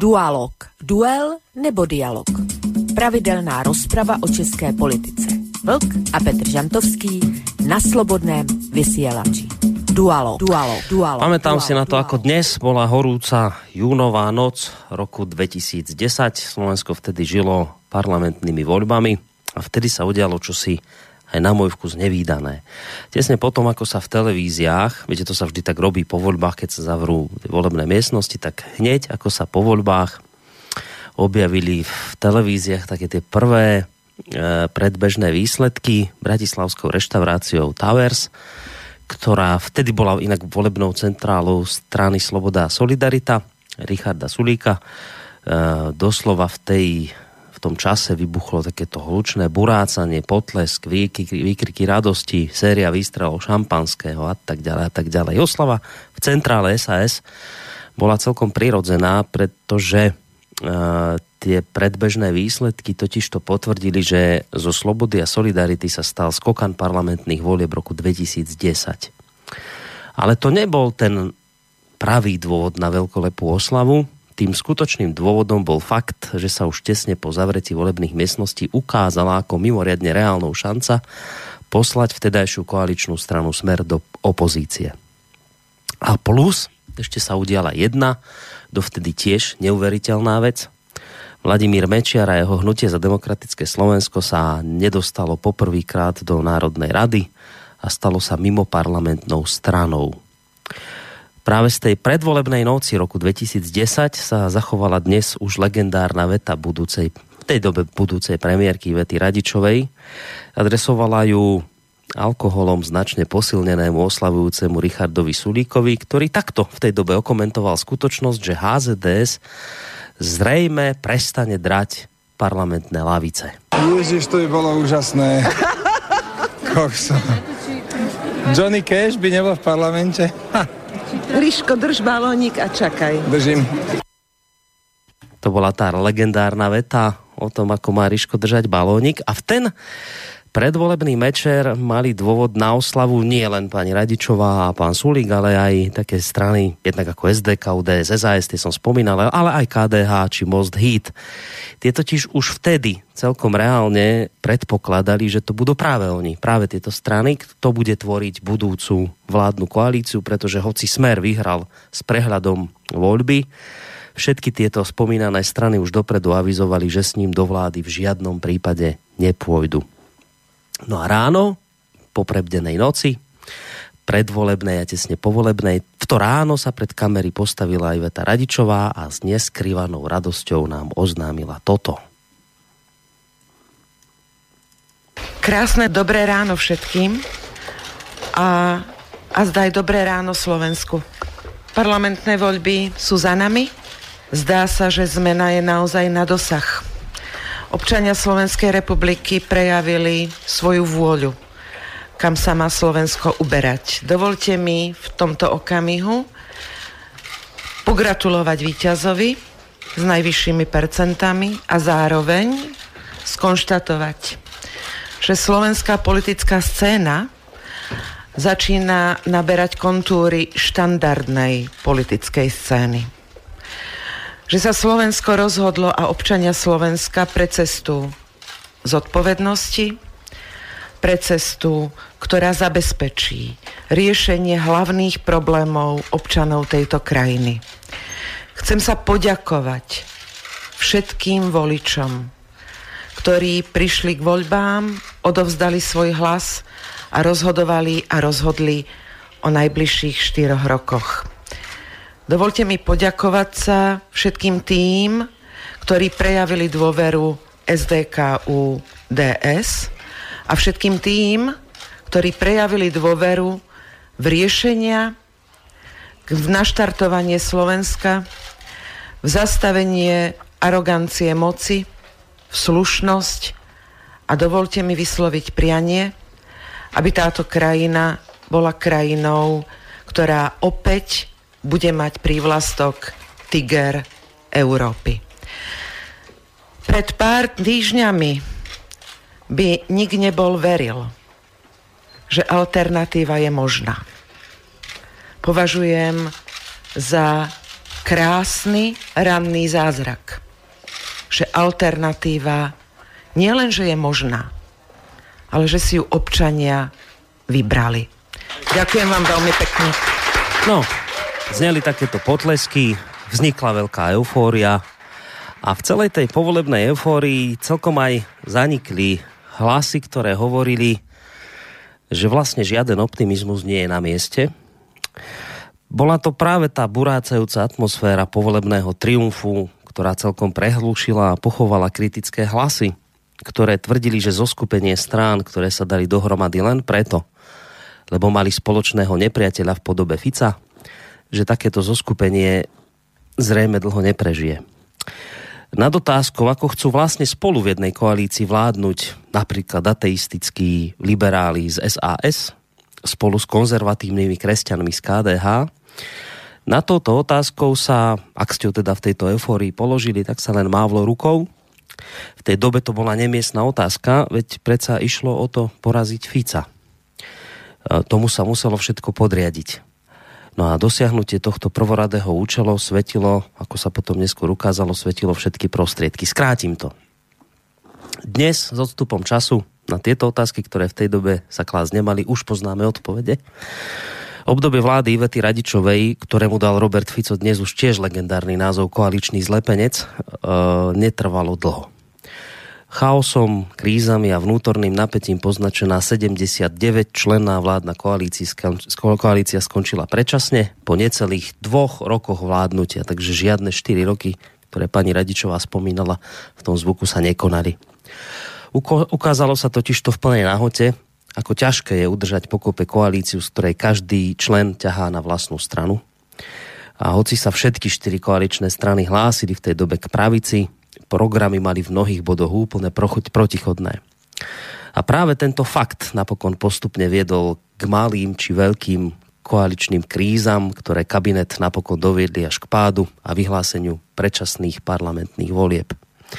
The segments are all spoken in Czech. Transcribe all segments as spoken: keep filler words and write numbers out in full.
Dualog. Duel nebo dialog. Pravidelná rozprava o české politice. Vlk a Petr Žantovský na Slobodném vysielači. Dualog. Dualog. Dualog. Pamätám Dualog. si na to, ako dnes bola horúca júnová noc roku dvetisícdesať. Slovensko vtedy žilo parlamentnými voľbami a vtedy sa udialo čosi aj na môj vkus nevídané. Tesne potom, ako sa v televíziách, viete, to sa vždy tak robí po voľbách, keď sa zavrú volebné miestnosti, tak hneď, ako sa po voľbách objavili v televíziách také tie prvé e, predbežné výsledky bratislavskou reštauráciou Towers, ktorá vtedy bola inak volebnou centrálou strany Sloboda a Solidarita, Richarda Sulíka. E, doslova v tej v tom čase vybuchlo takéto hlučné burácanie, potlesk, výkriky, výkriky radosti, séria výstrelov šampanského a tak ďalej a tak ďalej. Oslava v centrále es a es bola celkom prirodzená, pretože e, tie predbežné výsledky totiž to potvrdili, že zo Slobody a Solidarity sa stal skokan parlamentných volieb roku dvetisícdesať. Ale to nebol ten pravý dôvod na veľkolepú oslavu. Tým skutočným dôvodom bol fakt, že sa už tesne po zavretí volebných miestností ukázala ako mimoriadne reálnou šanca poslať vtedajšiu koaličnú stranu Smer do opozície. A plus, ešte sa udiala jedna, dovtedy tiež neuveriteľná vec. Vladimír Mečiar a jeho Hnutie za demokratické Slovensko sa nedostalo poprvýkrát do Národnej rady a stalo sa mimoparlamentnou stranou. Práve z tej predvolebnej noci roku dvetisícdesať sa zachovala dnes už legendárna veta budúcej, v tej dobe budúcej premiérky Ivety Radičovej. Adresovala ju alkoholom značne posilnenému oslavujúcemu Richardovi Sulíkovi, ktorý takto v tej dobe okomentoval skutočnosť, že há zet dé es zrejme prestane drať parlamentné lavice. Ježiš, to by bolo úžasné. Kokso. Johnny Cash by nebol v parlamente? Ha. Ríško, drž balónik a čakaj. Držím. To bola tá legendárna veta o tom, ako má Ríško držať balónik. A v ten predvolebný mečer mali dôvod na oslavu nie len pani Radičová a pán Sulík, ale aj také strany, jednak ako es dé ká, ú dé es, es a es, tie som spomínal, ale aj ká dé há či Most Híd. Tie totiž už vtedy celkom reálne predpokladali, že to budú práve oni, práve tieto strany, kto bude tvoriť budúcu vládnu koalíciu, pretože hoci Smer vyhral s prehľadom voľby, všetky tieto spomínané strany už dopredu avizovali, že s ním do vlády v žiadnom prípade nepôjdu. No a ráno, po prebdenej noci, predvolebnej a tesne povolebnej, v to ráno sa pred kamery postavila Iveta Radičová a s neskrývanou radosťou nám oznámila toto. Krásne dobré ráno všetkým a, a zdaj dobré ráno Slovensku. Parlamentné voľby sú za nami. Zdá sa, že zmena je naozaj na dosah. Občania Slovenskej republiky prejavili svoju vôľu, kam sa má Slovensko uberať. Dovolte mi v tomto okamihu pogratulovať víťazovi s najvyššími percentami a zároveň skonštatovať, že slovenská politická scéna začína naberať kontúry štandardnej politickej scény. Že sa Slovensko rozhodlo a občania Slovenska pre cestu zodpovednosti, pre cestu, ktorá zabezpečí riešenie hlavných problémov občanov tejto krajiny. Chcem sa poďakovať všetkým voličom, ktorí prišli k voľbám, odovzdali svoj hlas a rozhodovali a rozhodli o najbližších štyroch rokoch. Dovolte mi poďakovať sa všetkým tým, ktorí prejavili dôveru es dé ká ú dé es a všetkým tým, ktorí prejavili dôveru v riešenia, v naštartovanie Slovenska, v zastavenie arogancie moci, v slušnosť a dovolte mi vysloviť prianie, aby táto krajina bola krajinou, ktorá opäť bude mať prívlastok Tiger Európy. Pred pár týždňami by nik nebol veril, že alternatíva je možná. Považujem za krásny ranný zázrak. Že alternatíva nielen, že je možná, ale že si ju občania vybrali. Ďakujem vám veľmi pekne. No, zneli takéto potlesky, vznikla veľká eufória a v celej tej povolebnej eufórii celkom aj zanikli hlasy, ktoré hovorili, že vlastne žiaden optimizmus nie je na mieste. Bola to práve tá burácajúca atmosféra povolebného triumfu, ktorá celkom prehlúšila a pochovala kritické hlasy, ktoré tvrdili, že zoskupenie strán, ktoré sa dali dohromady len preto, lebo mali spoločného nepriateľa v podobe Fica, že takéto zoskupenie zrejme dlho neprežije. Na otázku, ako chcú vlastne spolu v jednej koalícii vládnuť napríklad ateistickí liberáli z es a es spolu s konzervatívnymi kresťanmi z ká dé há, na touto otázkou sa, ak ste ho teda v tejto eufórii položili, tak sa len mávlo rukou. V tej dobe to bola nemiestna otázka, veď predsa išlo o to poraziť Fica. Tomu sa muselo všetko podriadiť. No a dosiahnutie tohto prvoradého účelu svetilo, ako sa potom neskôr ukázalo, svetilo všetky prostriedky. Skrátim to. Dnes s odstupom času na tieto otázky, ktoré v tej dobe sa klásť nemali, už poznáme odpovede. Obdobie vlády Ivety Radičovej, ktorému dal Robert Fico dnes už tiež legendárny názov koaličný zlepenec, e, netrvalo dlho. Chaosom, krízami a vnútorným napätím poznačená sedemdesiatdeväť členná vládna koalícia, koalícia skončila predčasne po necelých dvoch rokoch vládnutia, takže žiadne štyri roky, ktoré pani Radičová spomínala, v tom zvuku sa nekonali. Uko- ukázalo sa totiž to v plnej nahote, ako ťažké je udržať pokope koalíciu, z ktorej každý člen ťahá na vlastnú stranu. A hoci sa všetky štyri koaličné strany hlásili v tej dobe k pravici, programy mali v mnohých bodoch úplne protichodné. A práve tento fakt napokon postupne viedol k malým či veľkým koaličným krízam, ktoré kabinet napokon doviedli až k pádu a vyhláseniu predčasných parlamentných volieb.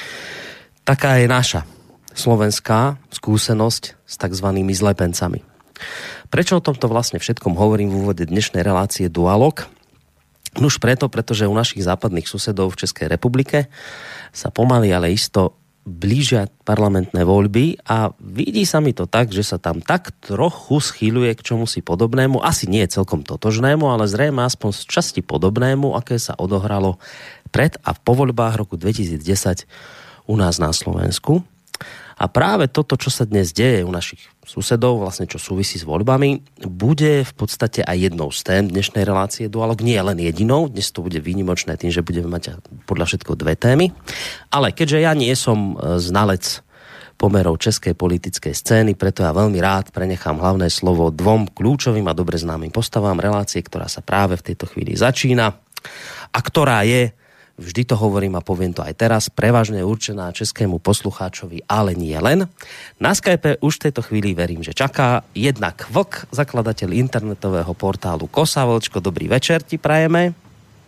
Taká je naša slovenská skúsenosť s takzvanými zlepencami. Prečo o tomto vlastne všetkom hovorím v úvode dnešnej relácie Dualog? Už preto, pretože u našich západných susedov v Českej republike sa pomaly, ale isto blížia parlamentné voľby a vidí sa mi to tak, že sa tam tak trochu schýľuje k čomusi podobnému, asi nie celkom totožnému, ale zrejme aspoň z časti podobnému, aké sa odohralo pred a po voľbách roku dvetisícdesať u nás na Slovensku. A práve toto, čo sa dnes deje u našich susedov, vlastne čo súvisí s voľbami, bude v podstate aj jednou z tém dnešnej relácie Dualog. Nie len jedinou, dnes to bude výnimočné tým, že budeme mať podľa všetko dve témy. Ale keďže ja nie som znalec pomerov českej politickej scény, preto ja veľmi rád prenechám hlavné slovo dvom kľúčovým a dobre známym postavám relácie, ktorá sa práve v tejto chvíli začína a ktorá je, vždy to hovorím a poviem to aj teraz, prevažne určená českému poslucháčovi, ale nie len. Na Skype už v tejto chvíli verím, že čaká jednak Vlk, zakladateľ internetového portálu Kosa. Vlčko, dobrý večer ti prajeme.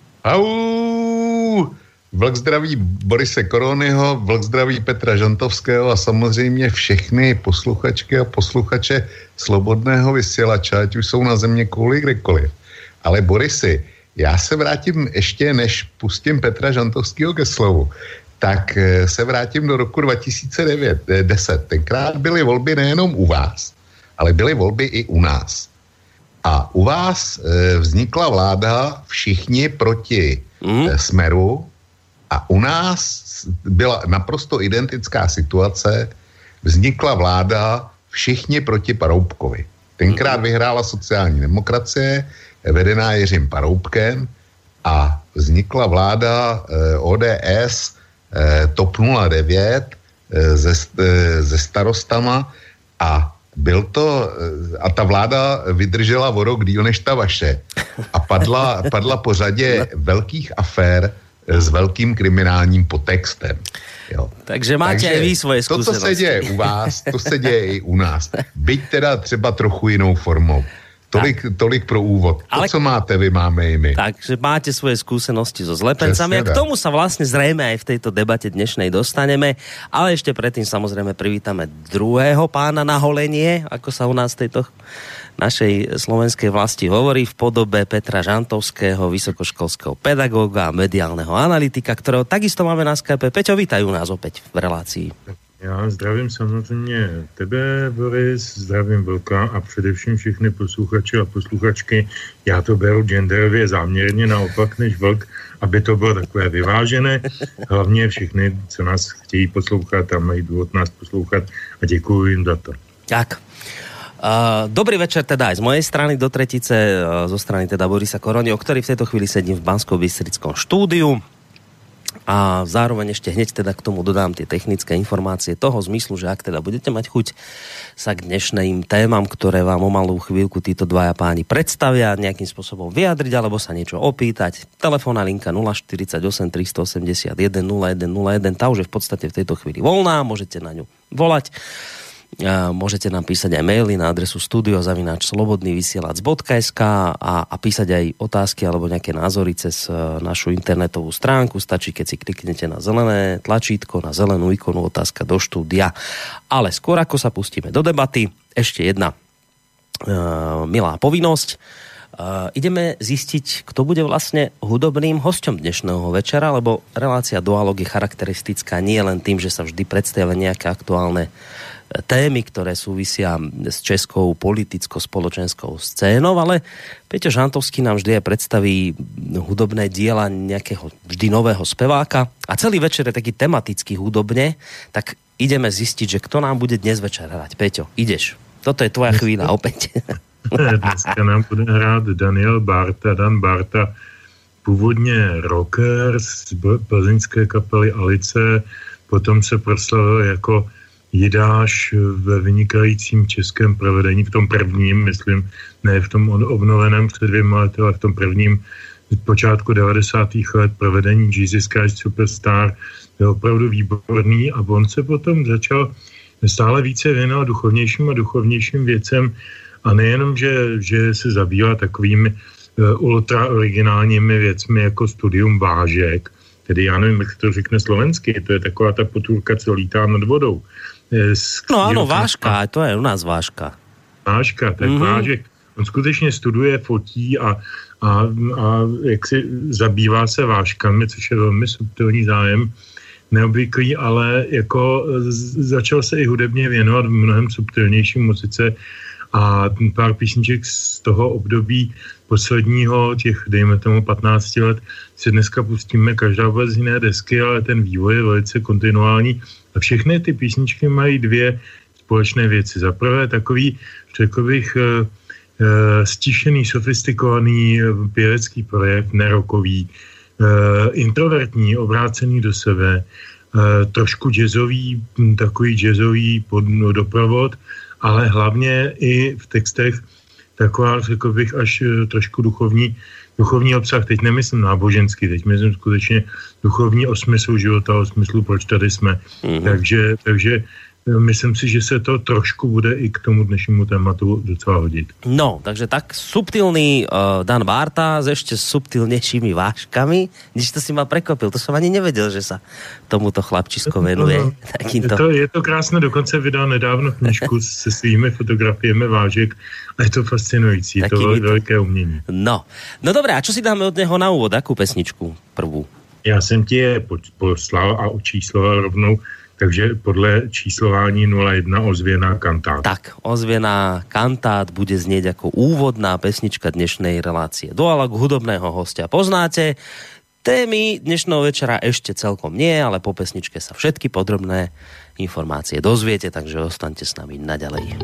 Au! Vlk zdraví Borise Koronyho, Vlk zdraví Petra Žantovského a samozřejmě všechny posluchačky a posluchače Slobodného vysílača, ať už jsou na země kouli kdekoliv. Ale Borisi, já se vrátím ještě, než pustím Petra Žantovského ke slovu, tak se vrátím do roku dva tisíce deset. Tenkrát byly volby nejenom u vás, ale byly volby i u nás. A u vás vznikla vláda všichni proti mm. Smeru a u nás byla naprosto identická situace. Vznikla vláda všichni proti Paroubkovi. Tenkrát mm. vyhrála sociální demokracie, vedená Jiřím Paroubkem a vznikla vláda eh, ó dé es eh, TOP nula devět eh, se, eh, se starostama a byl to, eh, a ta vláda vydržela o rok díl než ta vaše a padla, padla po řadě velkých afér eh, s velkým kriminálním podtextem. Jo. Takže máte Takže aj vy svoje skúsenosti. To, co se děje u vás, to se děje i u nás. Byť teda třeba trochu jinou formou. Tolik, tolik pro úvod. To, ale, co máte, vy máme i my. Takže máte svoje skúsenosti so zlepencami. A k tomu sa vlastne zrejme aj v tejto debate dnešnej dostaneme. Ale ešte predtým samozrejme privítame druhého pána na holenie, ako sa u nás v tejto našej slovenskej vlasti hovorí, v podobe Petra Žantovského, vysokoškolského pedagóga a mediálneho analytika, ktorého takisto máme na Skype. Peťo, vítajú nás opäť v relácii. Já zdravím samozřejmě tebe, Boris, zdravím Vlka a především všechny posluchače a posluchačky. Já to beru genderově záměrně naopak než Vlk, aby to bylo takové vyvážené. Hlavně všechny, co nás chtějí poslouchat a mají důvod nás poslouchat a děkuji jim za to. Tak. Uh, dobrý večer teda aj z mojej strany do tretice, uh, zo strany teda Borisa Koroni, o ktorý v tejto chvíli sedím v Banskobystrickom štúdiu. A zároveň ešte hneď teda k tomu dodám tie technické informácie toho zmyslu, že ak teda budete mať chuť sa k dnešným témam, ktoré vám o malú chvíľku títo dvaja páni predstavia, nejakým spôsobom vyjadriť alebo sa niečo opýtať, telefónna linka nula štyridsaťosem tristoosemdesiatjeden nula jeden nula jeden, tá už je v podstate v tejto chvíli voľná, môžete na ňu volať. Môžete nám písať aj maily na adresu studio zavináč slobodný vysielač bodka es ká a, a písať aj otázky alebo nejaké názory cez našu internetovú stránku. Stačí, keď si kliknete na zelené tlačítko, na zelenú ikonu otázka do štúdia. Ale skôr ako sa pustíme do debaty, ešte jedna uh, milá povinnosť. Uh, ideme zistiť, kto bude vlastne hudobným hosťom dnešného večera, lebo relácia Dualog je charakteristická nie len tým, že sa vždy predstavia nejaké aktuálne témy, ktoré súvisia s českou politicko-spoločenskou scénou, ale Peťo Žantovský nám vždy aj predstaví hudobné diela nejakého vždy nového speváka a celý večer je taký tematický hudobne, tak ideme zistiť, že kto nám bude dnes večer hrať. Peťo, ideš. Toto je tvoja chvíľa opäť. Dneska nám bude hrát Daniel Bárta. Dan Bárta, původně rocker z plzeňské kapely Alice, potom se proslavil jako Jidáš ve vynikajícím českém provedení, v tom prvním, myslím, ne v tom obnoveném před dvěma lety, ale v tom prvním z počátku devadesátých let provedení Jesus Christ Superstar je opravdu výborný a on se potom začal stále více věnovat duchovnějším a duchovnějším věcem a nejenom, že, že se zabývá takovými uh, ultra originálními věcmi jako studium vážek, tedy já nevím, jak to řekne slovensky, to je taková ta potůrka, co lítá nad vodou. No áno, vážka, to je u nás vážka. Vážka, tak mm-hmm. vážek. On skutečně studuje, fotí a, a, a jak si zabývá se vážkami, což je velmi subtilní zájem, neobvyklý, ale jako začal se i hudebně věnovat v mnohem subtilnějším muzice a pár písniček z toho období posledního, těch, dejme tomu, patnácti let, si dneska pustíme každá vůbec jiné desky, ale ten vývoj je velice kontinuální. A všechny ty písničky mají dvě společné věci. Za prvé takový, řekl bych, e, e, stišený, sofistikovaný pěvecký projekt, nerokový, e, introvertní, obrácený do sebe, e, trošku jazzový, takový jazzový pod, no, doprovod, ale hlavně i v textech taková, řekl bych, až trošku duchovní, duchovní obsah. Teď nemyslím náboženský, teď myslím skutečně duchovní o smyslu života, o smyslu, proč tady jsme. Mm-hmm. Takže, takže myslím si, že se to trošku bude i k tomu dnešnímu tématu docela hodit. No, takže tak subtilný uh, Dan Bárta s ešte subtilnejšími vážkami. Když to si ma prekvapil, to som ani nevedel, že sa tomuto chlapčisko venuje. No, je, to, je to krásné, dokonce vydal nedávno knižku se svými fotografiemi vážek a je to fascinující, je to veľ, veľké umění. No. no dobré, a čo si dáme od neho na úvod? Akú pesničku prvú? Já jsem ti je poslal a očísloval rovnou. Takže podle číslování nula jedna ozvěná kantát. Tak, ozvěná kantát bude znieť ako úvodná pesnička dnešnej relácie. Dualog hudobného hostia poznáte. Témy dnešného večera ešte celkom nie, ale po pesničke sa všetky podrobné informácie dozviete, takže ostaňte s nami naďalej.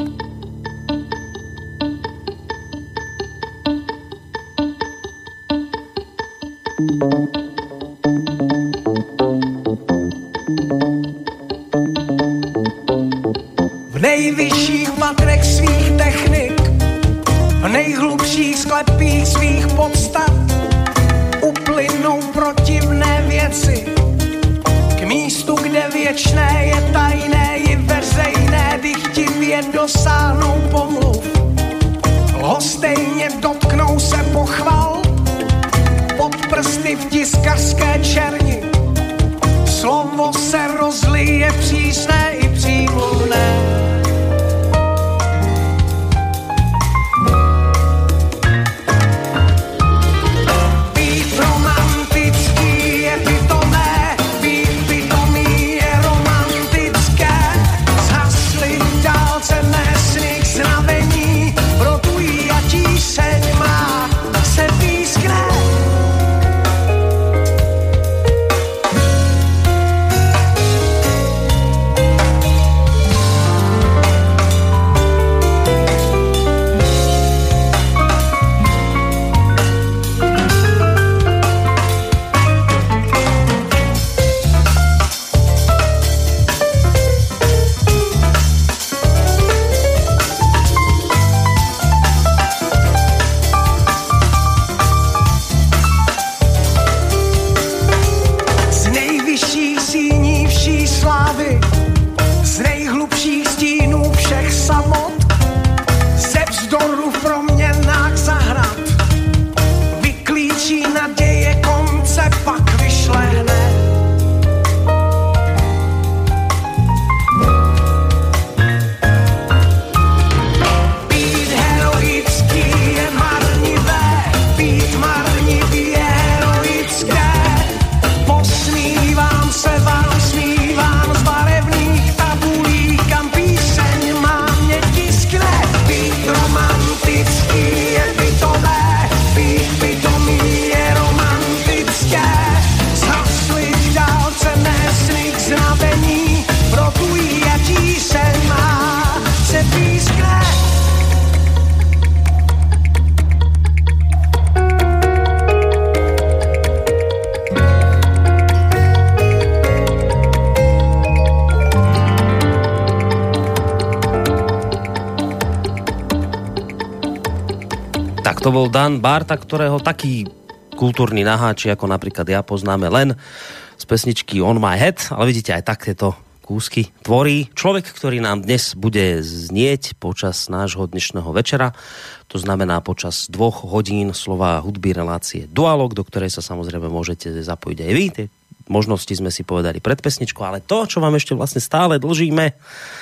V nejvyšších patrech svých technik, v nejhlubších sklepích svých podstat uplynou protivné věci k místu, kde věčné je tajné i veřejné, dychtivě dosáhnou pomluv. Lhostejně dotknou se pochval, pod prsty v tiskařské černi. Slovo se rozlije přísné i přímluvné. To bol Dan Barta, ktorého taký kultúrny naháči, ako napríklad ja poznáme len z pesničky On My Head, ale vidíte, aj takéto kúsky tvorí človek, ktorý nám dnes bude znieť počas nášho dnešného večera. To znamená počas dvoch hodín slova hudby relácie Dualog, do ktorej sa samozrejme môžete zapojiť aj vy. Tie možnosti sme si povedali pred pesničkou, ale to, čo vám ešte vlastne stále dlžíme,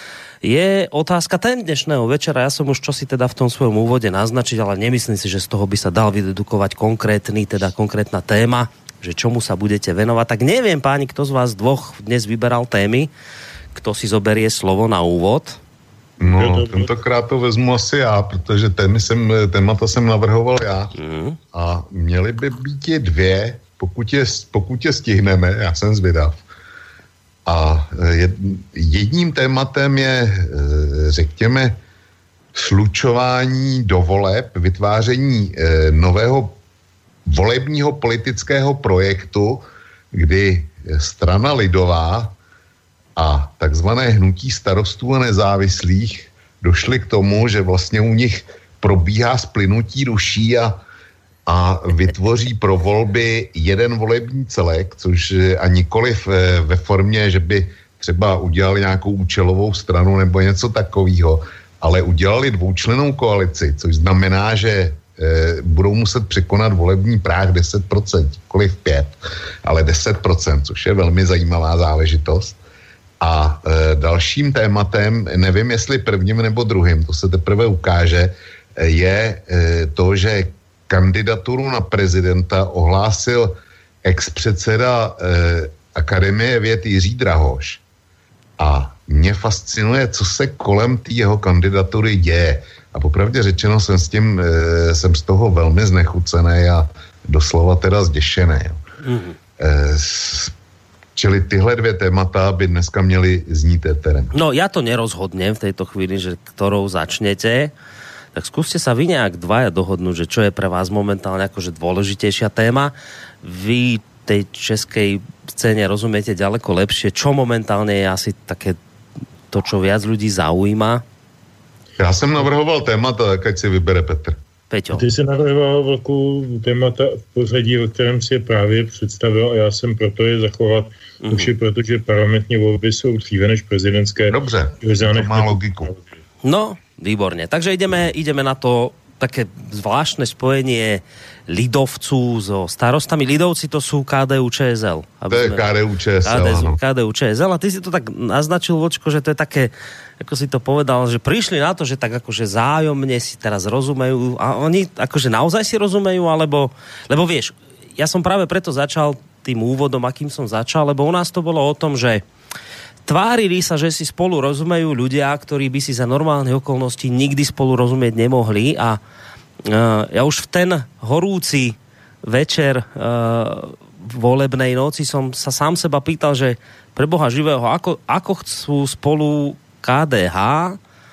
je otázka ten dnešného večera. Ja som už čosi teda v tom svojom úvode naznačiť, ale nemyslím si, že z toho by sa dal vydedukovať konkrétny, teda konkrétna téma, že čomu sa budete venovať. Tak neviem, páni, kto z vás dvoch dnes vyberal témy, kto si zoberie slovo na úvod. No, tentokrát to vezmu asi já, protože témy jsem, témata jsem navrhoval já. Mm. A měly by být je dvě, pokud je, pokud je stihneme, já jsem zvědav. A jedním tématem je, řekněme, slučování do voleb, vytváření nového volebního politického projektu, kdy strana lidová a takzvané hnutí starostů a nezávislých došli k tomu, že vlastně u nich probíhá splynutí duší a a vytvoří pro volby jeden volební celek, což a nikoliv ve formě, že by třeba udělali nějakou účelovou stranu nebo něco takového, ale udělali dvoučlennou koalici, což znamená, že e, budou muset překonat volební práh deset procent, nikoliv pět, ale deset procent, což je velmi zajímavá záležitost. A e, dalším tématem, nevím jestli prvním nebo druhým, to se teprve ukáže, je e, to, že kandidaturu na prezidenta ohlásil ex-předseda eh, Akademie věd Jiří Drahoš. A mě fascinuje, co se kolem té jeho kandidatury děje. A popravdě řečeno jsem s tím, eh, jsem z toho velmi znechucený a doslova teda zděšený. Mm-hmm. Eh, čili tyhle dvě témata by dneska měly znít éterem. No ja to nerozhodnem v tejto chvíli, že ktorou začnete. Tak skúste sa vy nejak dvaja dohodnúť, že čo je pre vás momentálne akože dôležitejšia téma. Vy tej českej scéne rozumiete ďaleko lepšie. Čo momentálne je asi také to, čo viac ľudí zaujíma? Já jsem navrhoval témata, tak ať si vybere Petr. Peťo. Ty jsi navrhoval velkou témata v pořadí, o kterém si je právě představil a já jsem proto je zachovat mm-hmm. už je, protože parlamentní volby jsou dříve než prezidentské. Dobře, to má logiku. No, výborne. Takže ideme, ideme na to také zvláštne spojenie lidovců so starostami. Lidovci to sú ká dé ú č es el. To je ká dé ú č es el, áno. ká dé ú č es el. A ty si to tak naznačil, Vočko, že to je také, ako si to povedal, že prišli na to, že tak akože zájomne si teraz rozumejú. A oni akože naozaj si rozumejú, alebo... Lebo vieš, ja som práve preto začal tým úvodom, akým som začal, lebo u nás to bolo o tom, že tvárili sa, že si spolu rozumejú ľudia, ktorí by si za normálnych okolností nikdy spolu rozumieť nemohli a uh, ja už v ten horúci večer uh, volebnej noci som sa sám seba pýtal, že pre Boha živého, ako, ako chcú spolu ká dé há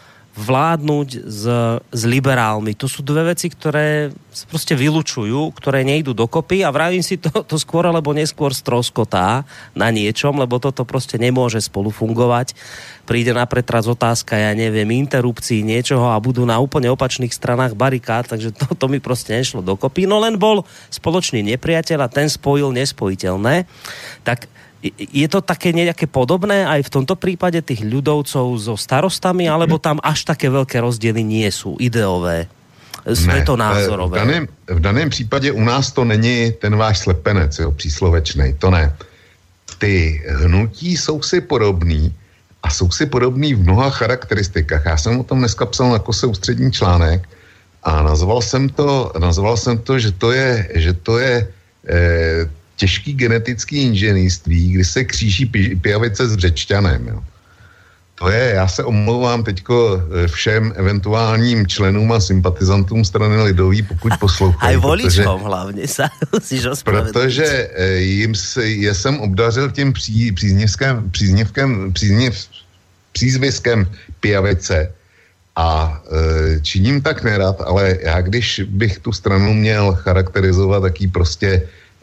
vládnuť s, s liberálmi. To sú dve veci, ktoré sa proste vylučujú, ktoré nejdú dokopy a vravím si to, to skôr alebo neskôr stroskotá na niečom, lebo toto proste nemôže spolu fungovať. Príde na pretras otázka, ja neviem, interrupcií niečoho a budú na úplne opačných stranách barikád, takže to, to mi proste nešlo dokopy. No len bol spoločný nepriateľ a ten spojil nespojiteľné. Tak je to také nejaké podobné aj v tomto prípade tých ľudovcov so starostami, alebo tam až také veľké rozdiely nie sú ideové, světonázorové? Ne, v daném, v daném případě u nás to není ten váš slepenec, jo, příslovečnej, to ne. Ty hnutí jsou si podobný a jsou si podobný v mnoha charakteristikách. Já jsem o tom dneska psal na Kose ústřední článek a nazval jsem to, nazval jsem to, že to je, že to je eh, těžký genetický inženýrství, kdy se kříží pijavice s Břečťanem. Jo. To je, já se omlouvám teďko všem eventuálním členům a sympatizantům strany lidový, pokud poslouchají. Aj voličom hlavně se musíš ospravedlnit. Protože jim se, je jsem obdařil tím pří, příznivkem, příznivkem, přízniv, přízviskem pijavice a e, činím tak nerad, ale já když bych tu stranu měl charakterizovat, tak ji prostě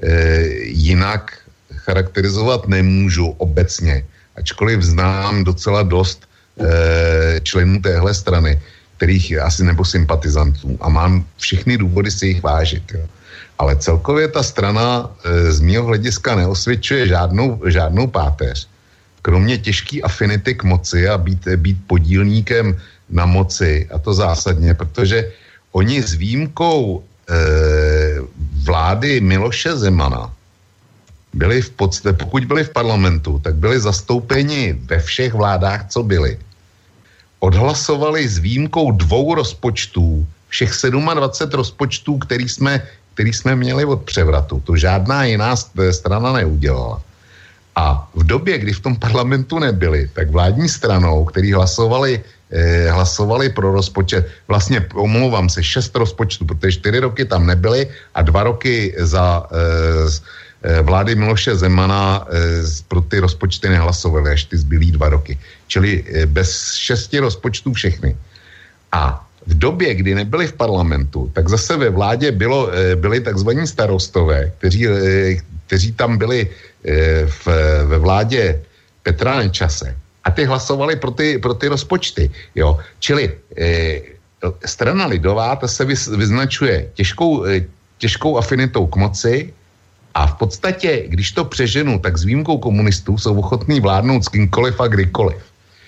jinak charakterizovat nemůžu obecně, ačkoliv znám docela dost e, členů téhle strany, kterých asi nebo sympatizantů a mám všechny důvody si jich vážit. Jo. Ale celkově ta strana e, z mého hlediska neosvědčuje žádnou, žádnou páteř. Kromě těžký afinity k moci a být, být podílníkem na moci, a to zásadně, protože oni s výjimkou vlády Miloše Zemana byli v podstatě, pokud byli v parlamentu, tak byli zastoupeni ve všech vládách, co byli. Odhlasovali s výjimkou dvou rozpočtů, všech dvacet sedm rozpočtů, který jsme, který jsme měli od převratu. To žádná jiná strana neudělala. A v době, kdy v tom parlamentu nebyli, tak vládní stranou, který hlasovali hlasovali pro rozpočet, vlastně omlouvám se, šest rozpočtů, protože čtyři roky tam nebyly a dva roky za e, vlády Miloše Zemana e, pro ty rozpočty nehlasovali, až ty zbylý dva roky. Čili e, bez šesti rozpočtů všechny. A v době, kdy nebyli v parlamentu, tak zase ve vládě bylo, e, byli takzvaní starostové, kteří, e, kteří tam byli e, v, ve vládě Petra Nečase. A ty hlasovali pro ty, pro ty rozpočty. Jo. Čili e, strana lidová, ta se vyznačuje těžkou, e, těžkou afinitou k moci a v podstatě, když to přeženu, tak s výjimkou komunistů jsou ochotní vládnout s kýmkoliv a kdykoliv.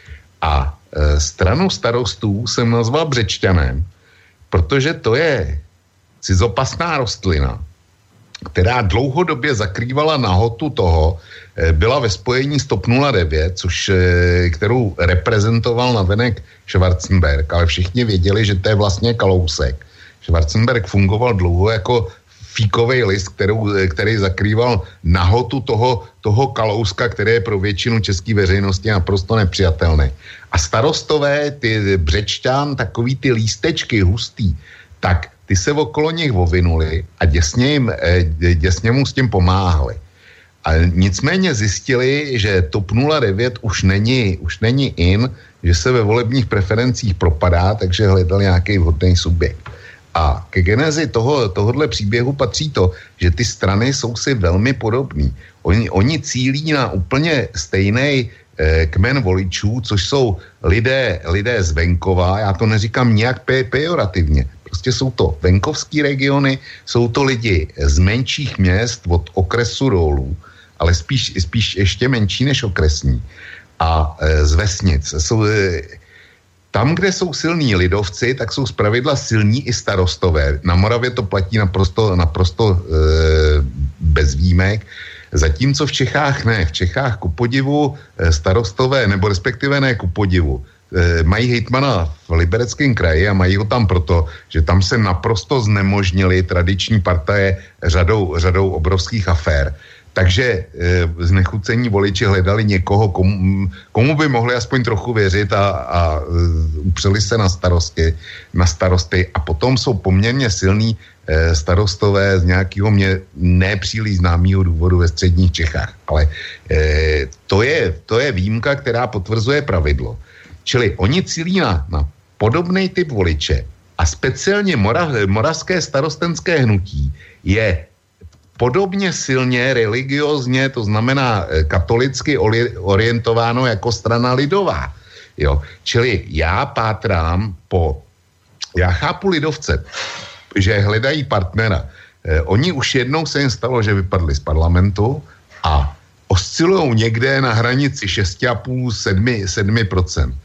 A e, stranu starostů jsem nazval Břečťanem, protože to je cizopasná rostlina, která dlouhodobě zakrývala nahotu toho, byla ve spojení s TOP nula devět, což, kterou reprezentoval navenek Schwarzenberg, ale všichni věděli, že to je vlastně Kalousek. Schwarzenberg fungoval dlouho jako fíkovej list, kterou, který zakrýval nahotu toho, toho Kalouska, který je pro většinu české veřejnosti naprosto nepřijatelný. A starostové, ty Břečťan, takový ty lístečky hustý, tak ty se okolo nich ovinuli a děsně, jim, děsně mu s tím pomáhali. A nicméně zjistili, že TOP nula devět už není, už není in, že se ve volebních preferencích propadá, takže hledal nějaký vhodný subjekt. A ke genezi toho, tohohle příběhu patří to, že ty strany jsou si velmi podobný. Oni, oni cílí na úplně stejný eh, kmen voličů, což jsou lidé, lidé z venkova, já to neříkám nijak pe- pejorativně, prostě jsou to venkovský regiony, jsou to lidi z menších měst od okresu dolů, ale spíš, spíš ještě menší než okresní. A e, z vesnic. Jsou, e, tam, kde jsou silní lidovci, tak jsou zpravidla silní i starostové. Na Moravě to platí naprosto, naprosto e, bez výjimek. Zatímco v Čechách ne. V Čechách ku podivu starostové, nebo respektive ne ku podivu, e, mají hejtmana v Libereckém kraji a mají ho tam proto, že tam se naprosto znemožnili tradiční partaje řadou, řadou obrovských afér. Takže e, znechucení voliči hledali někoho, komu, komu by mohli aspoň trochu věřit a, a e, upřeli se na starosti, na starosty a potom jsou poměrně silní e, starostové z nějakého mě nepříliš známého důvodu ve středních Čechách. Ale e, to, je, to je výjimka, která potvrzuje pravidlo. Čili oni cílí na, na podobný typ voliče a speciálně mora, moravské starostenské hnutí je podobně silně religiózně, to znamená katolicky orientováno jako strana lidová. Jo. Čili já pátrám po, já chápu lidovce, že hledají partnera. Eh, oni už jednou se jim stalo, že vypadli z parlamentu a oscilujou někde na hranici šest celá pět až sedm procent.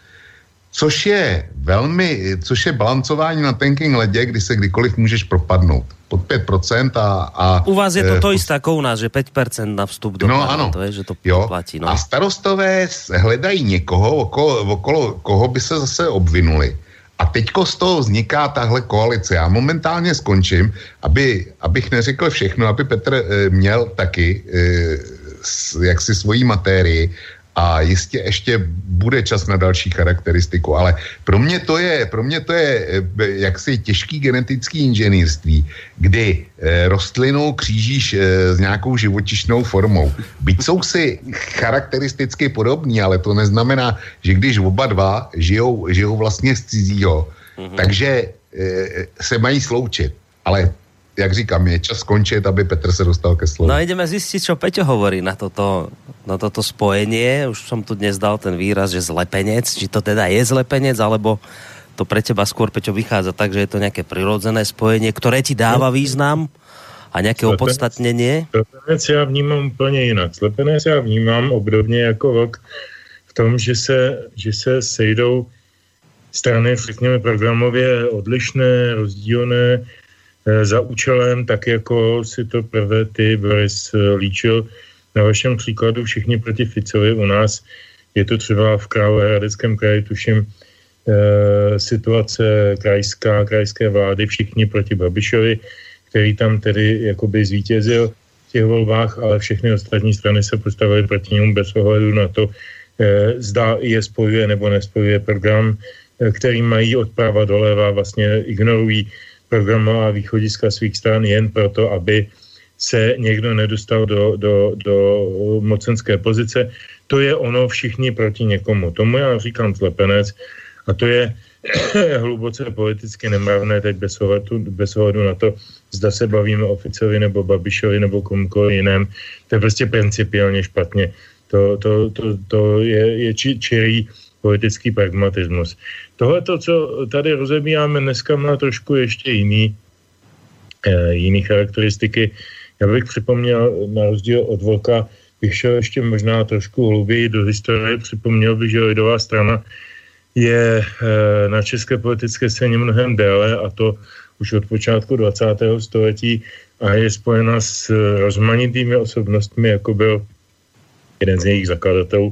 Což je velmi, což je balancování na tenkým ledě, kdy se kdykoliv můžeš propadnout. Pod pět procent a... a u vás je to to isté jako u nás, že pět procent na vstup do no, parlamentu, je, že to jo, platí. No. A starostové hledají někoho, okolo, okolo koho by se zase obvinuli. A teďko z toho vzniká tahle koalice. Já momentálně skončím, aby, abych neřekl všechno, aby Petr e, měl taky e, s, jaksi svojí matérii a jistě ještě bude čas na další charakteristiku, ale pro mě to je, pro mě to je jaksi těžký genetický inženýrství, kdy e, rostlinu křížíš e, s nějakou živočišnou formou. Byť jsou si charakteristicky podobní, ale to neznamená, že když oba dva žijou, žijou vlastně z cizího, mm-hmm. takže e, se mají sloučit. Ale jak říkám, je čas skončit, aby Petr se dostal ke slovu. No ideme zistiť, čo Peťo hovorí na toto, na toto spojenie. Už som tu dnes dal ten výraz, že zlepenec. Či to teda je zlepenec, alebo to pre teba skôr, Peťo, vychádza tak, že je to nejaké prirodzené spojenie, ktoré ti dáva význam a nejaké slepenec, opodstatnenie? Slepenec já vnímám úplně jinak. Slepenec já vnímám obdobně jako vlk v tom, že se, že se sejdou strany, řekněme, programově odlišné, rozdílné, za účelem, tak jako si to prvé ty, Boris, líčil na vašem příkladu všichni proti Ficovi. U nás je to třeba v Královéhradeckém kraji, tuším, e, situace krajská, krajské vlády, všichni proti Babišovi, který tam tedy jakoby zvítězil v těch volbách, ale všechny ostatní strany se postavily proti němu bez ohledu na to, e, zda je spojuje nebo nespojuje program, e, který mají odprava doleva, vlastně ignorují programová východiska svých stran jen proto, aby se někdo nedostal do, do, do mocenské pozice. To je ono všichni proti někomu. Tomu já říkám slepenec a to je hluboce politicky nemravné teď bez ohledu, bez ohledu na to, zda se bavíme o Ficovi nebo Babišovi nebo komukoliv jiném. To je prostě principiálně špatně. To, to, to, to je, je či, čirý politický pragmatismus. Tohle, co tady rozebíráme dneska, má trošku ještě jiný, e, jiný charakteristiky. Já bych připomněl, na rozdíl od Vlka, bych šel ještě možná trošku hluběji do historie. Připomněl bych, že lidová strana je e, na české politické scéně mnohem déle, a to už od počátku dvacátého století, a je spojena s rozmanitými osobnostmi, jako byl jeden z jejich zakladatelů,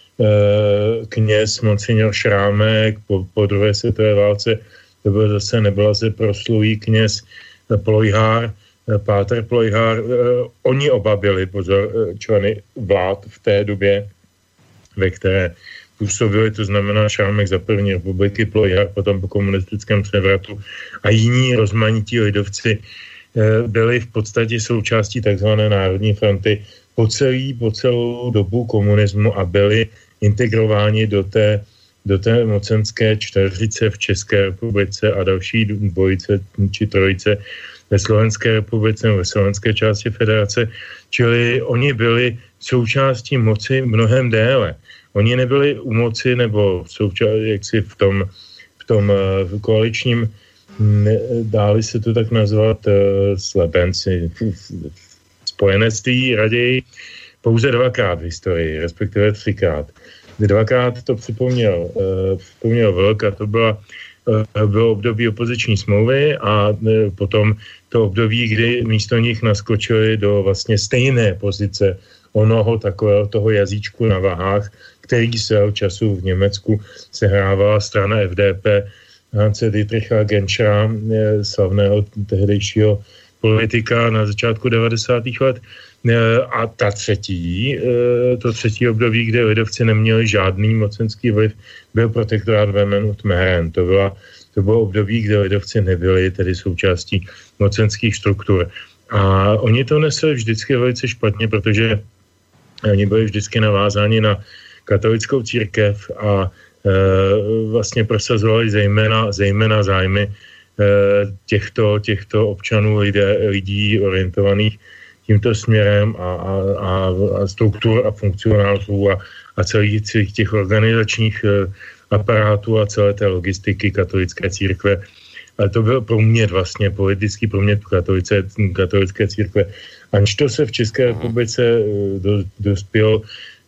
kněz Monsignor Šrámek po, po druhé světové válce, to byl zase neblaze proslulý kněz Plojhár, Páter Plojhár. Oni oba byli, pozor, členy vlád v té době, ve které působili, to znamená Šrámek za první republiky, Plojhár potom po komunistickém převratu a jiní rozmanití lidovci byli v podstatě součástí takzvané Národní fronty po, celý, po celou dobu komunismu a byli integrováni do té, do té mocenské čtveřice v České republice a další dvojice či trojice ve Slovenské republice, ve slovenské části federace. Čili oni byli součástí moci mnohem déle. Oni nebyli u moci nebo součástí, jaksi v tom, v tom v koaličním, dáli se to tak nazvat, slepenci, spojenectví raději, pouze dvakrát v historii, respektive třikrát. dvakrát to připomněl, připomněl Vlk, a to byla, bylo období opoziční smlouvy a potom to období, kdy místo nich naskočili do vlastně stejné pozice onoho takového toho jazyčku na vahách, který svého času v Německu sehrávala strana F D P Hanse Dietricha Genschera, slavného tehdejšího politika na začátku devadesátých let. A ta třetí, to třetí období, kde lidovci neměli žádný mocenský vliv, byl protektorát Wehmen und Mähren. To, byla, to bylo období, kde lidovci nebyli tedy součástí mocenských struktur. A oni to nesli vždycky velice špatně, protože oni byli vždycky navázáni na katolickou církev a e, vlastně prosazovali zejména, zejména zájmy e, těchto, těchto občanů, lidé, lidí orientovaných tímto směrem a, a, a, a struktur a funkcionářů a, a celých, celých těch organizačních e, aparátů a celé té logistiky katolické církve. Ale to byl průměr vlastně, politický průměr katolice, katolické církve. Aniž to se v České republice do, dospěl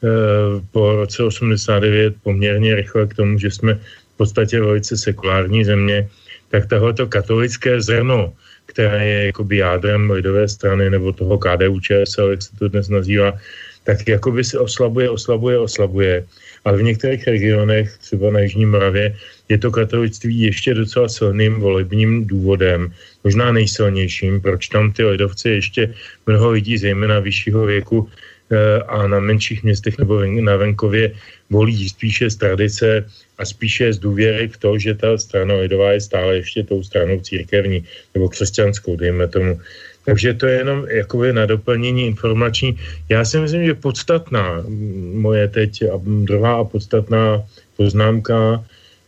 po roce osmdesát devět poměrně rychle k tomu, že jsme v podstatě velice sekulární země, tak tohleto katolické zrno, které je jakoby jádrem lidové strany nebo toho K D U Č S L, jak se to dnes nazývá, tak jakoby se oslabuje, oslabuje, oslabuje. Ale v některých regionech, třeba na Jižní Moravě, je to katolictví ještě docela silným volebním důvodem, možná nejsilnějším, proč tam ty lidovci ještě mnoho lidí, zejména vyššího věku a na menších městech nebo na venkově, volí spíše z tradice a spíše z důvěry v to, že ta strana lidová je stále ještě tou stranou církevní nebo křesťanskou, dejme tomu. Takže to je jenom jakoby na doplnění informační. Já si myslím, že podstatná moje teď a druhá a podstatná poznámka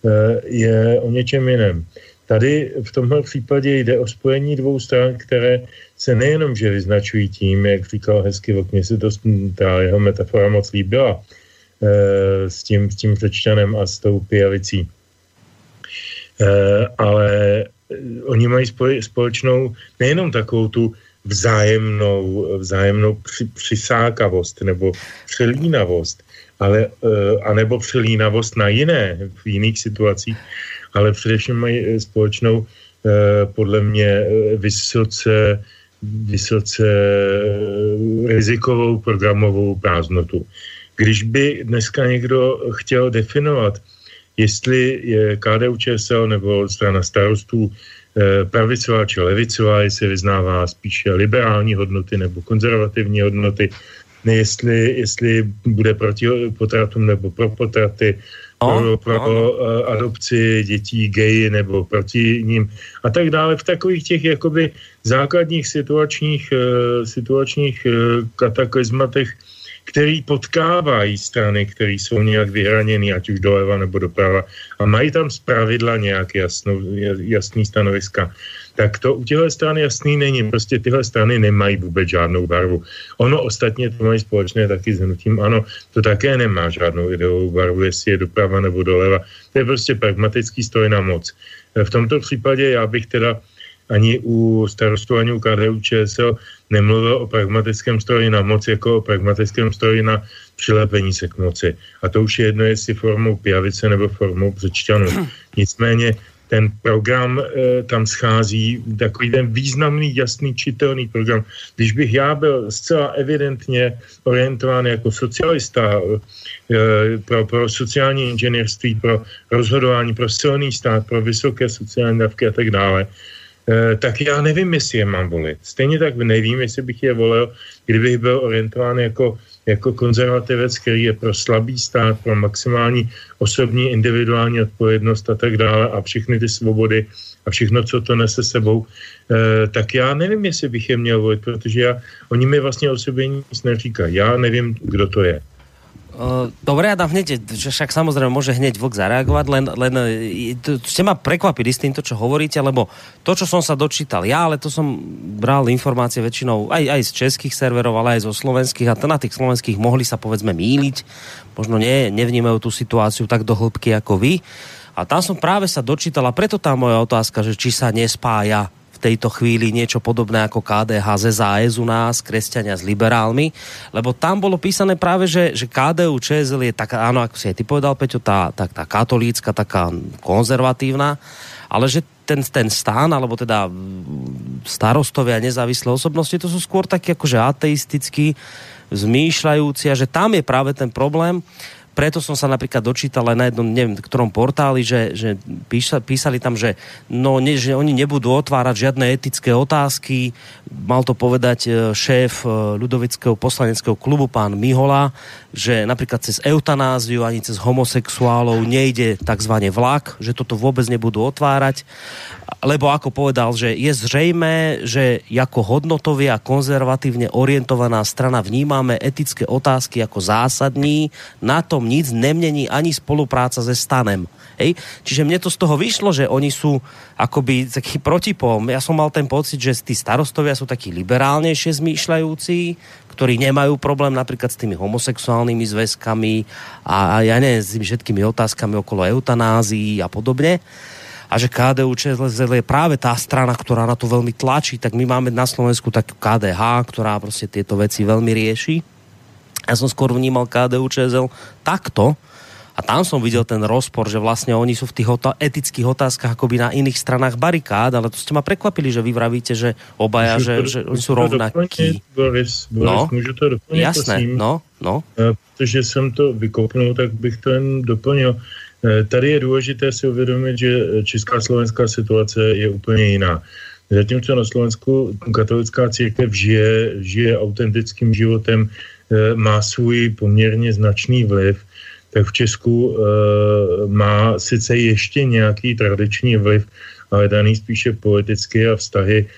je o něčem jiném. Tady v tomhle případě jde o spojení dvou stran, které se nejenom, že vyznačují tím, jak říkal hezky Vlk, mně se to, ta jeho metafora moc líbila, e, s tím, s tím Řečťanem a s tou pijavicí. E, ale oni mají spoj, společnou nejenom takovou tu vzájemnou, vzájemnou při, přisákavost nebo přilínavost, ale, e, anebo přilínavost na jiné, v jiných situacích, ale především mají společnou e, podle mě vysoce, vysoce rizikovou programovou prázdnotu. Když by dneska někdo chtěl definovat, jestli je K D U Č S L nebo strana starostů e, pravicová či levicová, jestli vyznává spíše liberální hodnoty nebo konzervativní hodnoty, jestli, jestli bude proti potratům nebo pro potraty, pro, pro no. adopci dětí, geji nebo proti ním a tak dále. V takových těch jakoby základních situačních, situačních kataklizmatech, který potkávají strany, které jsou nějak vyhraněny, ať už doleva nebo doprava, a mají tam zpravidla nějak jasnou, jasný stanoviska, tak to u těchto stran jasný není. Prostě tyhle strany nemají vůbec žádnou barvu. Ono ostatně to mají společné taky s hnutím ANO, to také nemá žádnou ideovou barvu, jestli je doprava nebo doleva. To je prostě pragmatický stroj na moc. V tomto případě já bych teda ani u starostů, ani u K D U Č S L nemluvil o pragmatickém stroji na moc jako o pragmatickém stroji na přilepení se k moci. A to už je jedno, jestli formou pijavice nebo formou Řečťanů. Nicméně ten program e, tam schází, takový ten významný, jasný, čitelný program. Když bych já byl zcela evidentně orientován jako socialista e, pro, pro sociální inženýrství, pro rozhodování, pro silný stát, pro vysoké sociální dávky a tak dále, e, tak já nevím, jestli je mám volit. Stejně tak nevím, jestli bych je volil, kdybych byl orientován jako jako konzervativec, který je pro slabý stát, pro maximální osobní individuální odpovědnost a tak dále a všechny ty svobody a všechno, co to nese sebou, eh, tak já nevím, jestli bych je měl volit, protože já, oni mi vlastně o sobě nic neříkají. Já nevím, kdo to je. Dobre, ja dám hneď, že však samozrejme môže hneď Vlk zareagovať, len, len ste ma prekvapili s týmto, čo hovoríte, lebo to, čo som sa dočítal ja, ale to som bral informácie väčšinou aj, aj z českých serverov, ale aj zo slovenských, a na tých slovenských mohli sa povedzme mýliť, možno nie, nevnímajú tú situáciu tak do hĺbky ako vy. A tam som práve sa dočítal, a preto tá moja otázka, že či sa nespája v v tejto chvíli niečo podobné ako ká dé há zet zet es u nás, kresťania s liberálmi, lebo tam bolo písané práve, že, že ká dé ú ČSL je taká, áno, ako si aj ty povedal, Peťo, tá, tá, tá katolícka, taká konzervatívna, ale že ten, ten stán, alebo teda starostovia nezávislé osobnosti, to sú skôr takí akože ateistickí, zmýšľajúci, a že tam je práve ten problém. Preto som sa napríklad dočítal aj na jednom, neviem, ktorom portáli, že, že písa, písali tam, že, no, ne, že oni nebudú otvárať žiadne etické otázky. Mal to povedať šéf ľudovického poslaneckého klubu, pán Mihola, že napríklad cez eutanáziu ani cez homosexuálov nejde takzvané vlak, že toto vôbec nebudú otvárať. Lebo ako povedal, že je zrejmé, že ako hodnotovie a konzervatívne orientovaná strana vnímame etické otázky ako zásadní, na tom nic nemení ani spolupráca se stanem. Hej? Čiže mne to z toho vyšlo, že oni sú akoby taký protipol. Ja som mal ten pocit, že tí starostovia sú takí liberálnejšie zmýšľajúci, ktorí nemajú problém napríklad s tými homosexuálnymi zväzkami a, a ja neviem, s tými všetkými otázkami okolo eutanázií a podobne. A že ká dé ú ČSL je práve tá strana, ktorá na to veľmi tlačí, tak my máme na Slovensku takú ká dé há, ktorá proste tieto veci veľmi rieši. Ja som skôr vnímal ká dé ú ČSL takto a tam som videl ten rozpor, že vlastne oni sú v tých ota- etických otázkach akoby na iných stranách barikád, ale to ste ma prekvapili, že vy vravíte, že obaja, že, že oni sú rovnakí. Boris, Boris, no, můžu to doplnit, jasné, prosím? no, no. Protože jsem to vykopnul, tak bych to jen doplnil. Tady je důležité si uvědomit, že česká slovenská situace je úplně jiná. Zatímco na Slovensku katolická církev žije, žije autentickým životem, má svůj poměrně značný vliv, tak v Česku má sice ještě nějaký tradiční vliv, ale daný spíše politicky a vztahy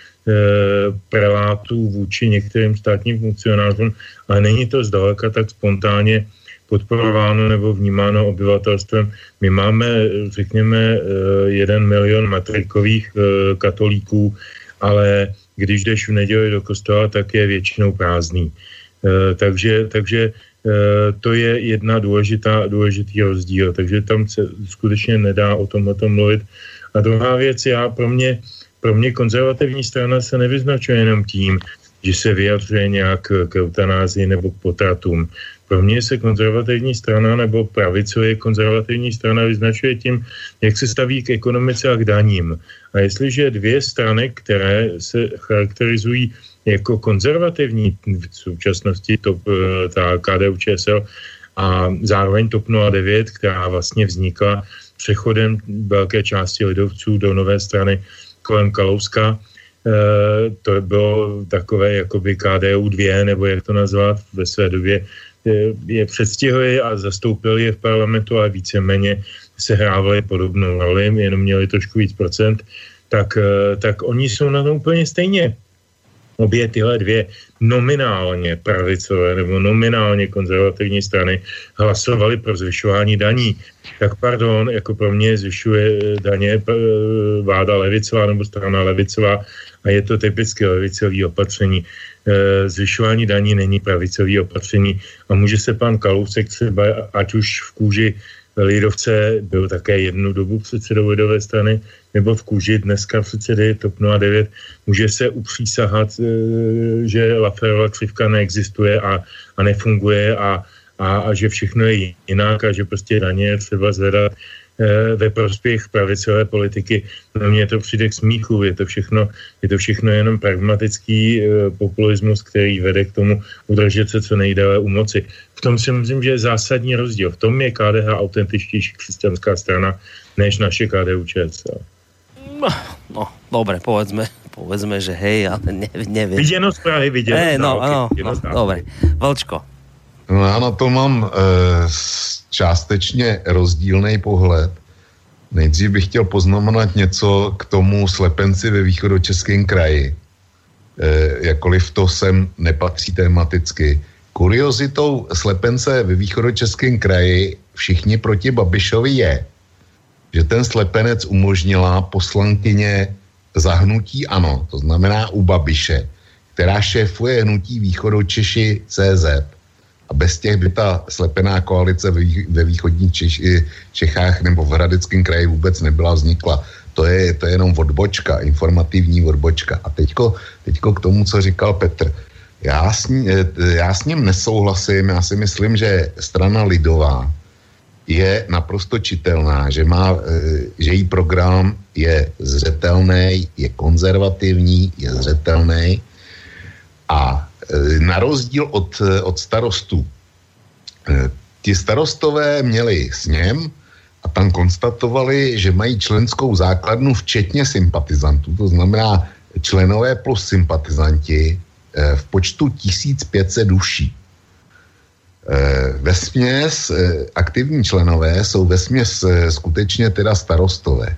prelátů vůči některým státním funkcionářům, ale není to zdaleka tak spontánně podporováno nebo vnímáno obyvatelstvem. My máme, řekněme, jeden milion matrikových katolíků, ale když jdeš v neděli do kostela, tak je většinou prázdný. Takže, takže to je jedna důležitá, důležitý rozdíl. Takže tam se skutečně nedá o tomhle mluvit. A druhá věc, já pro mě, pro mě konzervativní strana se nevyznačuje jenom tím, že se vyjadřuje nějak k eutanázii nebo k potratům. Pro mě se konzervativní strana nebo pravicově konzervativní strana vyznačuje tím, jak se staví k ekonomice a k daním. A jestliže dvě strany, které se charakterizují jako konzervativní v současnosti, to, ta ká dé ú ČSL a zároveň TOP nula devět, která vlastně vznikla přechodem velké části lidovců do nové strany kolem Kalouska, to bylo takové jakoby ká dé ú dva, nebo jak to nazvat ve své době, je předstihli a zastoupili je v parlamentu, ale víceméně se hrávali podobnou roli, jenom měli trošku víc procent, tak, tak oni jsou na tom úplně stejně. Obě tyhle dvě nominálně pravicové nebo nominálně konzervativní strany hlasovali pro zvyšování daní. Tak pardon, jako pro mě zvyšuje daně vláda levicová nebo strana levicová a je to typicky levicové opatření. Zvyšování daní není pravicové opatření a může se pan Kalousek třeba, ať už v kůži lidovce, byl také jednu dobu předsedou lidové strany, nebo v kůži dneska předsedy TOP nula devět, může se upřísahat, že Lafferova křivka neexistuje a, a nefunguje a, a, a že všechno je jinak a že prostě daně je třeba zvedat ve prospěch pravicové politiky. No mně to přijde k smíchu, je to všechno, je to všechno jenom pragmatický populismus, který vede k tomu udržet se co nejdéle u moci. V tom si myslím, že je zásadní rozdíl. V tom je ká dé há autentičtější křesťanská strana než naše ká dé ú ČSL. No, no, dobre, povedzme, povedzme, že hej, ale ne, neviem. Viděno z Prahy, viděno hey, z no, no, no, no, dobre. Vlčko. No já na to mám e, částečně rozdílný pohled. Nejdřív bych chtěl poznamenat něco k tomu slepenci ve východočeském kraji. E, jakkoliv to sem nepatří tematicky. Kuriozitou slepence ve východočeském kraji všichni proti Babišovi je, že ten slepenec umožnila poslankyně za hnutí ANO, to znamená u Babiše, která šéfuje hnutí Východočeši C Z. A bez těch by ta slepená koalice ve východních Češ, Čechách nebo v Hradeckém kraji vůbec nebyla vznikla. to je, to je jenom odbočka, informativní odbočka. A teďko, teďko k tomu, co říkal Petr. Já s, ní, já s ním nesouhlasím, já si myslím, že strana lidová je naprosto čitelná, že, má, že její program je zřetelný, je konzervativní, je zřetelný a na rozdíl od, od starostů. Ti starostové měli sněm a tam konstatovali, že mají členskou základnu včetně sympatizantů, to znamená členové plus sympatizanti v počtu tisíc pět set duší. Vesměs aktivní členové jsou vesměs skutečně teda starostové.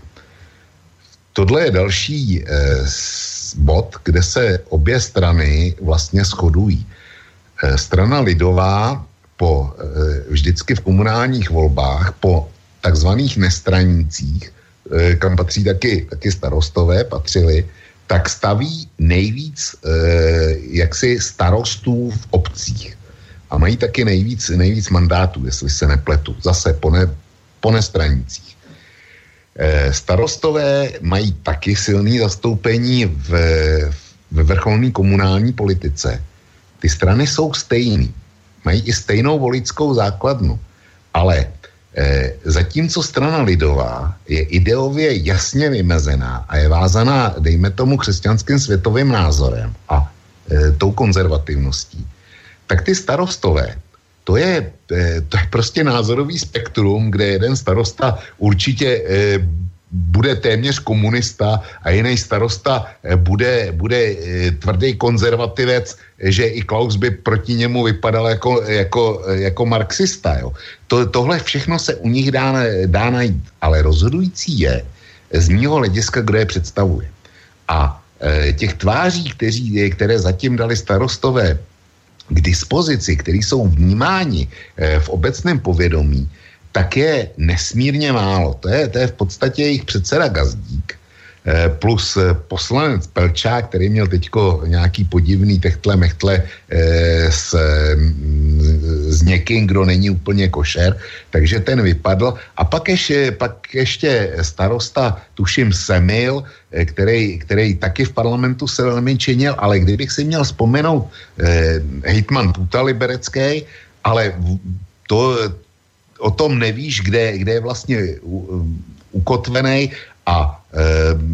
Tohle je další bod, kde se obě strany vlastně shodují. Strana lidová po, vždycky v komunálních volbách po takzvaných nestranících, kam patří taky, taky starostové, patřili, tak staví nejvíc jaksi starostů v obcích. A mají taky nejvíc, nejvíc mandátů, jestli se nepletu. Zase po, ne, po nestranících. E, starostové mají taky silné zastoupení v, v vrcholné komunální politice. Ty strany jsou stejný. Mají i stejnou voličskou základnu. Ale e, zatímco strana lidová je ideově jasně vymezená a je vázaná, dejme tomu, křesťanským světovým názorem a e, tou konzervativností, tak ty starostové, to je, to je prostě názorový spektrum, kde jeden starosta určitě e, bude téměř komunista a jiný starosta e, bude, bude e, tvrdý konzervativec, že i Klaus by proti němu vypadal jako, jako, jako marxista. Jo. To, tohle všechno se u nich dá, dá najít, ale rozhodující je z mýho hlediska, kdo je představuje. A e, těch tváří, kteří, které zatím dali starostové k dispozici, který jsou vnímáni v obecném povědomí, tak je nesmírně málo. To je, to je v podstatě jejich předseda Gazdík plus poslanec Pelčák, který měl teďko nějaký podivný techtle mechtle s, s někým, kdo není úplně košer, takže ten vypadl. A pak ještě, pak ještě starosta, tuším Semil, který, který taky v parlamentu se velmi činil, ale kdybych si měl vzpomenout eh, hejtman Půta Liberecký, ale to, o tom nevíš, kde, kde je vlastně u, ukotvený a eh,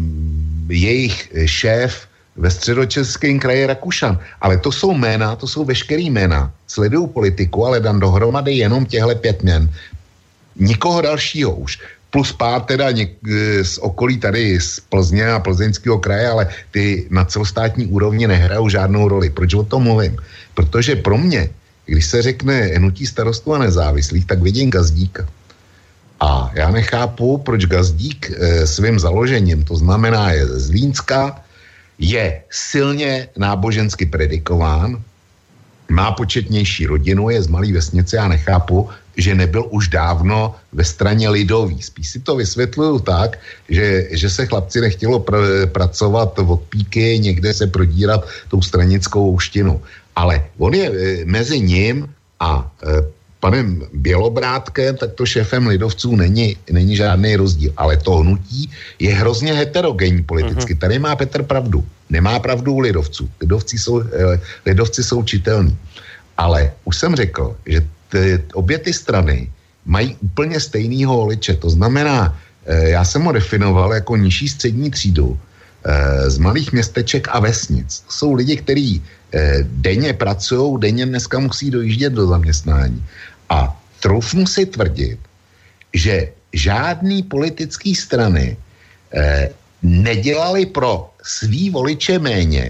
jejich šéf ve středočeském kraji Rakušan. Ale to jsou jména, to jsou veškerý jména. Sledují politiku, ale dám dohromady jenom těhle pět jmen. Nikoho dalšího už. Plus pár teda něk, z okolí tady z Plzně a Plzeňského kraje, ale ty na celostátní úrovni nehrajou žádnou roli. Proč o tom mluvím? Protože pro mě, když se řekne hnutí starostů a nezávislých, tak vidím Gazdíka. A já nechápu, proč Gazdík e, svým založením, to znamená je z Zlínska, je silně nábožensky predikován, má početnější rodinu, je z malé vesnice, já nechápu, že nebyl už dávno ve straně lidový. Spíš si to vysvětluju tak, že, že se chlapci nechtělo pr- pracovat od píky, někde se prodírat tou stranickou ouštinu. Ale on je e, mezi ním a e, panem Bělobrádkem, tak to šéfem lidovců není, není žádný rozdíl. Ale to hnutí je hrozně heterogenní politicky. Uh-huh. Tady má Petr pravdu. Nemá pravdu u lidovců. Lidovci jsou, eh, lidovci jsou čitelní. Ale už jsem řekl, že t, obě ty strany mají úplně stejnýho voliče. To znamená, eh, já jsem ho definoval jako nižší střední třídu eh, z malých městeček a vesnic. To jsou lidi, kteří eh, denně pracují, denně dneska musí dojíždět do zaměstnání. A troufnu si tvrdit, že žádný politický strany eh, nedělali pro svý voliče méně,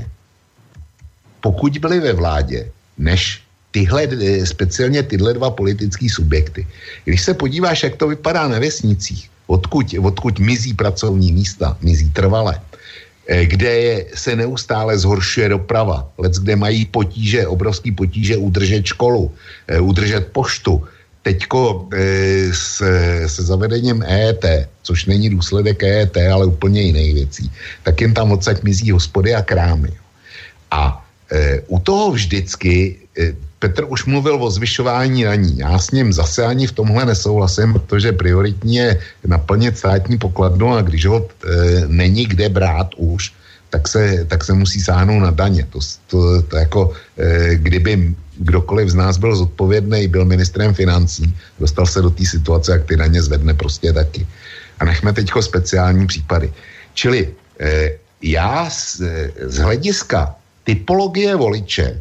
pokud byli ve vládě, než tyhle, speciálně tyhle dva politický subjekty. Když se podíváš, jak to vypadá na vesnicích, odkud, odkud mizí pracovní místa, mizí trvale, kde je, se neustále zhoršuje doprava, lec, kde mají potíže, obrovský potíže udržet školu, udržet poštu. Teďko e, se, se zavedením E E T, což není důsledek E E T, ale úplně jiných věcí, tak jen tam odsaď mizí hospody a krámy. A e, u toho vždycky, e, Petr už mluvil o zvyšování daní. Já s ním zase ani v tomhle nesouhlasím, protože prioritní je naplnit státní pokladnu a když ho e, není kde brát už, tak se, tak se musí sáhnout na daně. To, to, to jako, e, kdyby kdokoliv z nás byl zodpovědný, byl ministrem financí, dostal se do té situace, jak ty daně zvedne prostě taky. A nechme teďko speciální případy. Čili e, já z, z hlediska typologie voliče,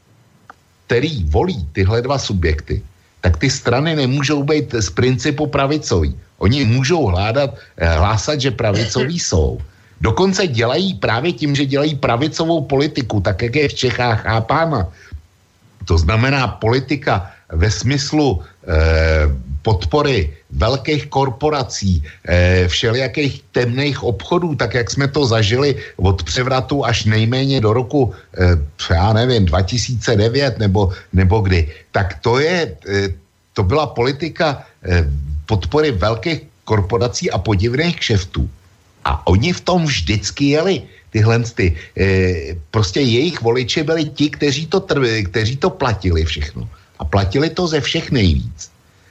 který volí tyhle dva subjekty, tak ty strany nemůžou být z principu pravicový. Oni můžou hládat, hlásat, že pravicoví jsou. Dokonce dělají právě tím, že dělají pravicovou politiku, tak jak je v Čechách chápána. To znamená politika ve smyslu eh, podpory velkých korporací, eh, všelijakých temných obchodů, tak jak jsme to zažili od převratu až nejméně do roku, eh, já nevím, dva tisíce devět nebo, nebo kdy. Tak to je, eh, to byla politika eh, podpory velkých korporací a podivných kšeftů. A oni v tom vždycky jeli. Tyhle ty, e, prostě jejich voliči byli ti, kteří to, trv, kteří to platili všechno. A platili to ze všech nejvíc.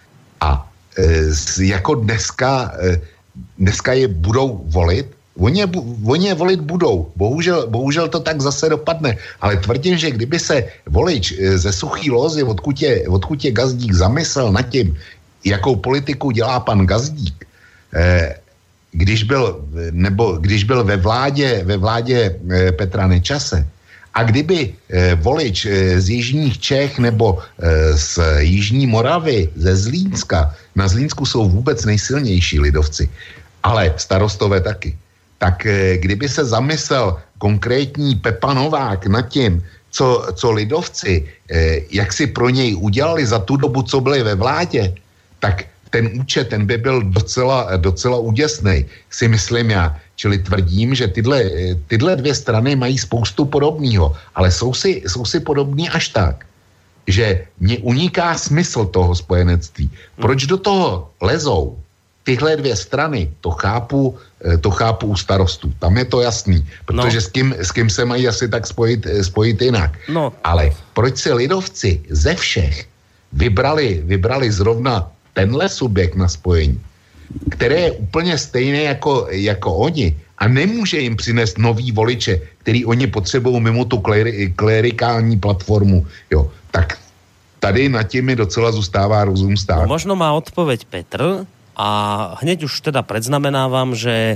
A e, jako dneska, e, dneska je budou volit, oni je, oni je volit budou. Bohužel, bohužel to tak zase dopadne. Ale tvrdím, že kdyby se volič e, ze Suchý Lózy, odkud je, odkud je Gazdík, zamyslel nad tím, jakou politiku dělá pan Gazdík, e, když byl, nebo když byl ve vládě, ve vládě e, Petra Nečase a kdyby e, volič e, z jižních Čech nebo e, z jižní Moravy, ze Zlínska, na Zlínsku jsou vůbec nejsilnější lidovci, ale starostové taky, tak e, kdyby se zamyslel konkrétní Pepa Novák nad tím, co, co lidovci, e, jak si pro něj udělali za tu dobu, co byli ve vládě, tak ten účet, ten by byl docela, docela úděsnej, si myslím já. Čili tvrdím, že tyhle, tyhle dvě strany mají spoustu podobného, ale jsou si, jsou si podobní až tak, že mně uniká smysl toho spojenectví. Proč do toho lezou tyhle dvě strany, to chápu, to chápu u starostů. Tam je to jasný, protože no. s, kým, s kým se mají asi tak spojit, spojit jinak. No. Ale proč si lidovci ze všech vybrali, vybrali zrovna tenhle subjekt na spojení, které je úplně stejné jako, jako oni a nemůže jim přinést nový voliče, který oni potřebují mimo tu kleri, klerikální platformu, jo, tak tady nad tím mi docela zůstává rozum stát. No, možno má odpoveď Petr a hneď už teda predznamenávam, že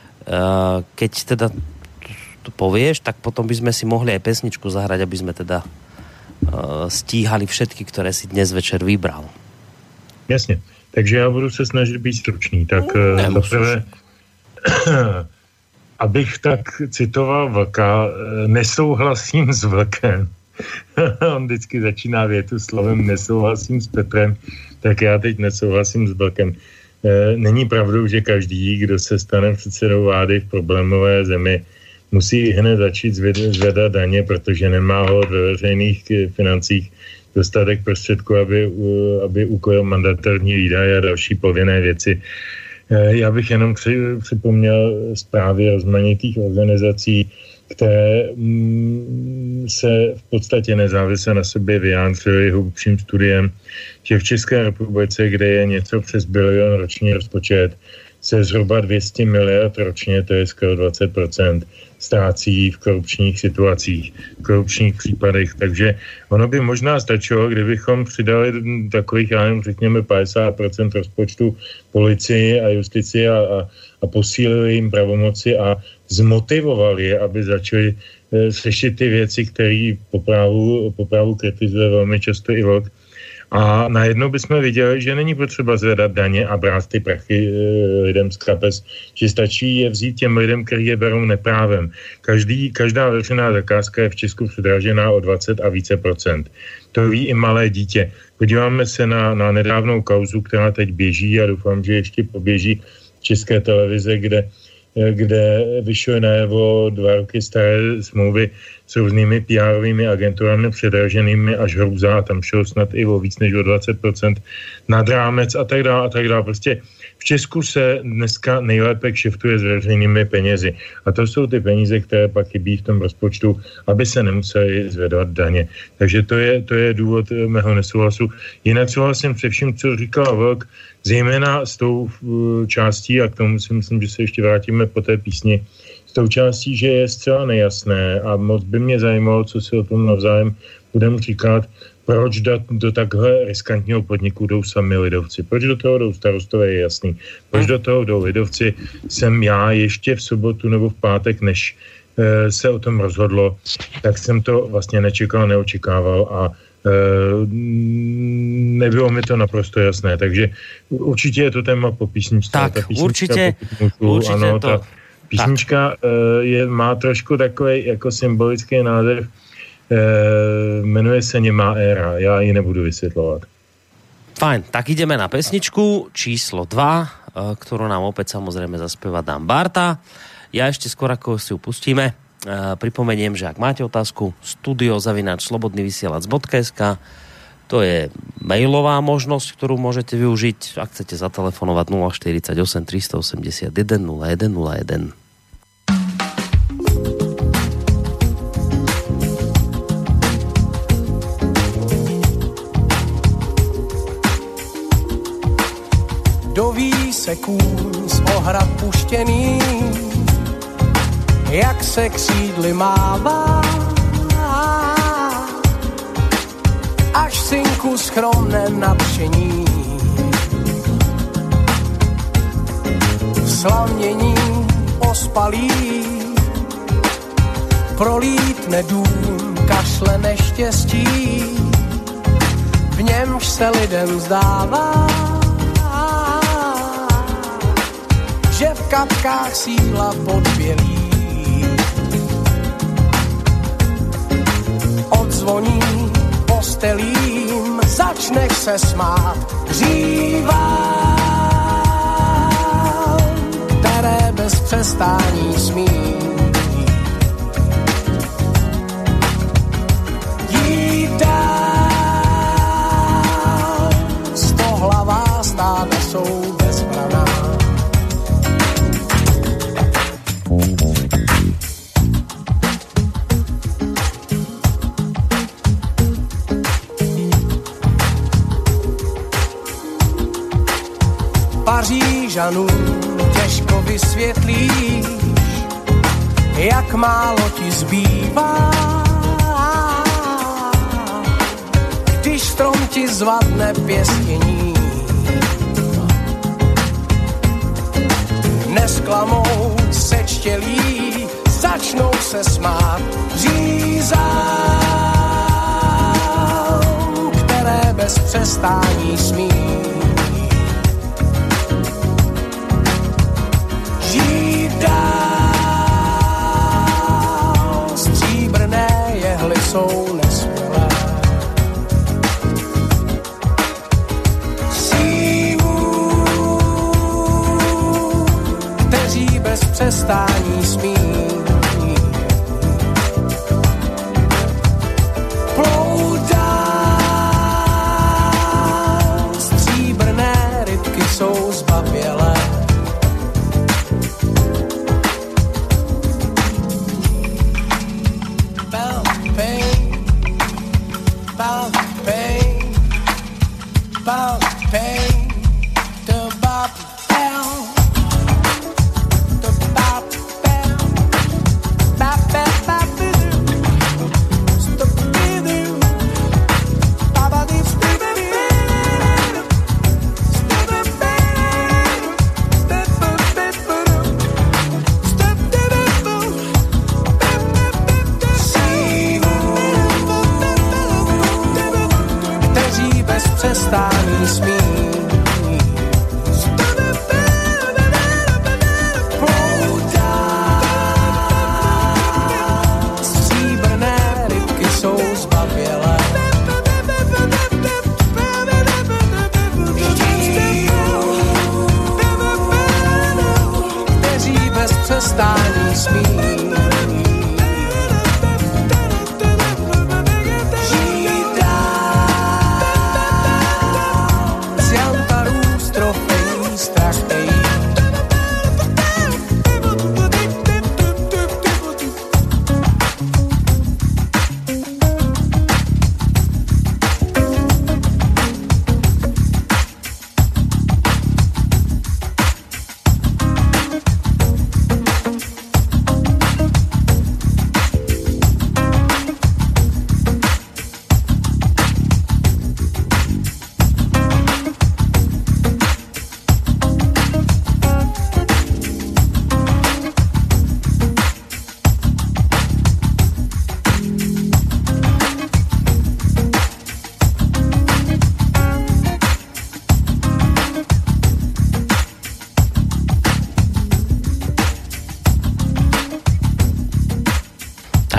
uh, keď teda to povieš, tak potom by sme si mohli aj pesničku zahrať, aby sme teda uh, stíhali všetky, ktoré si dnes večer vybral. Jasně, takže já budu se snažit být stručný. Tak no, zaprvé, abych tak citoval Vlka, nesouhlasím s Vlkem. On vždycky začíná větu slovem nesouhlasím s Petrem, tak já teď nesouhlasím s Vlkem. Není pravdou, že každý, kdo se stane předsedou vlády v problémové zemi, musí hned začít zvedat daně, protože nemá ho ve veřejných financích dostatek prostředků, aby, aby ukojil mandatorní výdaje a další povinné věci. Já bych jenom připomněl zprávy rozmanitých organizací, které se v podstatě nezávisle na sobě vyjádřily hlubším studiem, že v České republice, kde je něco přes bilion roční rozpočet, se zhruba dvě stě miliard ročně, to je skoro dvacet procent, ztrácí v korupčních situacích, v korupčních případech. Takže ono by možná stačilo, kdybychom přidali takových, já nevím, řekněme padesát procent rozpočtu policii a justici a, a, a posílili jim pravomoci a zmotivovali je, aby začali e, řešit ty věci, které po právu, po právu kritizuje velmi často i Vlk. A najednou bychom viděli, že není potřeba zvedat daně a brát ty prachy e, lidem z kapes, že stačí je vzít těm lidem, kteří je berou neprávem. Každý, každá veřejná zakázka je v Česku předražená o dvacet a více procent. To ví i malé dítě. Podíváme se na, na nedávnou kauzu, která teď běží a doufám, že ještě poběží v České televize, kde kde vyšly najevo dva roky staré smlouvy s různými P R-ovými agenturami předraženými až hrůza, tam šlo snad i o víc než o dvacet procent nad rámec a tak dále a tak dále. Prostě v Česku se dneska nejlépe kšeftuje s veřejnými penězi. A to jsou ty peníze, které pak chybí v tom rozpočtu, aby se nemuseli zvedat daně. Takže to je, to je důvod mého nesouhlasu. Jinak souhlasím se vším, co říkal Vlk, zejména s tou částí, a k tomu si myslím, že se ještě vrátíme po té písni, s tou částí, že je zcela nejasné a moc by mě zajímalo, co si o tom navzájem budeme říkat, proč do, do takhle riskantního podniku jdou sami lidovci. Proč do toho jdou starostové, je jasný. Proč do toho jdou lidovci, jsem já ještě v sobotu nebo v pátek, než e, se o tom rozhodlo, tak jsem to vlastně nečekal, neočekával a e, nebylo mi to naprosto jasné. Takže určitě je to téma po písničce. Tak, ta písnička, určitě, můžu, určitě ano, to... Ta písnička e, je, má trošku takový jako symbolický název. E, jmenuje se Nemá éra. Já ji nebudu vysvětlovat. Fajn, tak ideme na pesničku číslo dva, ktorú nám opäť samozrejme zaspieva Dan Barta. Ja ešte skôr, ako si ju pustíme, pripomeniem, že ak máte otázku, studio zavináč slobodný vysielač bodka es ká, to je mailová možnosť, ktorú môžete využiť, ak chcete zatelefonovať nula štyridsaťosem tristoosemdesiatjeden nula jeden nula jeden. Doví se kůň z ohrad puštěný, jak se křídly mává, až synku schromne nadšení. V slamění ospalý prolítne dům, kašle neštěstí, v němž se lidem zdává, že v kapkách síla podbělí. Odzvoní postelím, začneš se smát hřívám, které bez přestání smí. Jít dál, stohlavá stáda jsou bezbraná. Pařížanům těžko vysvětlíš, jak málo ti zbývá, když strom ti zvadne pěstění. Nesklamou sečtělí, začnou se smát řízám, které bez přestání smí. Žít dál, stříbrné jehly jsou nesmělé. Sílů, kteří bez přestání smí. Plout dál, stříbrné rybky jsou zbabělé. Přestání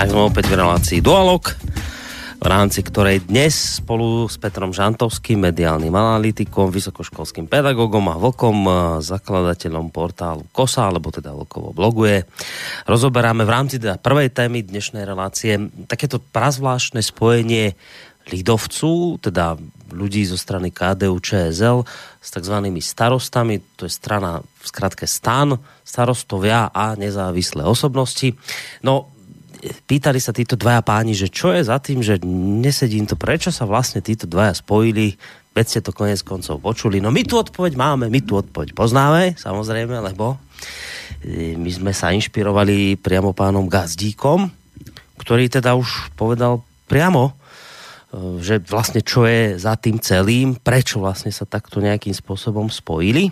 Tak sme opäť v relácii Dualog, v rámci ktorej dnes spolu s Petrom Žantovským, mediálnym analytikom, vysokoškolským pedagógom a vlkom, zakladateľom portálu Kosa, alebo teda vlkovo bloguje, rozoberáme v rámci teda prvej témy dnešnej relácie takéto prazvláštne spojenie lidovců, teda ľudí zo strany ká dé ú ČSL s takzvanými starostami, to je strana v skratke STAN, starostovia a nezávislé osobnosti. No, pýtali sa títo dvaja páni, že čo je za tým, že nesedím to, prečo sa vlastne títo dvaja spojili, veď ste to konec koncov počuli. No my tu odpoveď máme, my tu odpoveď poznáme, samozrejme, lebo my sme sa inšpirovali priamo pánom Gazdíkom, ktorý teda už povedal priamo, že vlastne čo je za tým celým, prečo vlastne sa takto nejakým spôsobom spojili.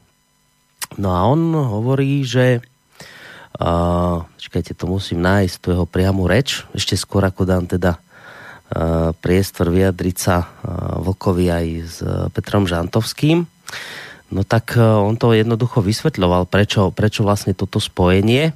No a on hovorí, že Uh, čakajte, to musím nájsť, tu jeho priamu reč, ešte skôr ako dám teda uh, priestor vyjadriť sa uh, Vlkovi aj s uh, Petrom Žantovským. No tak uh, on to jednoducho vysvetľoval, prečo, prečo vlastne toto spojenie.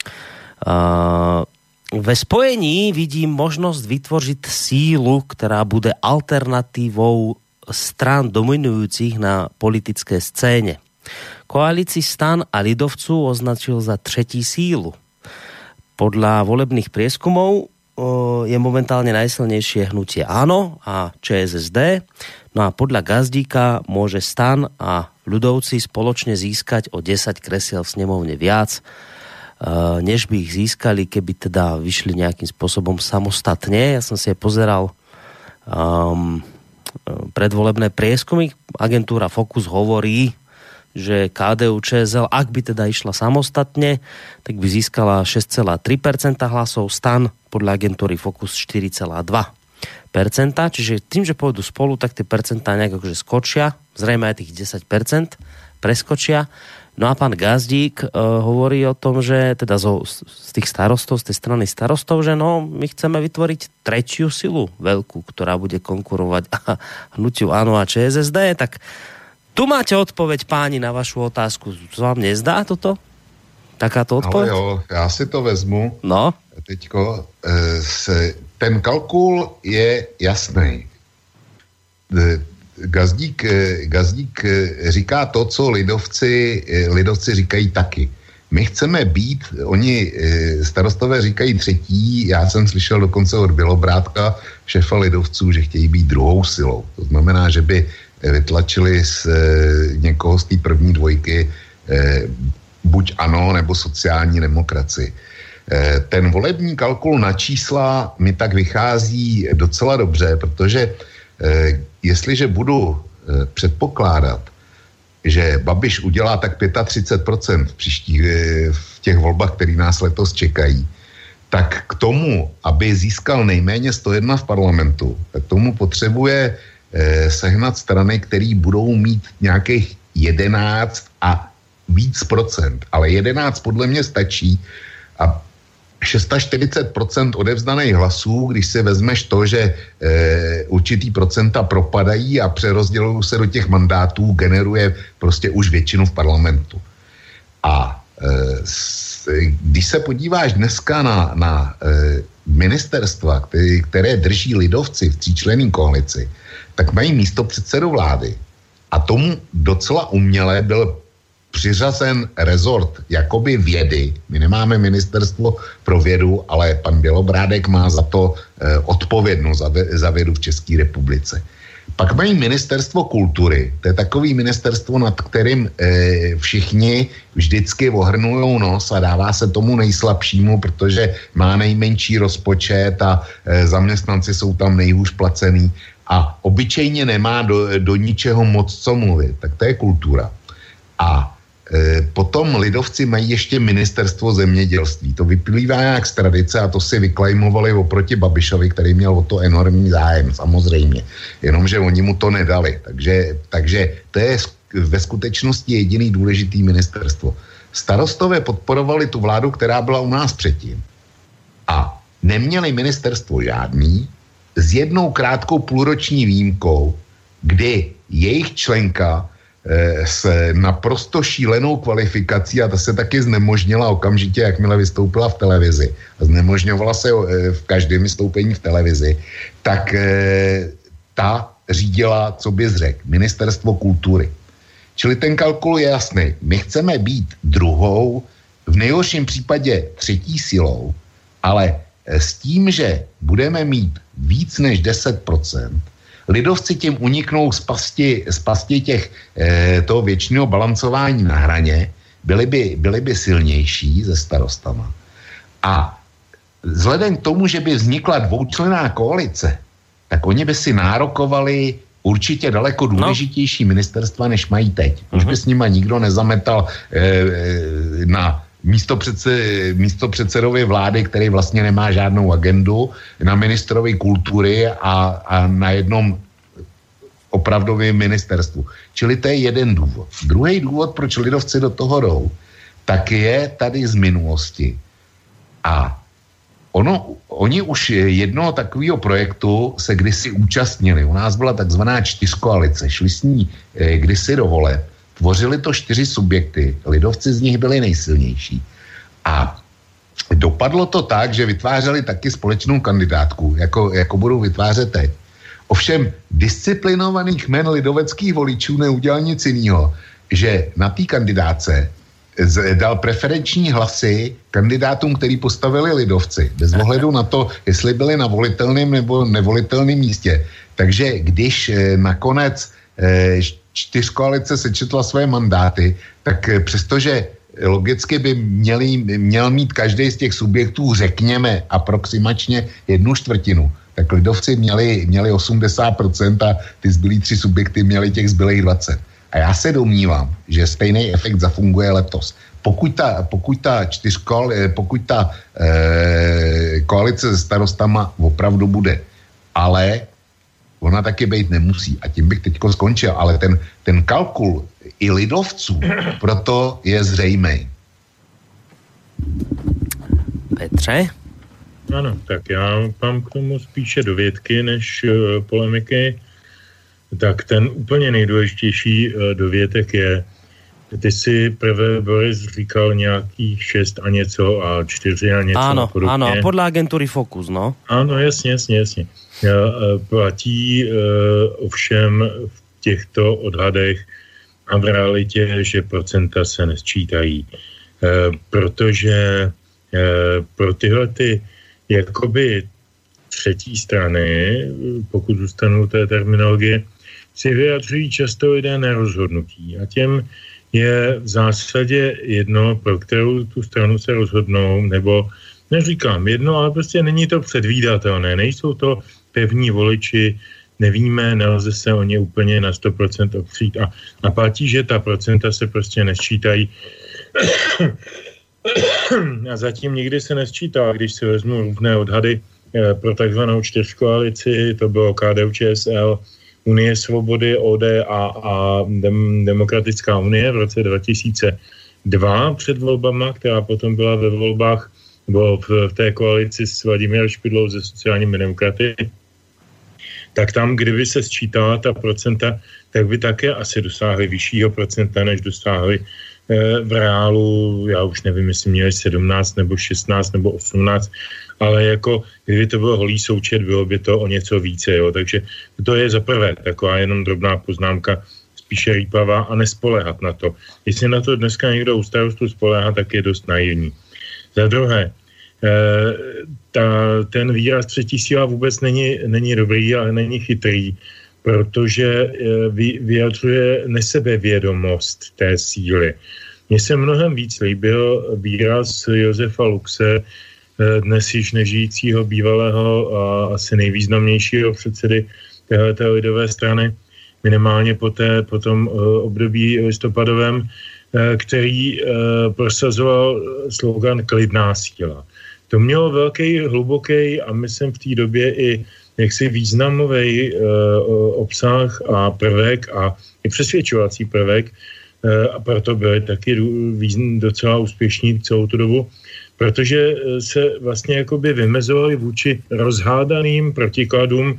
Uh, ve spojení vidím možnosť vytvoriť sílu, ktorá bude alternatívou strán dominujúcich na politické scéne. Koalícii STAN a lidovců označil za třetí sílu. Podľa volebných prieskumov je momentálne najsilnejšie hnutie ANO a ČSSD. No a podľa Gazdíka môže STAN a ľudovci spoločne získať o desať kresiel v snemovne viac, než by ich získali, keby teda vyšli nejakým spôsobom samostatne. Ja som si aj pozeral um, predvolebné prieskumy. Agentúra Focus hovorí, že ká dé ú ČSL, ak by teda išla samostatne, tak by získala šesť celá tri percenta hlasov, STAN podľa agentúry Focus štyri celá dva percenta, čiže tým, že pôjdu spolu, tak tie percentá nejak akože skočia, zrejme aj tých desať percent preskočia. No a pán Gazdík uh, hovorí o tom, že teda zo, z tých starostov, z tej strany starostov, že no, my chceme vytvoriť tretiu silu veľkú, ktorá bude konkurovať hnutiu ANO a ČSSD, tak tu máte odpoveď, páni, na vašu otázku. Co vám nezdá toto? Takáto odpoveď? Ale jo, já si to vezmu. No. Teďko, se, ten kalkul je jasný. Gazdík, Gazdík říká to, co lidovci, lidovci říkají taky. My chceme být, oni starostové říkají třetí, já jsem slyšel dokonce od Bělobrátka, šéfa lidovců, že chtějí být druhou silou. To znamená, že by vytlačili z e, někoho z té první dvojky e, buď ANO nebo sociální demokracii. E, ten volební kalkul na čísla mi tak vychází docela dobře, protože e, jestliže budu e, předpokládat, že Babiš udělá tak třicet pět procent v příštích e, v těch volbách, které nás letos čekají, tak k tomu, aby získal nejméně sto jedna v parlamentu, tak tomu potřebuje sehnat strany, které budou mít nějakých jedenáct a víc procent. Ale jedenáct podle mě stačí a čtyřicet šest procent odevzdaných hlasů, když si vezmeš to, že e, určitý procenta propadají a přerozdělují se do těch mandátů, generuje prostě už většinu v parlamentu. A e, s, když se podíváš dneska na, na e, ministerstva, které, které drží lidovci v tříčlenné koalici, tak mají místo předsedu vlády. A tomu docela uměle byl přiřazen rezort jakoby vědy. My nemáme ministerstvo pro vědu, ale pan Bělobrádek má za to eh, odpovědnost za, za vědu v České republice. Pak mají ministerstvo kultury. To je takový ministerstvo, nad kterým eh, všichni vždycky ohrnujou nos a dává se tomu nejslabšímu, protože má nejmenší rozpočet a eh, zaměstnanci jsou tam nejhůř placený a obyčejně nemá do, do ničeho moc co mluvit. Tak to je kultura. A e, potom lidovci mají ještě ministerstvo zemědělství. To vyplývá nějak z tradice a to si vyklajmovali oproti Babišovi, který měl o to enormní zájem, samozřejmě. Jenomže oni mu to nedali. Takže, takže to je ve skutečnosti jediný důležitý ministerstvo. Starostové podporovali tu vládu, která byla u nás předtím. A neměli ministerstvo žádný, s jednou krátkou půlroční výjimkou, kdy jejich členka s naprosto šílenou kvalifikací a ta se taky znemožnila okamžitě, jakmile vystoupila v televizi a znemožňovala se v každém vystoupení v televizi, tak ta řídila, co bys řekl, Ministerstvo kultury. Čili ten kalkul je jasný. My chceme být druhou, v nejhorším případě třetí silou, ale s tím, že budeme mít víc než deset procent, lidovci tím uniknou z pasti, z pasti těch, eh, toho věčného balancování na hraně, byli by, byli by silnější ze starostama. A vzhledem k tomu, že by vznikla dvoučlenná koalice, tak oni by si nárokovali určitě daleko důležitější no. ministerstva, než mají teď. Už uh-huh. by s nima nikdo nezametal eh, na místo, předse, místo předsedovy vlády, který vlastně nemá žádnou agendu, na ministrovi kultury a, a na jednom opravdovém ministerstvu. Čili to je jeden důvod. Druhý důvod, proč lidovci do toho jdou, tak je tady z minulosti. A ono, oni už jednoho takového projektu se kdysi účastnili. U nás byla takzvaná čtyřkoalice. Šli s ní eh, kdysi do voleb. Tvořili to čtyři subjekty, lidovci z nich byli nejsilnější. A dopadlo to tak, že vytvářeli taky společnou kandidátku, jako, jako budou vytvářet teď. Ovšem disciplinovaných men lidoveckých voličů neudělal nic jiného, že na té kandidáce dal preferenční hlasy kandidátům, který postavili lidovci, bez ohledu na to, jestli byli na volitelném nebo nevolitelném místě. Takže když nakonec čtyřkoalice sečetla své mandáty, tak přestože logicky by měli, měl mít každý z těch subjektů, řekněme, aproximačně jednu čtvrtinu, tak lidovci měli, měli osmdesát procent a ty zbylý tři subjekty měli těch zbylých dvacet. A já se domnívám, že stejný efekt zafunguje letos. Pokud ta, pokud ta čtyřkol, pokud ta eh, koalice se starostama opravdu bude, ale ona taky být nemusí. A tím bych teďko skončil. Ale ten, ten kalkul i lidovců proto je zřejmý. Petře? Ano, tak já mám k tomu spíše dovědky než uh, polemiky. Tak ten úplně nejdůležitější uh, dovětek je, ty si prvé, Boris, říkal nějakých šest a něco a čtyři a něco. Áno, áno, a podľa agentúry Focus, no. Áno, jasně, jasně, jasně. Platí uh, ovšem v těchto odhadech a v realitě, že procenta se nesčítají. Uh, protože uh, pro tyhle ty jakoby třetí strany, pokud zůstanou té terminologie, si vyjadřují často lidé nerozhodnutí. A těm je v zásadě jedno, pro kterou tu stranu se rozhodnou, nebo neříkám jedno, ale prostě není to předvídatelné. Nejsou to pevní voliči, nevíme, nelze se o ně úplně na sto procent opřít a, a platí, že ta procenta se prostě nesčítají. A zatím nikdy se nesčítá, když si vezmu různé odhady eh, pro takzvanou čtyřkoalici, to bylo K D U Č S L, Unie svobody, O D A a Dem, Demokratická unie v roce dva tisíce dva před volbama, která potom byla ve volbách, bylo v, v té koalici s Vladimírem Špidlou ze sociálními demokraty, tak tam, kdyby se sčítala ta procenta, tak by také asi dosáhli vyššího procenta, než dosáhli eh, v reálu, já už nevím, jestli měli sedmnáct nebo šestnáct nebo osmnáct, ale jako kdyby to bylo holý součet, bylo by to o něco více, jo, takže to je za prvé taková jenom drobná poznámka, spíše rýpavá a nespoléhat na to. Jestli na to dneska někdo u starostu spoléhá, tak je dost naivní. Za druhé, ta, ten výraz třetí síla vůbec není, není dobrý, ale není chytrý, protože vy, vyjadřuje nesebevědomost té síly. Mně se mnohem víc líbil výraz Josefa Luxe, dnes již nežijícího bývalého a asi nejvýznamnějšího předsedy téhleté lidové strany, minimálně po, té, po tom období listopadovém, který prosazoval slogan klidná síla. To mělo velký, hluboký a myslím v té době i jaksi významový obsah a prvek a i přesvědčovací prvek a proto byli taky docela úspěšní celou tu dobu, protože se vlastně jakoby vymezovali vůči rozhádaným protikladům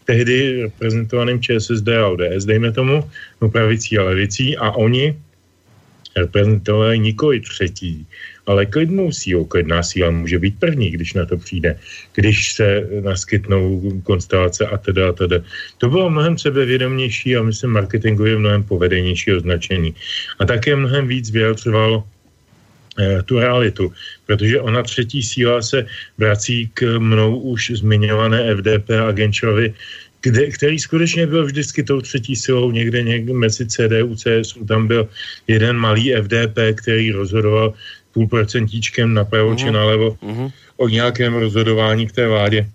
tehdy reprezentovaným ČSSD a O D S, dejme tomu, no pravicí a levicí, a oni reprezentovali nikoli třetí, ale klidnou sílu. Klidná síla může být první, když na to přijde, když se naskytnou konstelace a teda a teda. To bylo mnohem sebevědomější a myslím marketingově mnohem povedenější označení. A také mnohem víc vyjadřovalo eh, tu realitu, protože ona třetí síla se vrací k mnou už zmiňované F D P a Genčovi, kde, který skutečně byl vždycky tou třetí silou někde, někde mezi C D U, C S U, tam byl jeden malý F D P, který rozhodoval půlprocentíčkem napravo uh-huh. či nalevo uh-huh. o nějakém rozhodování v té vládě.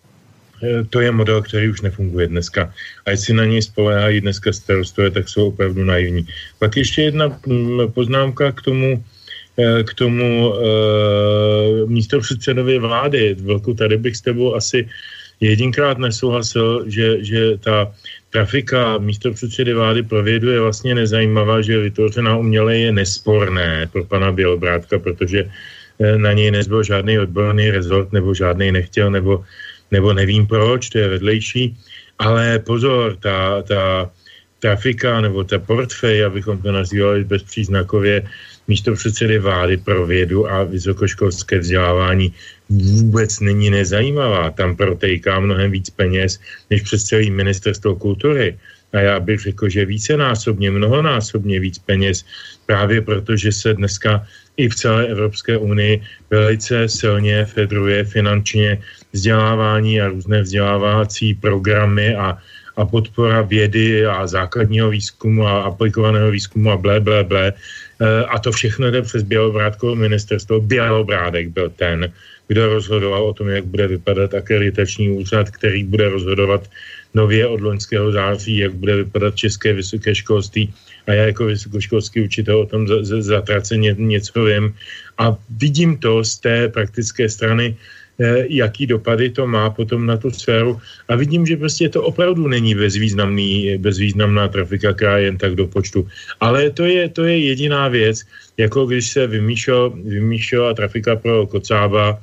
E, to je model, který už nefunguje dneska. A jestli na něj spoléhají dneska starostové, tak jsou opravdu naivní. Pak ještě jedna poznámka k tomu, k tomu e, místopředsedovi vlády. Velkou, tady bych s tebou asi jedinkrát nesouhlasil, že, že ta trafika místopředsedy vlády pro vědu je vlastně nezajímavá, že vytvořená uměle je nesporné pro pana Bělobrádka, protože na něj nezbyl žádný odborný rezort, nebo žádný nechtěl, nebo, nebo nevím proč, to je vedlejší. Ale pozor, ta, ta trafika nebo ta portfej, abychom to nazývali bezpříznakově, místopředsedy vlády pro vědu a vysokoškolské vzdělávání vůbec není nezajímavá. Tam protejká mnohem víc peněz, než přes celý ministerstvo kultury. A já bych řekl, že vícenásobně, mnohonásobně víc peněz, právě protože se dneska i v celé Evropské unii velice silně federuje finančně vzdělávání a různé vzdělávací programy a, a podpora vědy a základního výzkumu a aplikovaného výzkumu a blé, blé, blé. A to všechno jde přes Bělobrádkovo ministerstvo. Bělobrádek byl ten, kdo rozhodoval o tom, jak bude vypadat akreditační úřad, který bude rozhodovat nově od loňského září, jak bude vypadat české vysoké školství. A já jako vysokoškolský učitel o tom zatraceně něco vím. A vidím to z té praktické strany, jaký dopady to má potom na tu sféru. A vidím, že prostě to opravdu není bezvýznamný, bezvýznamná trafika, která jen tak do počtu. Ale to je, to je jediná věc, jako když se vymýšlel, vymýšlela trafika pro Kocába,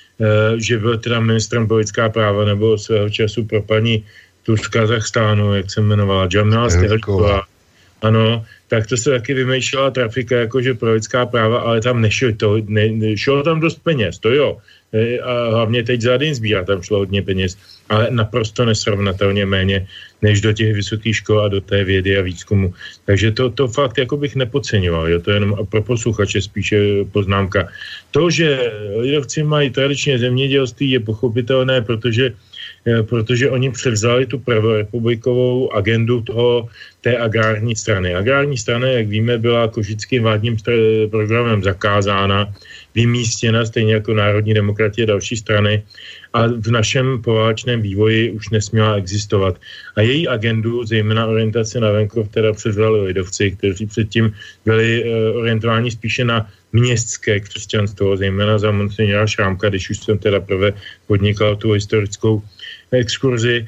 že byl teda ministrem pro lidská práva, nebo svého času pro paní tu z Kazachstánu, jak se jmenovala, Jamila Stehlíková. Ano, tak to se taky vymýšlela trafika jakože pro lidská práva, ale tam nešlo to, ne, šlo tam dost peněz, to jo. A hlavně teď za den sbírá, tam šlo hodně peněz, ale naprosto nesrovnatelně méně, než do těch vysokých škol a do té vědy a výzkumu. Takže to, to fakt jako bych nepodceňoval, jo? To je jenom pro posluchače spíše poznámka. To, že lidovci mají tradičně zemědělství, je pochopitelné, protože protože oni převzali tu prvorepublikovou agendu toho, té agrární strany. Agrární strana, jak víme, byla košickým vládním programem zakázána, vymístěna, stejně jako Národní demokratie a další strany, a v našem poválečném vývoji už nesměla existovat. A její agendu, zejména orientace na venkov, teda převzali lidovci, kteří předtím byli orientováni spíše na městské křesťanstvo, zejména za monsignora Šrámka, když už jsem teda prvé podnikal tu historickou exkurzi,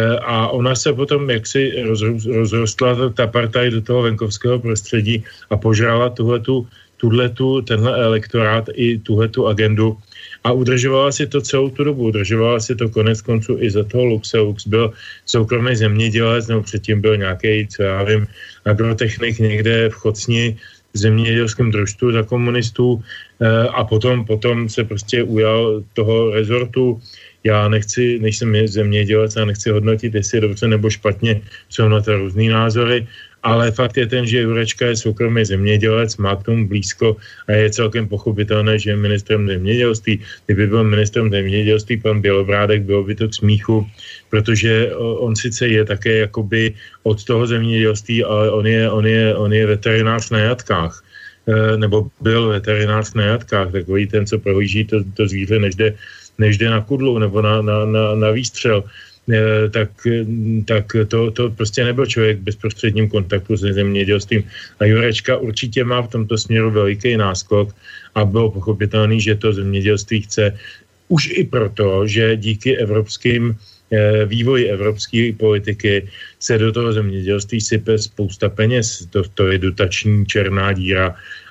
a ona se potom jaksi rozrostla ta partaj do toho venkovského prostředí a požrala tuhletu, tuhletu, tenhle elektorát i tuhletu agendu a udržovala si to celou tu dobu. Udržovala si to konec konců i za toho Luxe. Lux byl soukromý zemědělec, nebo předtím byl nějaký, co já vím, agrotechnik někde v Chocni, v zemědělském družstvu za komunistů, a potom, potom se prostě ujal toho rezortu. Já nechci, než jsem zemědělec, a nechci hodnotit, jestli je dobře nebo špatně, jsou na to různý názory, ale fakt je ten, že Jurečka je soukromý zemědělec, má k tomu blízko a je celkem pochopitelné, že je ministrem zemědělství. Kdyby byl ministrem zemědělství pan Bělobrádek, bylo by to k smíchu, protože on sice je také jakoby od toho zemědělství, ale on je, on je, on je veterinář na jatkách, nebo byl veterinář na jatkách, takový ten, co prohlíží to, to zvíře, než jde, než jde na kudlu nebo na, na, na, na výstřel. Tak, tak to, to prostě nebyl člověk v bezprostředním kontaktu se zemědělstvím. A Jurečka určitě má v tomto směru veliký náskok a bylo pochopitelný, že to zemědělství chce už i proto, že díky evropským vývoji evropské politiky se do toho zemědělství sype spousta peněz. To, to je dotační černá díra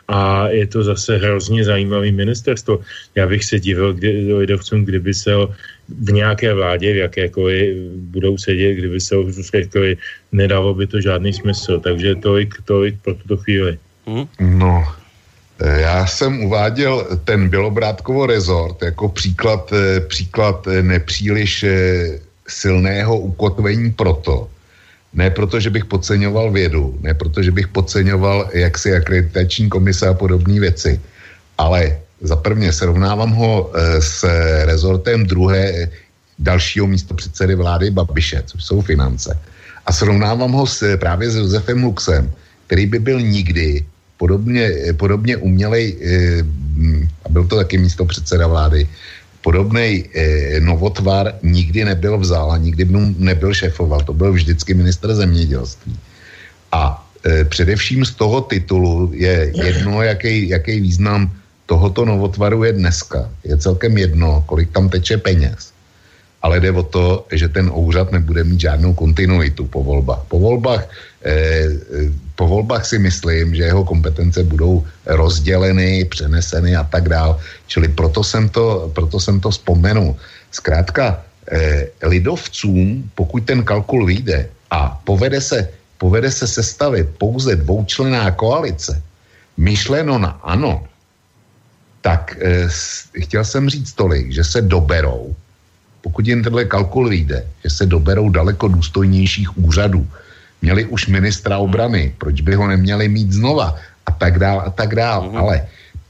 a je to zase hrozně zajímavý ministerstvo. Já bych se divil kdy, lidovcům, kdyby se v nějaké vládě, v jakékoliv budou sedět, kdyby se řekli, nedalo by to žádný smysl. Takže tolik, tolik pro tuto chvíli. Hmm? No, já jsem uváděl ten Bělobrádkovo rezort jako příklad, příklad nepříliš silného ukotvení proto, ne proto, že bych podceňoval vědu, ne proto, že bych podceňoval jaksi akreditační komise a podobné věci, ale za prvně srovnávám ho s rezortem druhé dalšího místopředsedy vlády Babiše, což jsou finance. A srovnávám ho s, právě s Josefem Luxem, který by byl nikdy podobně, podobně umělej, a byl to taky místopředseda vlády, podobnej eh, novotvar nikdy nebyl vzal a nikdy nebyl šéfoval. To byl vždycky ministr zemědělství. A eh, především z toho titulu je jedno, jaký, jaký význam tohoto novotvaru je dneska. Je celkem jedno, kolik tam teče peněz. Ale jde o to, že ten úřad nebude mít žádnou kontinuitu po volbách. Po volbách, eh, po volbách si myslím, že jeho kompetence budou rozděleny, přeneseny a tak dál. Čili proto jsem to, proto jsem to vzpomenul. Zkrátka, eh, lidovcům, pokud ten kalkul vyjde a povede se, povede se sestavit pouze dvoučlenná koalice, myšleno na ano, tak eh, chtěl jsem říct tolik, že se doberou, pokud jen tenhle kalkul vyjde, že se doberou daleko důstojnějších úřadů. Měli už ministra obrany, proč by ho neměli mít znova a tak dál a tak dál. Mm. Ale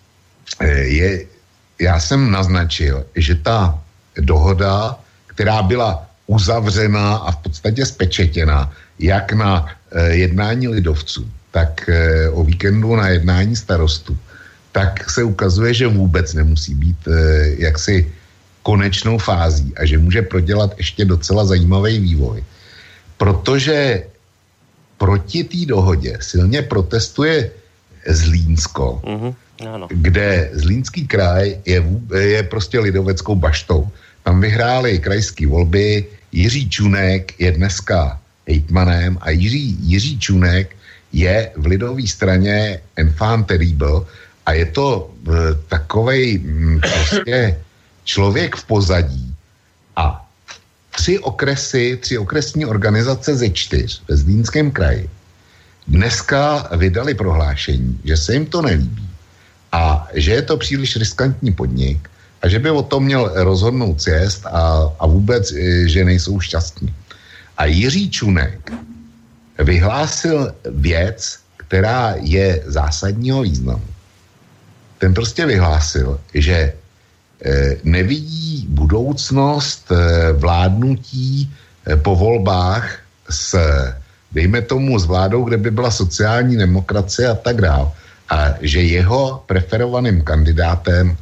je, já jsem naznačil, že ta dohoda, která byla uzavřena a v podstatě spečetěna, jak na eh, jednání lidovců, tak eh, o víkendu na jednání starostů, tak se ukazuje, že vůbec nemusí být eh, jaksi konečnou fází a že může prodělat ještě docela zajímavý vývoj. Protože proti té dohodě silně protestuje Zlínsko, mm-hmm, ano. kde Zlínský kraj je, je prostě lidoveckou baštou. Tam vyhráli krajské volby, Jiří Čunek je dneska hejtmanem a Jiří, Jiří Čunek je v lidové straně enfant terrible a je to e, takovej m, prostě člověk v pozadí a tři okresy, tři okresní organizace ze čtyř ve Zlínském kraji dneska vydali prohlášení, že se jim to nelíbí a že je to příliš riskantní podnik a že by o tom měl rozhodnout sjezd a, a vůbec, že nejsou šťastní. A Jiří Čunek vyhlásil věc, která je zásadního významu. Ten prostě vyhlásil, že nevidí budoucnost vládnutí po volbách s, dejme tomu, s vládou, kde by byla sociální demokracie a tak dál. A že jeho preferovaným kandidátem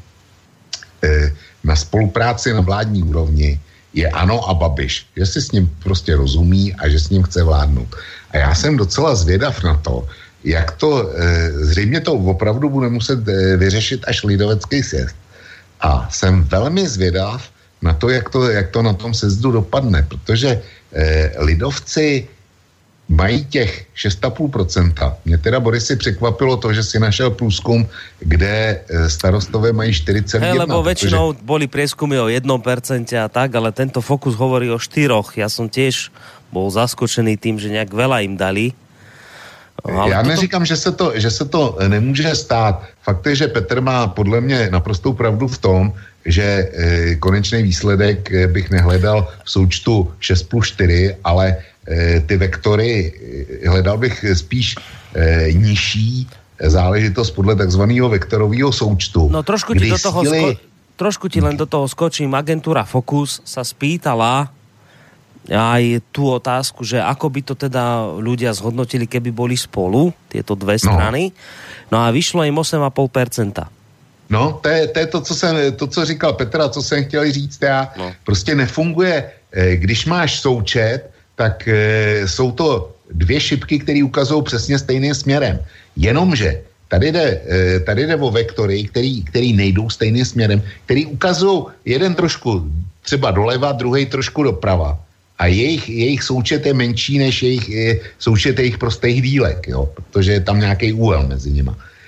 na spolupráci na vládní úrovni je ANO a Babiš. Že si s ním prostě rozumí a že s ním chce vládnout. A já jsem docela zvědav na to, jak to, zřejmě to opravdu bude muset vyřešit až lidovecký sjezd. A jsem velmi zvědav na to, jak to, jak to na tom sjezdu dopadne, protože eh, lidovci mají těch šest celá pět procenta. Mě teda, Borisy, překvapilo to, že si našel průzkum, kde eh, starostové mají čtyři celá jedna. Hey, lebo väčšinou protože... boli prieskumy o jednom percente a tak, ale tento Fokus hovorí o štyroch. Ja som tiež bol zaskočený tým, že nejak veľa im dali. Ale Já neříkám, že se, to, že se to nemůže stát. Fakt je, že Petr má podle mě naprostou pravdu v tom, že e, konečný výsledek e, bych nehledal v součtu šest plus čtyři, ale e, ty vektory e, hledal bych spíš e, nižší záležitost podle takzvaného vektorového součtu. No trošku ti, do toho síly... sko- trošku ti len do toho skočím. Agentúra Focus sa spýtala aj tú otázku, že ako by to teda ľudia zhodnotili, keby boli spolu, tieto dve strany. No, no a vyšlo im osm celá päť percenta. No, to je, to je to, co jsem, to, co říkal Petra, co jsem chtěl říct já. No. Prostě nefunguje, když máš součet, tak e, jsou to dvě šipky, které ukazují přesně stejným směrem. Jenomže tady jde, e, tady jde o vektory, který, který nejdou stejným směrem, který ukazují jeden trošku třeba doleva, druhý trošku doprava. A jejich, jejich součet je menší než jejich je, součet jejich prostých dílek, jo, protože je tam nějaký úhel mezi nima.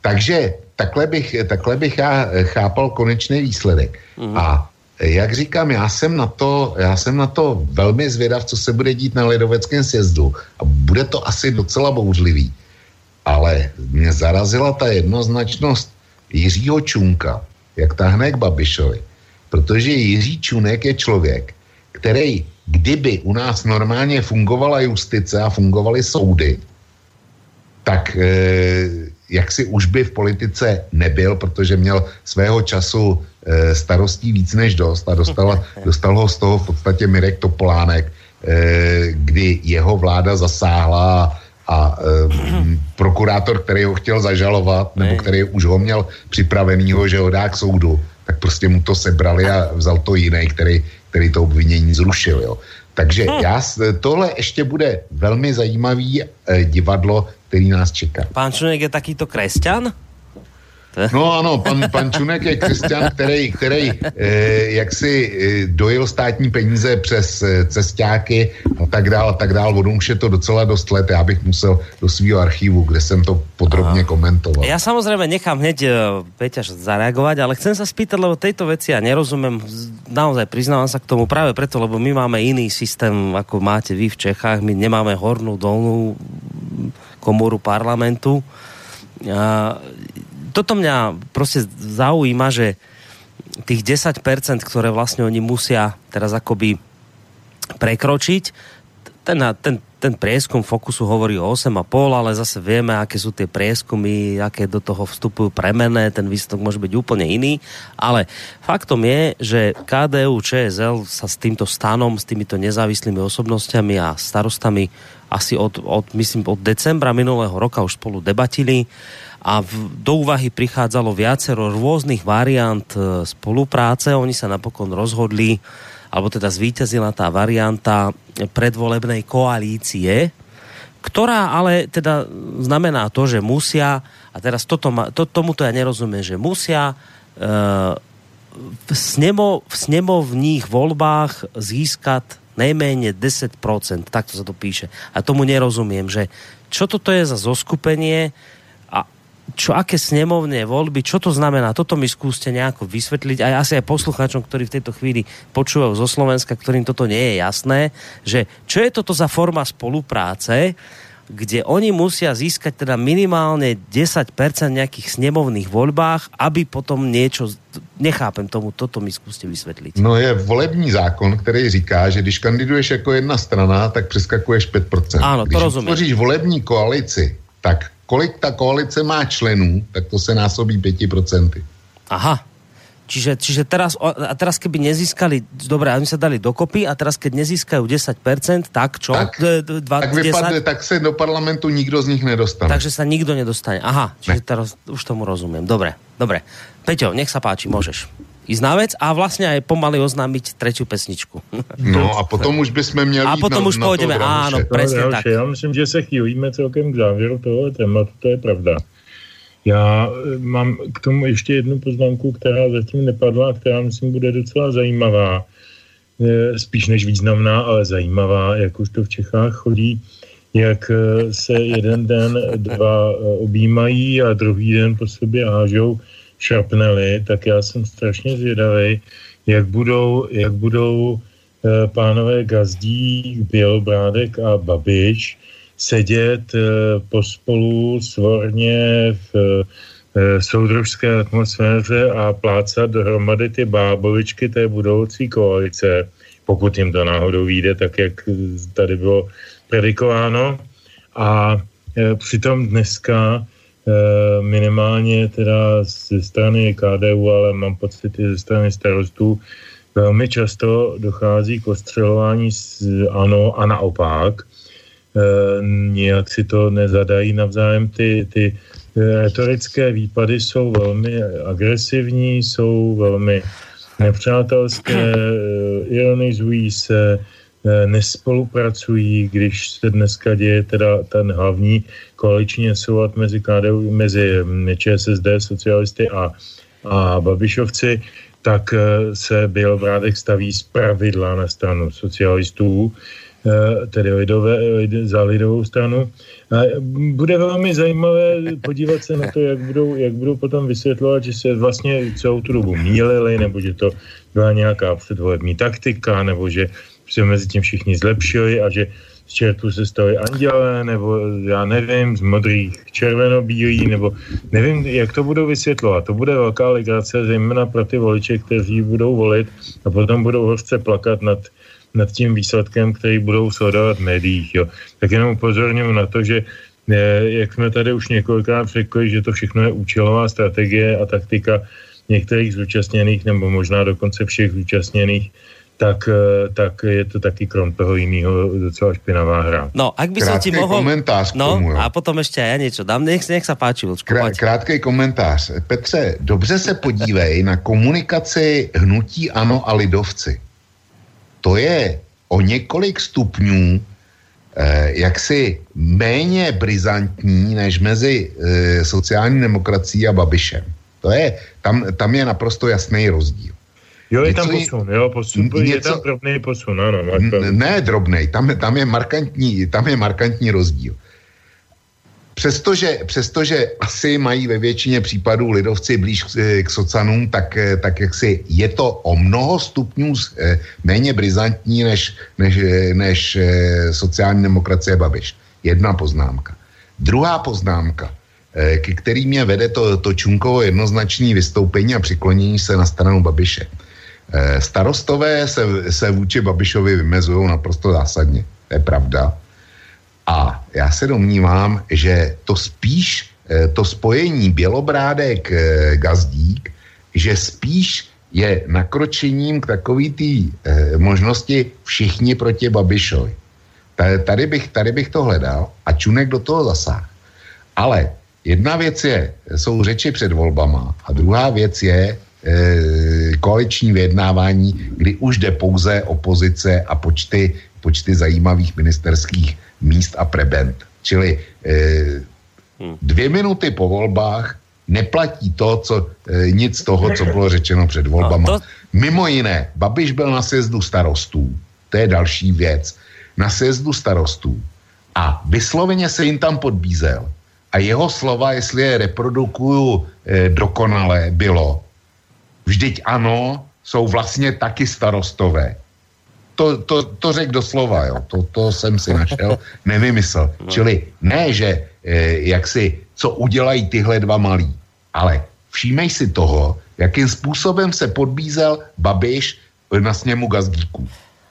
takže takhle bych, takhle bych já chápal konečný výsledek. Mm. A jak říkám, já jsem na to, já jsem na to velmi zvědav, co se bude dít na lidoveckém sjezdu. A bude to asi docela bouřlivý. Ale mě zarazila ta jednoznačnost Jiřího Čunka, jak tahne k Babišovi. Protože Jiří Čunek je člověk, který, kdyby u nás normálně fungovala justice a fungovaly soudy, tak eh, jak si už by v politice nebyl, protože měl svého času eh, starostí víc než dost a dostal, dostal ho z toho v podstatě Mirek Topolánek, eh, kdy jeho vláda zasáhla a eh, prokurátor, který ho chtěl zažalovat, nebo který už ho měl připravenýho, že ho dá k soudu, tak prostě mu to sebrali a vzal to jiný, který, který to obvinění zrušil. Jo. Takže já, tohle ještě bude velmi zajímavý eh, divadlo, který nás čeká. Pán Čunek je takýto kresťan? No ano, pan, pan Čunek je křesťan, který, který eh, jaksi eh, dojil státní peníze přes eh, cestáky a tak dál a tak dál. On už je to docela dost let. Já bych musel do svého archívu, kde jsem to podrobně Aha. komentoval. Ja samozrejme nechám hneď uh, Peťaž zareagovať, ale chcem sa spýtať, lebo tejto veci ja nerozumiem, naozaj priznávam sa k tomu práve preto, lebo my máme iný systém, ako máte vy v Čechách. My nemáme hornú, dolnú komoru parlamentu. A toto mňa proste zaujíma, že tých desať percent, ktoré vlastne oni musia teraz akoby prekročiť, ten, ten, ten prieskum Fokusu hovorí o osem a pol, ale zase vieme, aké sú tie prieskumy, aké do toho vstupujú premenné, ten výsledok môže byť úplne iný, ale faktom je, že ká dé ú, Čé es el sa s týmto stanom, s týmito nezávislými osobnostiami a starostami asi od, od, myslím, od decembra minulého roka už spolu debatili a v, do úvahy prichádzalo viacero rôznych variant e, spolupráce. Oni sa napokon rozhodli, alebo teda zvíťazila tá varianta predvolebnej koalície, ktorá ale teda znamená to, že musia, a teraz toto ma, to, tomuto ja nerozumiem, že musia e, v, snemo, v snemovních voľbách získať najmenej desať percent, takto sa to píše. A tomu nerozumiem, že čo toto je za zoskupenie a čo, aké snemovné voľby, čo to znamená, toto mi skúste nejako vysvetliť, aj asi aj poslucháčom, ktorí v tejto chvíli počúvajú zo Slovenska, ktorým toto nie je jasné, že čo je toto za forma spolupráce, kde oni musia získať teda minimálne desať percent nejakých snemovných voľbách, aby potom niečo, nechápem tomu, toto mi skúste vysvetliť. No je volební zákon, který říká, že když kandiduješ jako jedna strana, tak přeskakuješ pět procent. Áno, to když rozumiem. Když volební koalici, tak kolik ta koalice má členů, tak to se násobí päť percent. Aha. Čiže, čiže teraz, a teraz keby nezískali, dobre, oni sa dali dokopy a teraz keď nezískajú desať percent, tak čo? Tak, dva, tak vypadne, tak sa do parlamentu nikto z nich nedostane. Takže sa nikto nedostane. Aha, čiže ne. Teraz už tomu rozumiem. Dobre, dobre. Peťo, nech sa páči, môžeš ísť na vec a vlastne aj pomaly oznámiť tretiu pesničku. No a potom už bychom měli a potom na, už pôjdeme, áno, presne tak. Já myslím, že se chýlíme celkem k závěru toho tématu, to je pravda. Já mám k tomu ještě jednu poznámku, která zatím nepadla, která myslím bude docela zajímavá. Spíš než významná, ale zajímavá, jak už to v Čechách chodí, jak se jeden den dva objímají a druhý den po sobě hážou šrapnely, tak já jsem strašně zvědavý, jak budou, jak budou pánové Gazdík, Bělobrádek a Babiš sedět e, pospolu svorně v e, soudružské atmosféře a plácat dohromady ty bábovičky té budoucí koalice, pokud jim to náhodou vyjde, tak jak tady bylo predikováno. A e, přitom dneska e, minimálně teda ze strany ká dé ú, ale mám pocit i ze strany starostů, velmi často dochází k ostřelování z ANO a naopak. E, nijak si to nezadají navzájem. Ty, ty retorické výpady jsou velmi agresivní, jsou velmi nepřátelské, ironizují se, nespolupracují, když se dneska děje teda ten hlavní koaliční soulad mezi ká dé ú, mezi ČSSD, socialisty a, a Babišovci, tak se Bělobrádek staví z pravidla na stranu socialistů. tedy lidové, za lidovou stranu. A bude velmi zajímavé podívat se na to, jak budou, jak budou potom vysvětlovat, že se vlastně celou tu dobu mýlili, nebo že to byla nějaká předvolební taktika, nebo že se mezi tím všichni zlepšili a že z čertů se stali andělé, nebo já nevím, z modrých červenobílý, nebo nevím, jak to budou vysvětlovat. To bude velká legrace, zejména pro ty voliče, kteří budou volit a potom budou hořce plakat nad, nad tím výsledkem, který budou sledovat v médiích. Jo. Tak jenom upozorňuji na to, že jak jsme tady už několikrát řekli, že to všechno je účelová strategie a taktika některých zúčastněných, nebo možná dokonce všech zúčastněných, tak, tak je to taky krom toho iného docela špinavá hra. No, ak by som ti mohol... komentář k no, tomu, jo. A potom ešte aj ja niečo dám. Nech, nech sa páči, Vlčko. Krá, krátkej komentář. Petře, dobře se podívej na komunikaci hnutí ANO a lidovci. To je o několik stupňů eh, jaksi méně brizantní než mezi eh, sociální demokracií a Babišem. To je, tam, tam je naprosto jasný rozdíl. Jo, je tam posun, jo, posun, něco, je tam drobný posun, ano. Ne drobnej, tam, tam, je markantní, tam je markantní rozdíl. Přestože, přestože asi mají ve většině případů lidovci blíž k, k socanům, tak, tak jaksi je to o mnoho stupňů méně brizantní než, než, než sociální demokracie Babiš. Jedna poznámka. Druhá poznámka, ke který mě vede to, to Čunkovo jednoznačné vystoupení a přiklonění se na stranu Babiše. Starostové se, se vůči Babišovi vymezují naprosto zásadně. To je pravda. A já se domnívám, že to spíš, to spojení Bělobrádek-Gazdík, že spíš je nakročením k takový té možnosti všichni proti Babišovi. Tady bych, tady bych to hledal a Čunek do toho zasáhl. Ale jedna věc je, jsou řeči před volbama a druhá věc je koaliční vyjednávání, kdy už jde pouze o pozice a počty, počty zajímavých ministerských míst a prebend. Čili eh, dvě minuty po volbách neplatí to, co, eh, nic z toho, co bylo řečeno před volbama. No to... Mimo jiné, Babiš byl na sjezdu starostů, to je další věc, na sjezdu starostů a vysloveně se jim tam podbízel a jeho slova, jestli je reprodukuju eh, dokonale, bylo: vždyť ano, jsou vlastně taky starostové. To, to, to řek doslova, jo. To, to jsem si našel, nevymysl. No. Čili ne, že eh, jak si, co udělají tyhle dva malí, ale všímej si toho, jakým způsobem se podbízel Babiš na sněmu Gazdíků.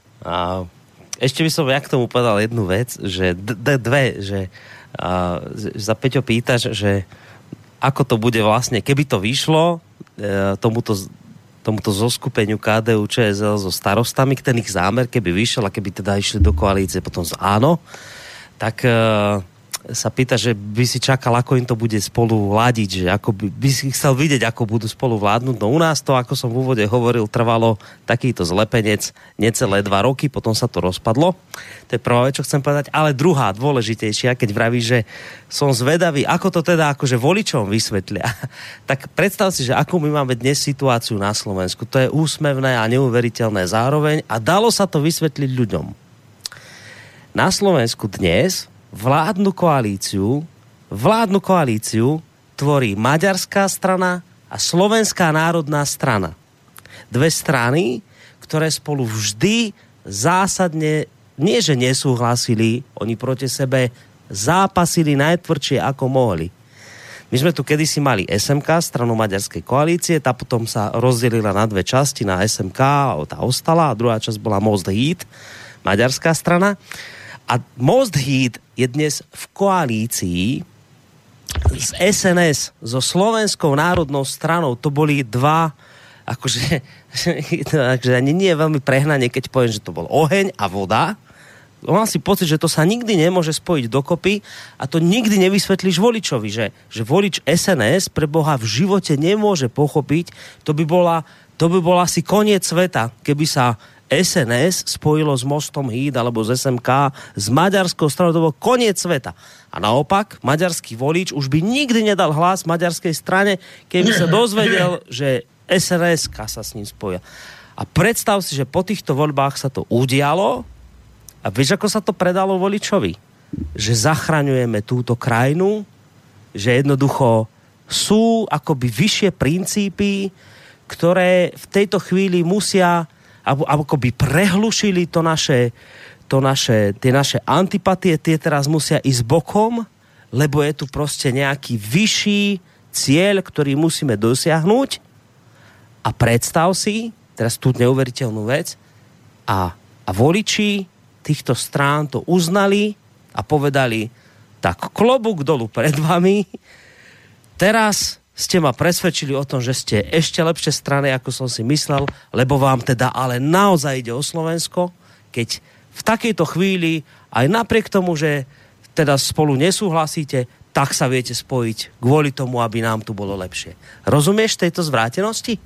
A ešte by som ja k tomu povedal jednu vec, že d- d- dve, že a, za Peťo pýtaš, že ako to bude vlastne, keby to vyšlo e, tomuto, tomuto zoskupeniu ká dé ú Čé es el so starostami, ten ich zámer, keby vyšiel a keby teda išli do koalície potom z áno, tak e, sa pýta, že by si čakal, ako im to bude spolu vládiť, že ako by, by si chcel vidieť, ako budú spolu vládnuť. No u nás to, ako som v úvode hovoril, trvalo takýto zlepenec necelé dva roky, potom sa to rozpadlo. To je prvá vec, čo chcem povedať. Ale druhá, dôležitejšia, keď vraví, že som zvedavý, ako to teda akože voličom vysvetlia. Tak predstav si, že akú my máme dnes situáciu na Slovensku. To je úsmevné a neuveriteľné zároveň a dalo sa to vysvetliť ľuďom. Na Slovensku dnes vládnu koalíciu, vládnu koalíciu tvorí Maďarská strana a Slovenská národná strana. Dve strany, ktoré spolu vždy zásadne, nie že nesúhlasili, oni proti sebe zápasili najtvrdšie ako mohli. My sme tu kedysi mali es em ká, stranu Maďarskej koalície, tá potom sa rozdelila na dve časti, na es em ká, tá ostala, a druhá časť bola Most Híd, maďarská strana. A Most Híd je dnes v koalícii s es en es, so Slovenskou národnou stranou. To boli dva, akože, akože ani nie je veľmi prehnanie, keď poviem, že to bol oheň a voda. Mám si pocit, že to sa nikdy nemôže spojiť dokopy a to nikdy nevysvetlíš voličovi, že, že volič es en es pre Boha v živote nemôže pochopiť. To by bola, to by bola asi koniec sveta, keby sa es en es spojilo s Mostom Híd alebo z es em ká s maďarskou stranou, to bol koniec sveta. A naopak, maďarský volič už by nikdy nedal hlas maďarskej strane, keby sa dozvedel, že es en es-ka sa s ním spoja. A predstav si, že po týchto voľbách sa to udialo A vieš, ako sa to predalo voličovi? Že zachraňujeme túto krajinu, že jednoducho sú akoby vyššie princípy, ktoré v tejto chvíli musia, akoby prehlušili to naše, to naše, tie naše antipatie, tie teraz musia ísť bokom, lebo je tu proste nejaký vyšší cieľ, ktorý musíme dosiahnuť. A predstav si, teraz tú neuveriteľnú vec, a, a voliči týchto strán to uznali a povedali, tak klobúk dolu pred vami, teraz ste ma presvedčili o tom, že ste ešte lepšie strany, ako som si myslel, lebo vám teda ale naozaj ide o Slovensko, keď v takejto chvíli, aj napriek tomu, že teda spolu nesúhlasíte, tak sa viete spojiť kvôli tomu, aby nám tu bolo lepšie. Rozumieš tejto zvrátenosti?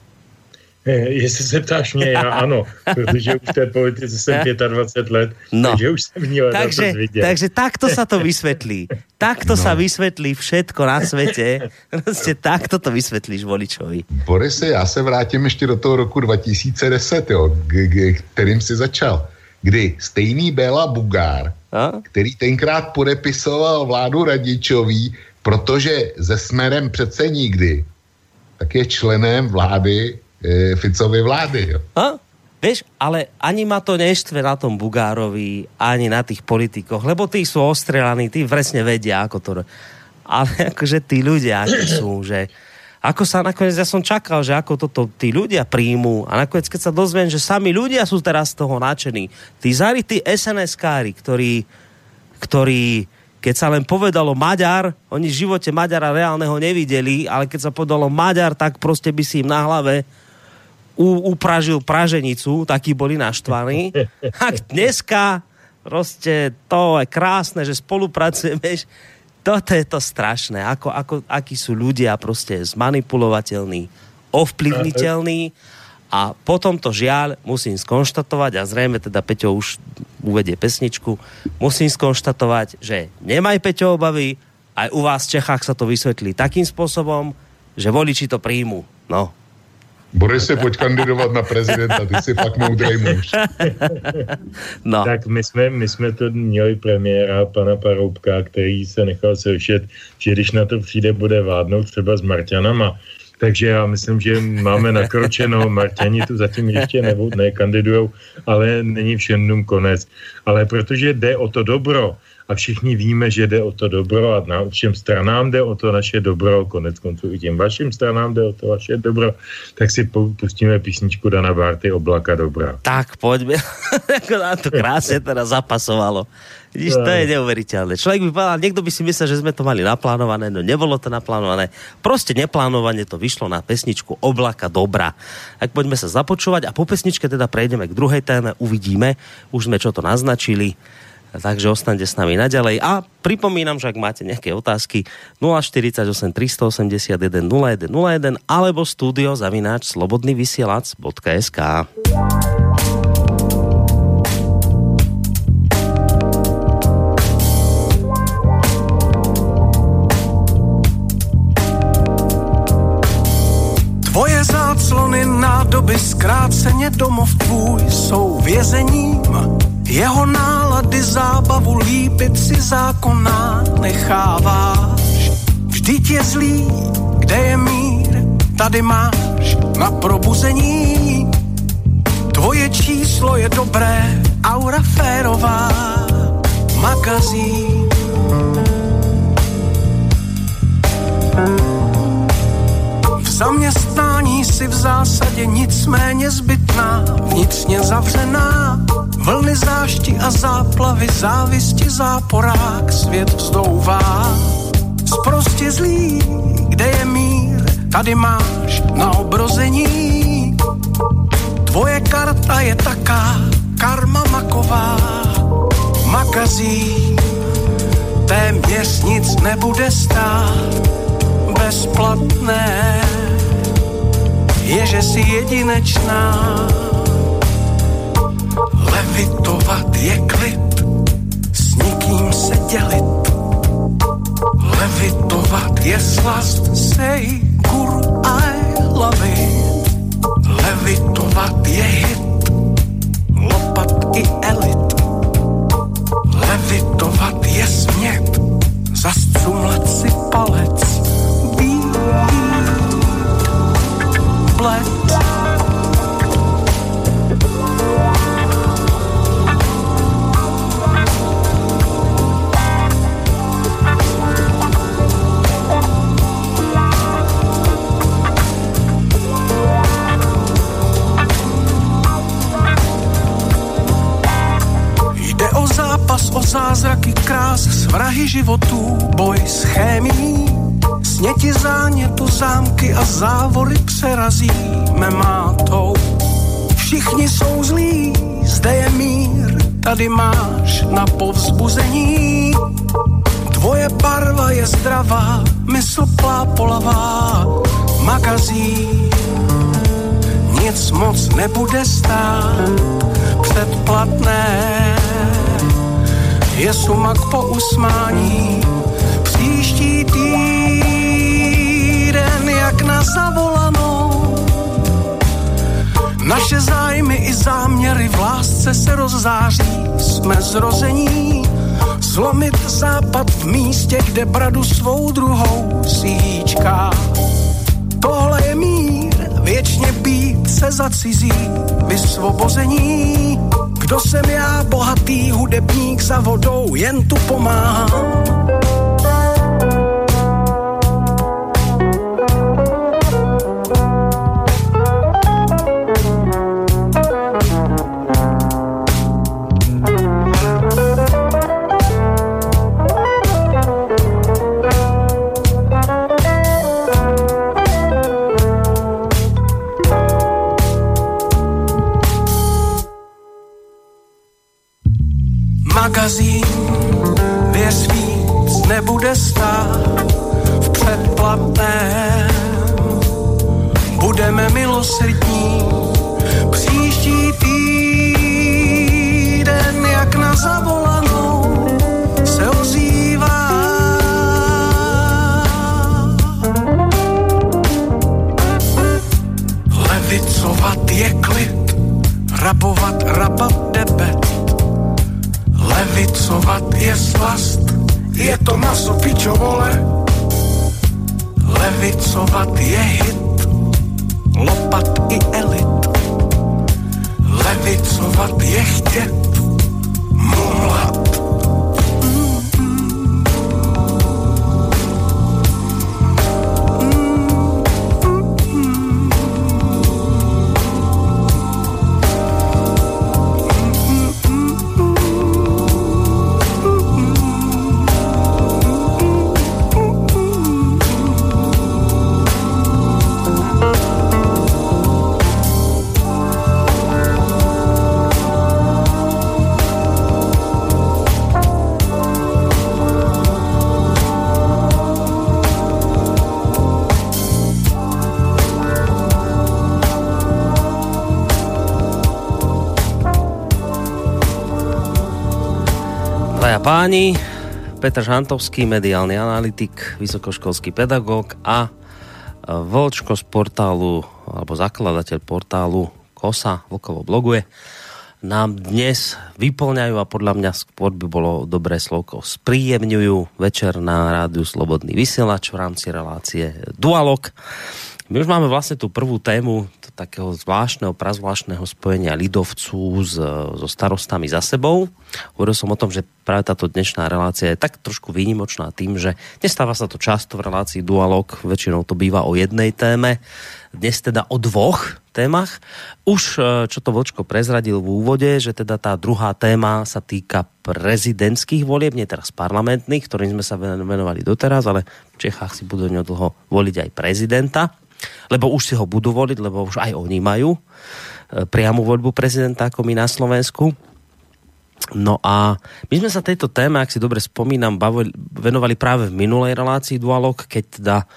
Jestli se ptáš mě, já ano, protože už v té politice jsem dvacet pět let, no. Takže už jsem měl takže, vidět. Takže takto sa to vysvetlí. Takto no. sa vysvetlí všetko na svete. Prostě takto to vysvetlíš voličovi. Borise, já se vrátím ještě do toho roku dva tisíce deset, jo, k- k- kterým si začal. Kdy stejný Béla Bugár, a? který tenkrát podepisoval vládu Radičový, protože se Smerem přece nikdy, tak je členem vlády Ficovej vlády. Jo. A? Vieš, ale ani ma to neštve na tom Bugárovi, ani na tých politikoch, lebo tí sú ostrelaní, tí presne vedia, ako to... Ale akože tí ľudia, akí sú, že... Ako sa nakoniec, ja som čakal, že ako toto tí ľudia príjmú a nakoniec, keď sa dozviem, že sami ľudia sú teraz z toho nadšení. Tí zarytí es en eskári, ktorí, ktorí, keď sa len povedalo Maďar, oni v živote Maďara reálneho nevideli, ale keď sa povedalo Maďar, tak proste by si im na hlave U, upražil praženicu, takí boli naštvaní. A dneska proste to je krásne, že spolupracujeme. Toto je to strašné. Ako, ako, akí sú ľudia proste zmanipulovateľní, ovplyvniteľní. A potom to žiaľ musím skonštatovať, a zrejme teda Peťo už uvedie pesničku, musím skonštatovať, že nemaj Peťo obavy, aj u vás v Čechách sa to vysvetlí takým spôsobom, že voliči to príjmu. No. Borise, pojď kandidovat na prezidenta, ty jsi fakt moudrej muž. No. Tak my jsme, my jsme to měli premiéra pana Paroubka, který se nechal slyšet, že když na to přijde, bude vládnout třeba s Marťanama. Takže já myslím, že máme nakročeno, Marťani tu zatím ještě nekandidujou, ale není všem konec. Ale protože jde o to dobro, a všichni víme, že jde o to dobro a na všem stranám jde o to naše dobro, konec konců i těm vašim stranám jde o to vaše dobro, tak si pustíme písničku Dana Bárty Oblaka dobra. Tak, poďme. Ako nám to krásne teraz zapasovalo. Vidíš, to je neuveriteľné. Človek by povedal, niekto by si myslel, že sme to mali naplánované, no nebolo to naplánované. Proste neplánovane to vyšlo na pesničku Oblaka dobra. Tak poďme sa započúvať a po pesničke teda prejdeme k druhej téme, uvidíme. Už sme čo to naznačili. Takže ostaňte s nami naďalej. A pripomínam, že ak máte nejaké otázky, nula štyridsaťosem tristoosemdesiatjeden nula jeden nula jeden alebo studio zavináč slobodnyvysielac bodka es ká. Tvoje záclony, nádoby, zkráceně domov tvůj jsou vězením. Jeho nálady, zábavu, líbit si zákonná necháváš. Vždyť je zlý, kde je mír, tady máš na probuzení. Tvoje číslo je dobré, aura férová, magazín. V zaměstnání si v zásadě nicméně zbytná, vnitřně zavřená. Vlny zášti a záplavy, závisti, záporák, svět vzdouvá. Sprostě zlý, kde je mír, tady máš na obrození. Tvoje karta je taká, karma maková, magazín. Téměř nic nebude stát, bezplatné, je, že jsi jedinečná. Levitovat je klid, s nikým se dělit. Levitovat je slast, say guru I love it. Levitovat je hit, lopat i elit. Pokus o zázraky krás, svrahy životů, boj s chémií. Sněti zánětu, zámky a závory přerazíme mátou. Všichni jsou zlí, zde je mír, tady máš na povzbuzení. Tvoje barva je zdravá, mysl plápolavá, magazín. Nic moc nebude stát, předplatné. Je sumak po usmání, příští týden jak na zavolanou. Naše zájmy i záměry v lásce se rozzáří, jsme zrození. Zlomit západ v místě, kde bradu svou druhou síčká. Tohle je mír, věčně být se za cizí vysvobození. Kdo jsem já, bohatý hudebník za vodou, jen tu pomáhám. Magazín, věř víc nebude stát v předplatném. Budeme milosrdní příští týden jak na zavolanou se ozývá. Levicovat je klid, rabovat rabat debet. Levicovat je slast, je to maso pičovole. Levicovat je hit, lopat i elit. Levicovat je chtět, mumlat. Páni, Petr Žantovský, mediálny analytik, vysokoškolský pedagóg a Vlčko z portálu, alebo zakladateľ portálu Kosa, Vlkovo bloguje, nám dnes vyplňajú a podľa mňa skôr by bolo dobré slovko spríjemňujú večer na rádiu Slobodný vysielač v rámci relácie Dualog. My už máme vlastne tú prvú tému takého zvláštneho, prazvláštneho spojenia ľidovců s, so starostami za sebou. Hovoril som o tom, že práve táto dnešná relácia je tak trošku výnimočná tým, že nestáva sa to často v relácii Dualog, väčšinou to býva o jednej téme, dnes teda o dvoch témach. Už čo to Vlčko prezradil v úvode, že teda tá druhá téma sa týka prezidentských volieb, nie teraz parlamentných, ktorým sme sa venovali doteraz, ale v Čechách si budú nedlho voliť aj prezidenta. Lebo už si ho budú voliť, lebo už aj oni majú priamu voľbu prezidenta ako my na Slovensku. No a my sme sa tejto téme, ak si dobre spomínam, bavili, venovali práve v minulej relácii Dualog, keď teda uh,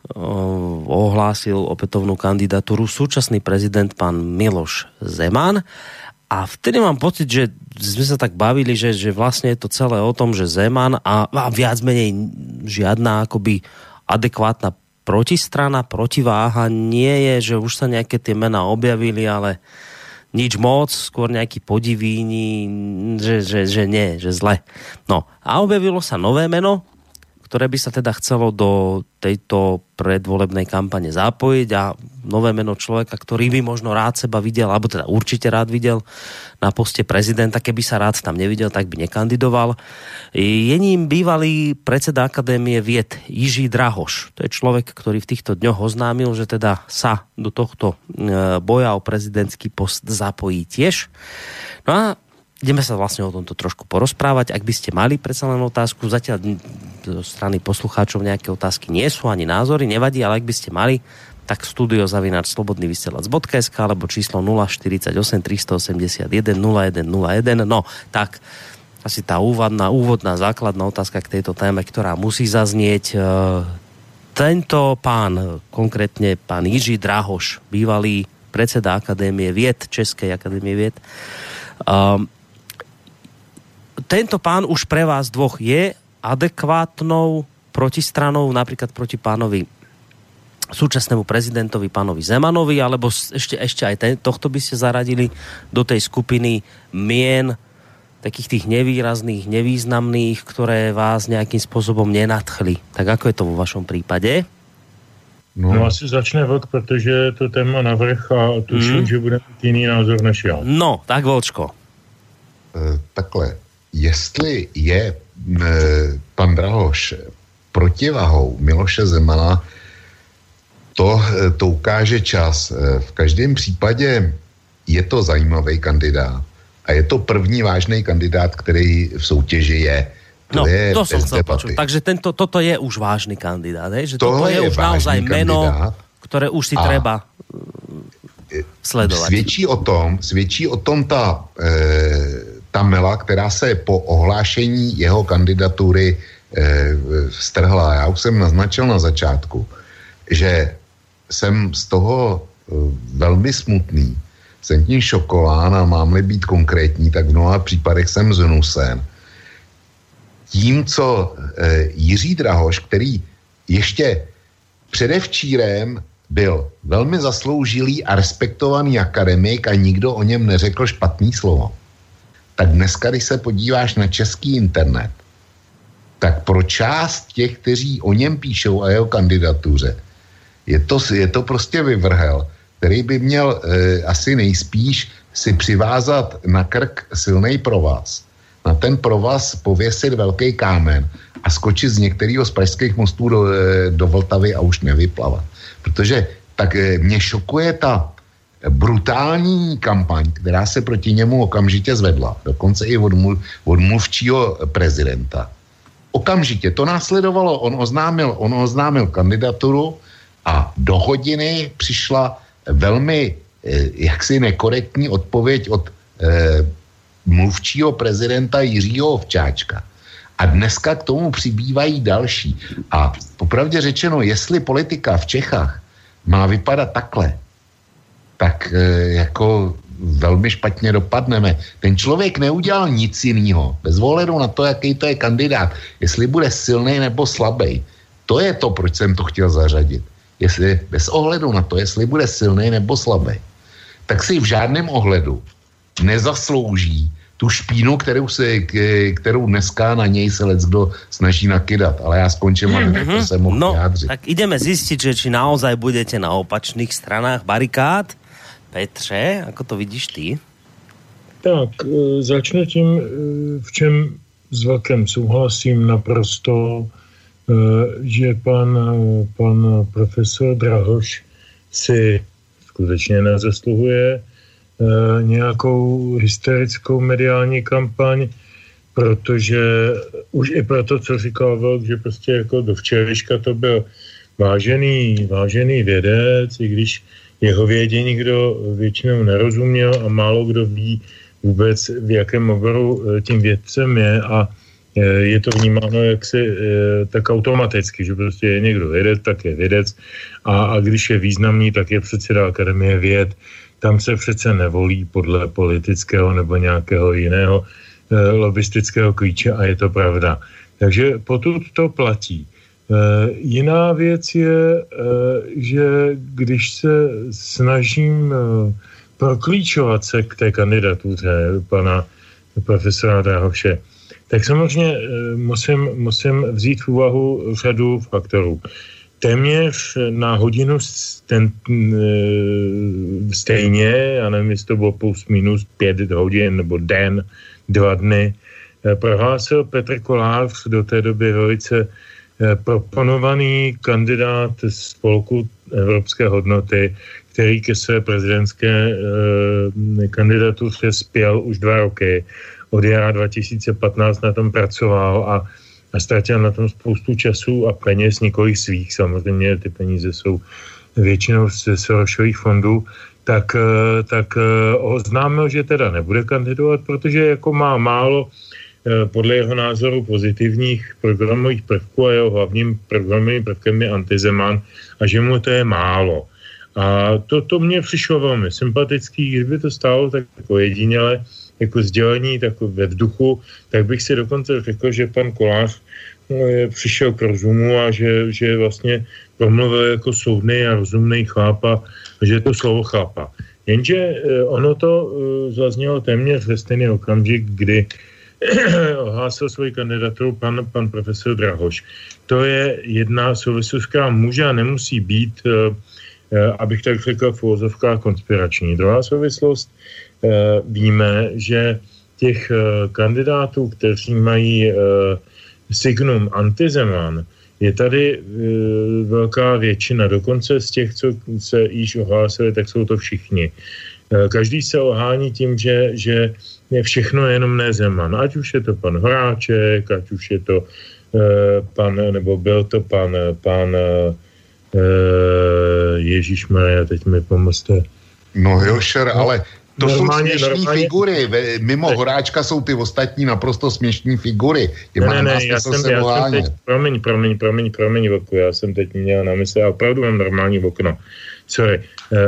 ohlásil opätovnú kandidatúru súčasný prezident pán Miloš Zeman. A vtedy mám pocit, že sme sa tak bavili, že, že vlastne je to celé o tom, že Zeman a, a viac menej žiadna akoby adekvátna protistrana, protiváha nie je, že už sa nejaké tie mená objavili, ale nič moc, skôr nejaký podivíni, že, že, že nie, že zle. No a objavilo sa nové meno, ktoré by sa teda chcelo do tejto predvolebnej kampane zapojiť a nové meno človeka, ktorý by možno rád seba videl, alebo teda určite rád videl na poste prezidenta, keby sa rád tam nevidel, tak by nekandidoval. Je ním bývalý predseda Akadémie vied Jiří Drahoš. To je človek, ktorý v týchto dňoch oznámil, že teda sa do tohto boja o prezidentský post zapojí tiež. No a ideme sa vlastne o tomto trošku porozprávať. Ak by ste mali predsa len otázku, zatiaľ zo strany poslucháčov nejaké otázky nie sú, ani názory, nevadí, ale ak by ste mali, tak studio zavináč slobodný vysielač bodka es ká alebo číslo nula štyridsaťosem tristoosemdesiatjeden nula jeden nula jeden. No, tak asi tá úvodná, úvodná základná otázka k tejto téme, ktorá musí zaznieť. Tento pán, konkrétne pán Jiří Drahoš, bývalý predseda Akadémie vied, Českej akadémie vied, um, tento pán už pre vás dvoch je adekvátnou protistranou napríklad proti pánovi súčasnému prezidentovi, pánovi Zemanovi, alebo ešte, ešte aj ten, tohto by ste zaradili do tej skupiny mien takých tých nevýrazných, nevýznamných, ktoré vás nejakým spôsobom nenadchli. Tak ako je to vo vašom prípade? No, no asi začne Vlk, protože to téma navrch a tuším, mm. že bude mít jiný názor než já. No, tak Volčko. E, takhle, jestli je e, pan Drahoš protivahou Miloše Zemana, to, to ukáže čas. V každém případě je to zajímavý kandidát. A je to první vážný kandidát, který v soutěži je. To no, je to som chcel počuť. Takže tento, toto je už vážny kandidát. He? Že toto toto je, je už naozaj meno, kandidát. Ktoré už si a treba sledovať. Svědčí o tom, svědčí o tom ta, e, ta mela, která se po ohlášení jeho kandidatury e, strhla. Já už jsem naznačil na začátku, že jsem z toho e, velmi smutný. Jsem tím šokován a mám-li být konkrétní, tak v mnoha případech jsem znusen. Tím, co e, Jiří Drahoš, který ještě předevčírem byl velmi zasloužilý a respektovaný akademik a nikdo o něm neřekl špatný slovo, tak dneska, když se podíváš na český internet, tak pro část těch, kteří o něm píšou a jeho kandidatuře, je to, je to prostě vyvrhel, který by měl e, asi nejspíš si přivázat na krk silnej provaz. Na ten provaz pověsit velký kámen a skočit z některého z pražských mostů do, do Vltavy a už nevyplavat. Protože tak e, mě šokuje ta brutální kampaň, která se proti němu okamžitě zvedla. Dokonce i od, mluv, od mluvčího prezidenta. Okamžitě to následovalo, on oznámil, on oznámil kandidaturu a do hodiny přišla velmi eh, jaksi nekorektní odpověď od eh, mluvčího prezidenta Jiřího Ovčáčka. A dneska k tomu přibývají další. A popravdě řečeno, jestli politika v Čechách má vypadat takhle, tak eh, jako velmi špatně dopadneme. Ten člověk neudělal nic jiného. Bez ohledu na to, jaký to je kandidát. Jestli bude silný nebo slabý. To je to, proč jsem to chtěl zařadit. Jestli, bez ohledu na to, jestli bude silný nebo slabý, tak si v žádném ohledu nezaslouží tu špínu, kterou, se, kterou dneska na něj se leckdo snaží nakydat. Ale já skončím, mm-hmm. aby se mohl no, vyjádřit. Tak ideme zistiť, že či naozaj budete na opačných stranách barikád. Petře, ako to vidíš ty? Tak, začnu tím, v čem s Vlkem souhlasím naprosto, že pan, pan profesor Drahoš si skutečně nezasluhuje nějakou hysterickou mediální kampaň, protože už i proto, co říkal Vlk, že prostě jako do včerejška to byl vážený, vážený vědec, i když jeho vědě nikdo většinou nerozuměl a málo kdo ví vůbec, v jakém oboru tím vědcem je a je to vnímáno jaksi tak automaticky, že prostě je někdo vědec, tak je vědec a, a když je významný, tak je předseda Akademie věd. Tam se přece nevolí podle politického nebo nějakého jiného lobistického klíče a je to pravda. Takže potud to platí. Jiná věc je, že když se snažím proklíčovat se k té kandidatuře pana profesora Drahoše, tak samozřejmě musím, musím vzít v úvahu řadu faktorů. Téměř na hodinu ten, stejně, já nevím, jestli to bylo plus minus pět hodin nebo den, dva dny, prohlásil Petr Kolář, do té doby velice proponovaný kandidát spolku Evropské hodnoty, který ke své prezidentské eh, kandidatuře spěl už dva roky. Od jara dva tisíce patnáct na tom pracoval a, a ztratil na tom spoustu času a peněz, několik svých. Samozřejmě ty peníze jsou většinou ze Sorosových fondů. Tak, tak oznámil, že teda nebude kandidovat, protože jako má málo podle jeho názoru pozitivních programových prvků a jeho hlavním programovým prvkem je antizeman a že mu to je málo. A to, to mě přišlo velmi sympatický, kdyby to stálo tak jako jediněle, jako sdělení tak ve vzduchu, tak bych si dokonce řekl, že pan Kolář no, přišel k rozumu a že, že vlastně promluvil jako soudný a rozumný chlap a že to slovo chápa. Jenže ono to zaznělo téměř ve stejný okamžik, kdy ohlásil svoji kandidaturu pan, pan profesor Drahoš. To je jedna souvislost, která může a nemusí být, abych tak řekl, v uvozovkách konspirační. Druhá souvislost, víme, že těch kandidátů, kteří mají signum antizeman, je tady e, velká většina. Dokonce z těch, co se již ohlásili, tak jsou to všichni. E, každý se ohání tím, že, že je všechno jenom ne Zeman. Ať už je to pan Horáček, ať už je to e, pan, nebo byl to pan, pan e, Ježíšmarja, teď mi pomozte. No Jošer, no. Ale to normálně, jsou směšní normálně... figury. Mimo Horáčka jsou ty ostatní naprosto směšní figury. Ne, ne, ne, já jsem, já jsem teď, promiň, promiň, promiň, promiň, Vlku, já jsem teď měl na mysli, a opravdu mám normální okno. Sorry. Uh,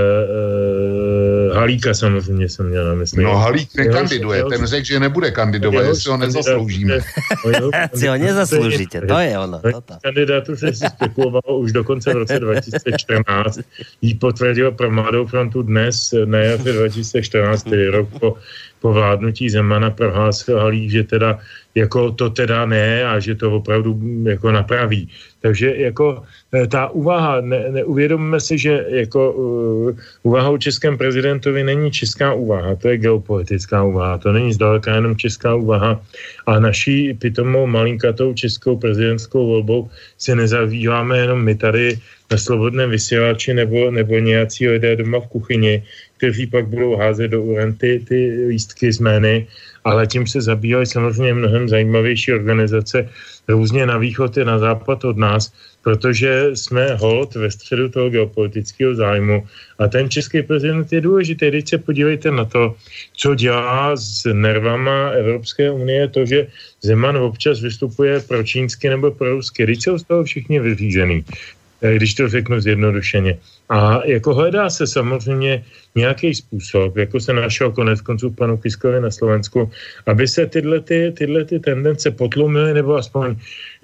uh, Halíka samozřejmě jsem měl na mysli. No Halík nekandiduje, ten řekl, že nebude kandidovat, jestli ho nezasloužíme. Si ho nezasloužíte, to je ono. Kandidátu se si spekulovalo už dokonce v roce dva tisíce čtrnáct. Jí potvrdil pro Mladou frontu dnes, na jaře dva tisíce čtrnáct, tedy rok po, po vládnutí Zemana, prohlásil Halík, že teda jako to teda ne a že to opravdu jako napraví. Takže jako ta úvaha, ne, neuvědomíme si, že jako uh, úvaha o českém prezidentovi není česká úvaha, to je geopolitická úvaha, to není zdaleka jenom česká úvaha a naší pitomou malinkatou českou prezidentskou volbou se nezabýváme jenom my tady na Slobodném vysílači nebo, nebo nějací lidé doma v kuchyni, kteří pak budou házet do uren ty, ty lístky z jmény, ale tím se zabývají samozřejmě mnohem zajímavější organizace různě na východ i na západ od nás, protože jsme holt ve středu toho geopolitického zájmu a ten český prezident je důležitý. Teď se podívejte na to, co dělá s nervama Evropské unie, to, že Zeman občas vystupuje pro čínsky nebo pro rusky. Teď jsou z toho všichni vyřízený, když to řeknu zjednodušeně. A jako hledá se samozřejmě nějaký způsob, jako se našel konec konců panu Kiskovi na Slovensku, aby se tyhle, ty, tyhle ty tendence potlumily nebo aspoň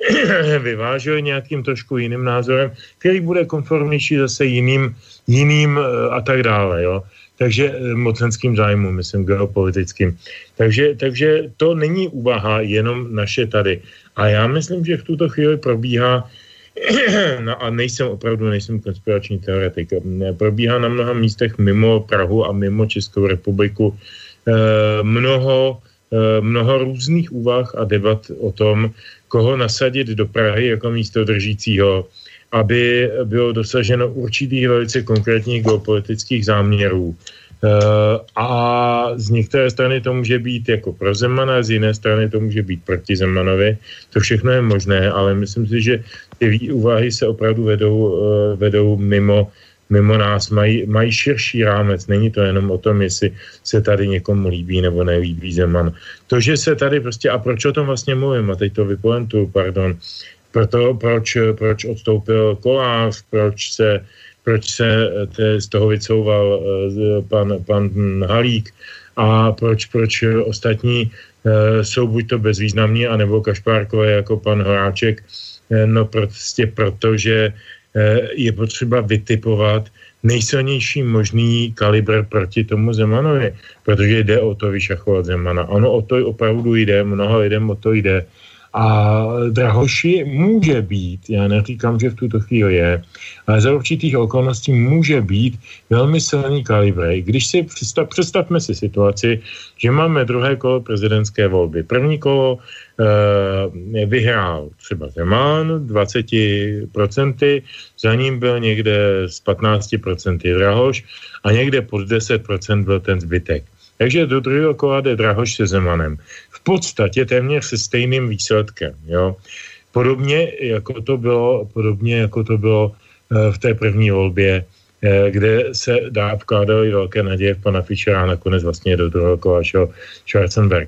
vyvážely nějakým trošku jiným názorem, který bude konformnější zase jiným, jiným a tak dále, jo. Takže mocenským zájmům, myslím, geopolitickým. Takže, takže to není úvaha jenom naše tady. A já myslím, že v tuto chvíli probíhá no a nejsem opravdu, nejsem konspirační teoretik. Probíhá na mnoha místech mimo Prahu a mimo Českou republiku eh, mnoho, eh, mnoho různých úvah a debat o tom, koho nasadit do Prahy jako místo držícího, aby bylo dosaženo určitých velice konkrétních geopolitických záměrů. Uh, a z některé strany to může být jako pro Zemana, z jiné strany to může být proti Zemanovi. To všechno je možné, ale myslím si, že ty úvahy se opravdu vedou, uh, vedou mimo, mimo nás, mají, mají širší rámec. Není to jenom o tom, jestli se tady někomu líbí nebo nelíbí Zeman. To, že se tady prostě, a proč o tom vlastně mluvím, a teď to vypolentuju, pardon, proto, proč, proč odstoupil Kolář, proč se proč se te, z toho vycouval uh, pan, pan Halík a proč, proč ostatní uh, jsou buď to bezvýznamní, anebo kašpárkové jako pan Horáček. Uh, no prostě proto, že uh, je potřeba vytipovat nejsilnější možný kalibr proti tomu Zemanovi, protože jde o to vyšachovat Zemana. Ono o to opravdu jde, mnoho lidem o to jde A Drahoši může být, já neříkám, že v tuto chvíli je, ale za určitých okolností může být velmi silný kalibr. Když si představ, představme si situaci, že máme druhé kolo prezidentské volby. První kolo e, vyhrál třeba Zeman dvacet procent, za ním byl někde z patnáct procent Drahoš a někde pod deset procent byl ten zbytek. Takže do druhého kola jde Drahoš se Zemanem. V podstatě téměř se stejným výsledkem. Jo. Podobně, jako to bylo, podobně jako to bylo v té první volbě, kde se dá vkládaly velké naděje v pana Fischera a nakonec vlastně do druhého kola šel Schwarzenberg.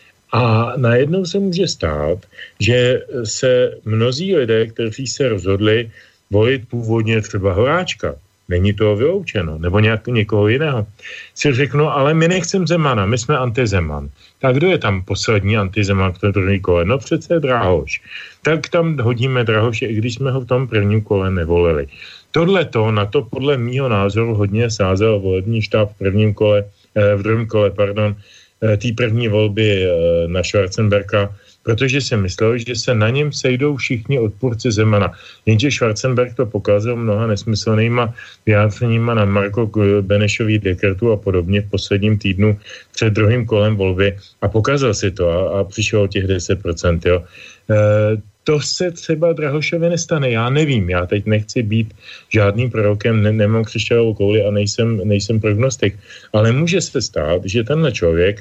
A najednou se může stát, že se mnozí lidé, kteří se rozhodli volit původně třeba Horáčka, není to vyloučeno, nebo nějak, někoho jiného, si řeknu, ale my nechceme Zemana, my jsme antizeman. Tak kdo je tam poslední antizeman v tom druhém kole? No přece Drahoš. Tak tam hodíme Drahoše, i když jsme ho v tom prvním kole nevolili. Tohle to, na to podle mýho názoru hodně sázel volební štáb v prvním kole, eh, v druhém kole, pardon, eh, té první volby eh, na Schwarzenberga, protože si myslel, že se na něm sejdou všichni odpůrci Zemana. Jenže Schwarzenberg to pokazal mnoha nesmyslnýma vyjádřeníma na Marko Benešový dekretu a podobně v posledním týdnu před druhým kolem volby a pokazal si to a, a přišel o těch deset procent. Jo. E, to se třeba Drahošovi nestane, já nevím, já teď nechci být žádným prorokem, ne, nemám křišťálovou kouli a nejsem, nejsem prognostik, ale může se stát, že tenhle člověk,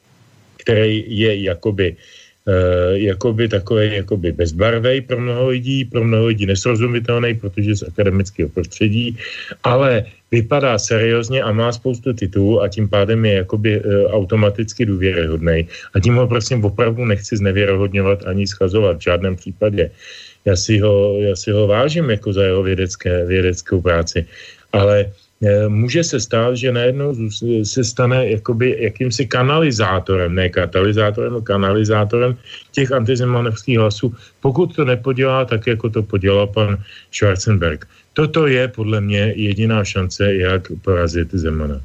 který je jakoby Uh, jakoby takový jakoby bezbarvej pro mnoho lidí, pro mnoho lidí nesrozumitelný, protože z akademického prostředí, ale vypadá seriózně a má spoustu titulů a tím pádem je jakoby uh, automaticky důvěryhodnej. A tím ho prosím opravdu nechci znevěrohodňovat ani schazovat v žádném případě. Já si ho, já si ho vážím jako za jeho vědecké, vědeckou práci. Ale může se stát, že najednou se stane jakoby jakýmsi kanalizátorem, ne katalyzátorem, ale kanalizátorem těch antizemanovských hlasů, pokud to nepodělá tak, jako to podělal pan Schwarzenberg. Toto je podle mě jediná šance, jak porazit Zemana.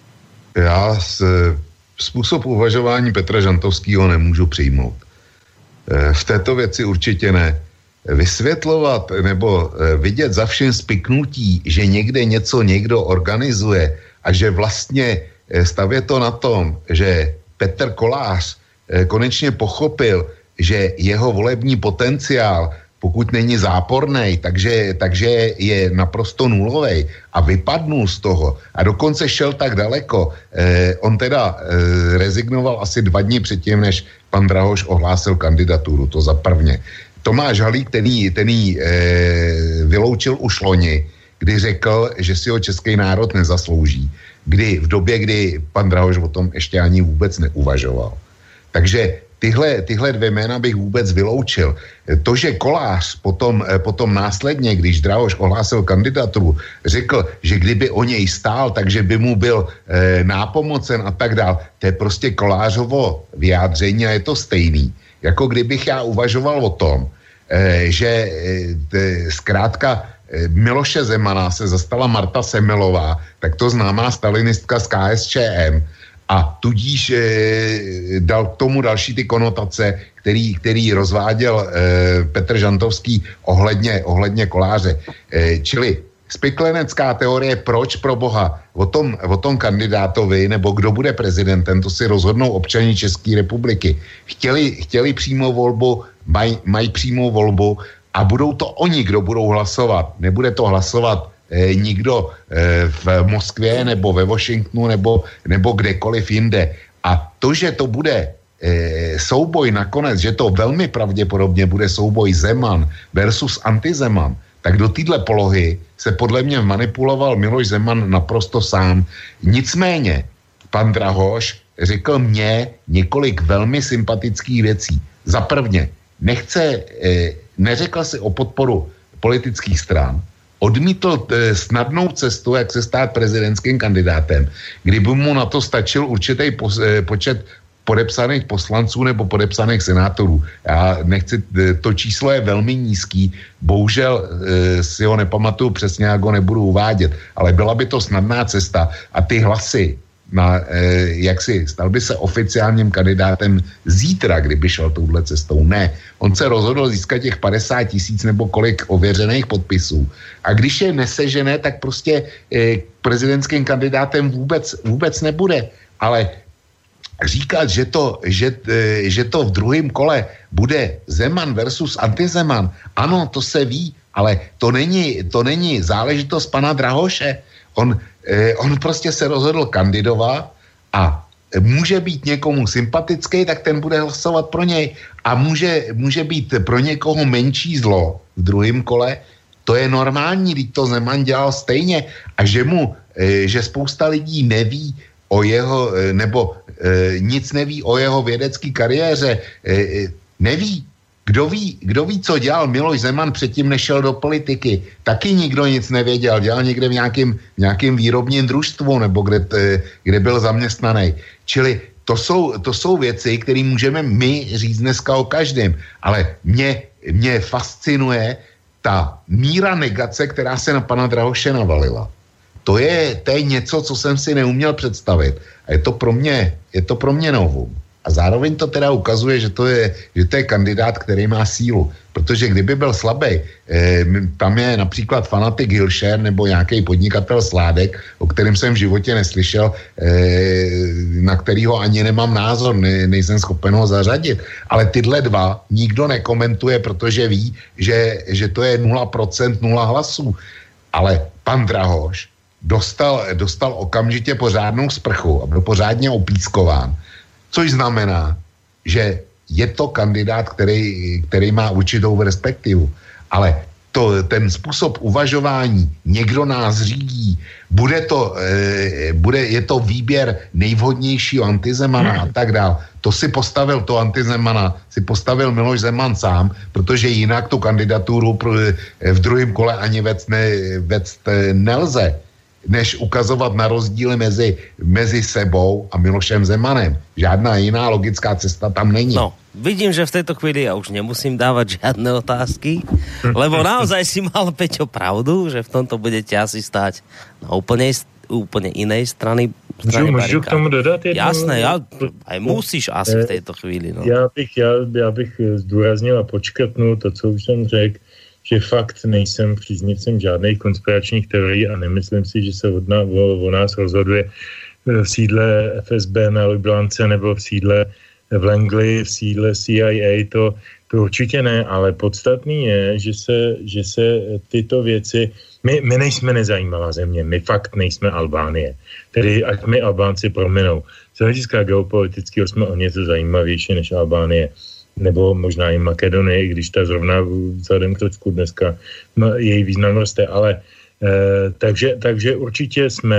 Já z, způsob uvažování Petra Žantovského nemůžu přijmout. V této věci určitě ne. Vysvětlovat nebo vidět za všem spiknutí, že někde něco někdo organizuje a že vlastně stavět to na tom, že Petr Kolář konečně pochopil, že jeho volební potenciál, pokud není zápornej, takže, takže je naprosto nulovej a vypadnul z toho a dokonce šel tak daleko. Eh, on teda eh, rezignoval asi dva dny předtím, než pan Drahoš ohlásil kandidaturu, to za prvně. Tomáš Halík, ten jí, ten jí e, vyloučil už loni, kdy řekl, že si ho český národ nezaslouží. Kdy, v době, kdy pan Drahoš o tom ještě ani vůbec neuvažoval. Takže tyhle, tyhle dvě jména bych vůbec vyloučil. To, že Kolář potom, potom následně, když Drahoš ohlásil kandidaturu, řekl, že kdyby o něj stál, takže by mu byl e, nápomocen a tak dál, to je prostě Kolářovo vyjádření a je to stejný. Jako kdybych já uvažoval o tom, že zkrátka Miloše Zemana se zastala Marta Semelová, tak to známá stalinistka z K S Č M a tudíž dal k tomu další ty konotace, který, který rozváděl Petr Žantovský ohledně, ohledně Koláře. Čili spiklenecká teorie, proč pro boha o tom, o tom kandidátovi nebo kdo bude prezidentem, to si rozhodnou občani České republiky. Chtěli, chtěli přímou volbu, mají maj přímou volbu a budou to oni, kdo budou hlasovat. Nebude to hlasovat eh, nikdo eh, v Moskvě nebo ve Washingtonu nebo, nebo kdekoliv jinde. A to, že to bude eh, souboj nakonec, že to velmi pravděpodobně bude souboj Zeman versus antizeman, tak do téhle polohy se podle mě manipuloval Miloš Zeman naprosto sám. Nicméně, pan Drahoš řekl mně několik velmi sympatických věcí. Za prvně, nechce, eh, neřekl si o podporu politických stran, odmítl eh, snadnou cestu, jak se stát prezidentským kandidátem, kdyby mu na to stačil určitý pos, eh, počet podepsaných poslanců nebo podepsaných senátorů. Já nechci, to číslo je velmi nízký, bohužel e, si ho nepamatuju přesně, jak ho nebudu uvádět, ale byla by to snadná cesta a ty hlasy na, eh, jaksi, stal by se oficiálním kandidátem zítra, kdyby šel touhle cestou. Ne, on se rozhodl získat těch padesát tisíc nebo kolik ověřených podpisů. A když je nesežené, tak prostě eh, prezidentským kandidátem vůbec, vůbec nebude. Ale říkat, že to, že, eh, že to v druhém kole bude Zeman versus antizeman, ano, to se ví, ale to není, to není záležitost pana Drahoše. On, eh, on prostě se rozhodl kandidovat a může být někomu sympatický, tak ten bude hlasovat pro něj. A může, může být pro někoho menší zlo v druhém kole. To je normální, když to Zeman dělal stejně. A že mu, eh, že spousta lidí neví o jeho, eh, nebo eh, nic neví o jeho vědecké kariéře, eh, neví. Kdo ví, kdo ví, co dělal Miloš Zeman předtím, než šel do politiky? Taky nikdo nic nevěděl. Dělal někde v nějakém, nějakém výrobním družstvu nebo kde, kde byl zaměstnaný. Čili to jsou, to jsou věci, které můžeme my říct dneska o každém. Ale mě, mě fascinuje ta míra negace, která se na pana Drahoše navalila. To je, to je něco, co jsem si neuměl představit. A je to pro mě, je to pro mě novum. A zároveň to teda ukazuje, že to je, že to je kandidát, který má sílu. Protože kdyby byl slabý, eh, tam je například fanatik Hilšer nebo nějaký podnikatel Sládek, o kterém jsem v životě neslyšel, eh, na kterýho ani nemám názor, ne, nejsem schopen ho zařadit. Ale tyhle dva nikdo nekomentuje, protože ví, že, že to je nula procent, nula hlasů. Ale pan Drahoš dostal, dostal okamžitě pořádnou sprchu a byl pořádně opískován. Což znamená, že je to kandidát, který, který má určitou perspektivu. Ale to, ten způsob uvažování, někdo nás řídí, bude to, e, bude, je to výběr nejvhodnějšího antizemana a tak dál. To si postavil, to antizemana, si postavil Miloš Zeman sám, protože jinak tu kandidaturu pro, v druhém kole ani vec, ne, vec nelze, než ukazovat na rozdíly mezi, mezi sebou a Milošem Zemanem. Žádná jiná logická cesta tam není. No, vidím, že v tejto chvíli ja už nemusím dávať žiadne otázky, lebo naozaj si mal, Peťo, pravdu, že v tomto budete asi stáť na úplne, úplne inej strany. Můžu, můžu k tomu dodat jednu? Jasné, ja, aj musíš asi v tejto chvíli. No. Já, bych, já, já bych zdůraznil a počkrtnul to, co už jsem řekl, že fakt nejsem příznivcem žádných konspiračních teorií a nemyslím si, že se od nás, o, o nás rozhoduje v sídle F S B na Lublance nebo v sídle v Langley, v sídle C I A, to, to určitě ne, ale podstatný je, že se, že se tyto věci, my, my nejsme nezajímavá země, my fakt nejsme Albánie, tedy ať mi Albánci prominou. Z hlediska geopolitického jsme o něco zajímavější než Albánie, nebo možná i Makedonie, když ta zrovna vzhledem k Řecku dneska její význam roste, ale eh, takže, takže určitě jsme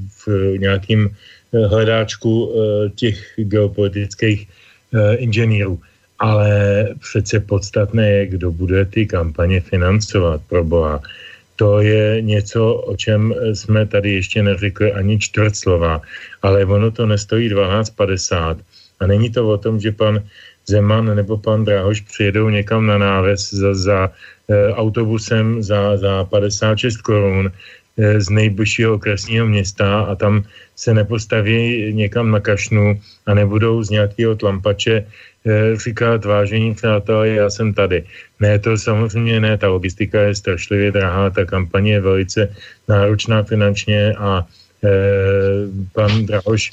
v nějakým hledáčku eh, těch geopolitických eh, inženýrů, ale přece podstatné je, kdo bude ty kampaně financovat, pro boha. To je něco, o čem jsme tady ještě neřekli ani čtvrt slova, ale ono to nestojí dvanáct padesát a není to o tom, že pan Zeman nebo pan Drahoš přijedou někam na náves za, za e, autobusem za, za padesát šest korun e, z nejbližšího okresního města a tam se nepostaví někam na kašnu a nebudou z nějakého tlampače e, říkat vážení přátelé, já jsem tady. Ne, to samozřejmě ne, ta logistika je strašlivě drahá, ta kampaně je velice náročná finančně a e, pan Drahoš e,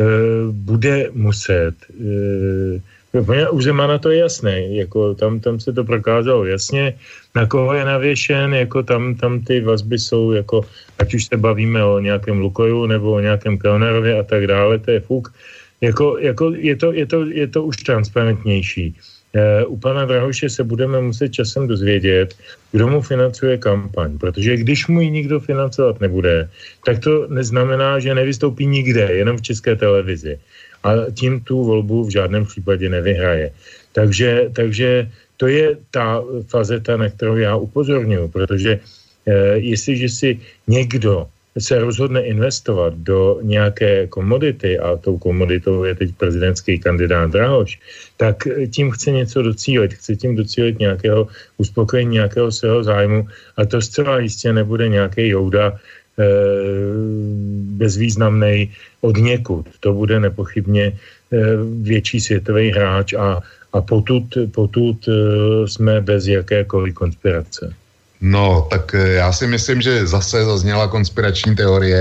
bude muset e, u Zemana to je jasné, jako tam, tam se to prokázalo jasně, na koho je navěšen, jako tam, tam ty vazby jsou, jako, ať už se bavíme o nějakém Lukoju nebo o nějakém Kellnerově a tak dále, to je fuk, jako, jako je, to, je, to, je to už transparentnější. E, u pana Drahoše se budeme muset časem dozvědět, kdo mu financuje kampaň, protože když mu ji nikdo financovat nebude, tak to neznamená, že nevystoupí nikde, jenom v České televizi. A tím tu volbu v žádném případě nevyhraje. Takže, takže to je ta fazeta, na kterou já upozorňuji, protože eh, jestliže si někdo se rozhodne investovat do nějaké komodity, a tou komoditou je teď prezidentský kandidát Drahoš, tak tím chce něco docílit, chce tím docílit nějakého uspokojení, nějakého svého zájmu a to zcela jistě nebude nějaký jouda bezvýznamnej odniekud. To bude nepochybně větší světový hráč a, a potud, potud jsme bez jakékoliv konspirace. No, tak já si myslím, že zase zazněla konspirační teorie.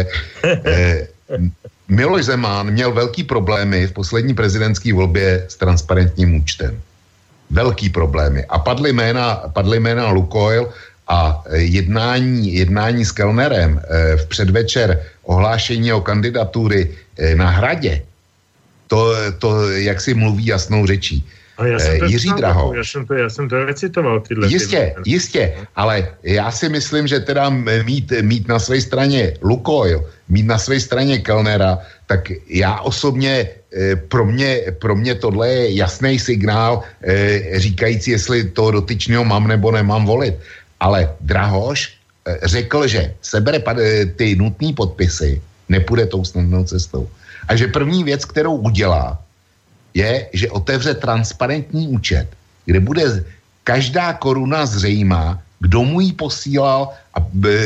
Miloš Zeman měl velký problémy v poslední prezidentské volbě s transparentním účtem. Velký problémy. A padly jména, padly jména Lukoil a jednání, jednání s Kellnerem v předvečer ohlášení o kandidatury na Hradě, to, to jak si mluví jasnou řečí. A já jsem to Jiří Drahoš. Já jsem to, já jsem to recitoval. Tyhle jistě, ty... jistě, ale já si myslím, že teda mít, mít na své straně Lukoil, mít na své straně Kellnera, tak já osobně, pro mě, pro mě tohle je jasný signál říkající, jestli toho dotyčného mám nebo nemám volit. Ale Drahoš řekl, že sebere ty nutné podpisy, nepůjde tou snadnou cestou. A že první věc, kterou udělá, je, že otevře transparentní účet, kde bude každá koruna zřejmá, kdo mu ji posílal a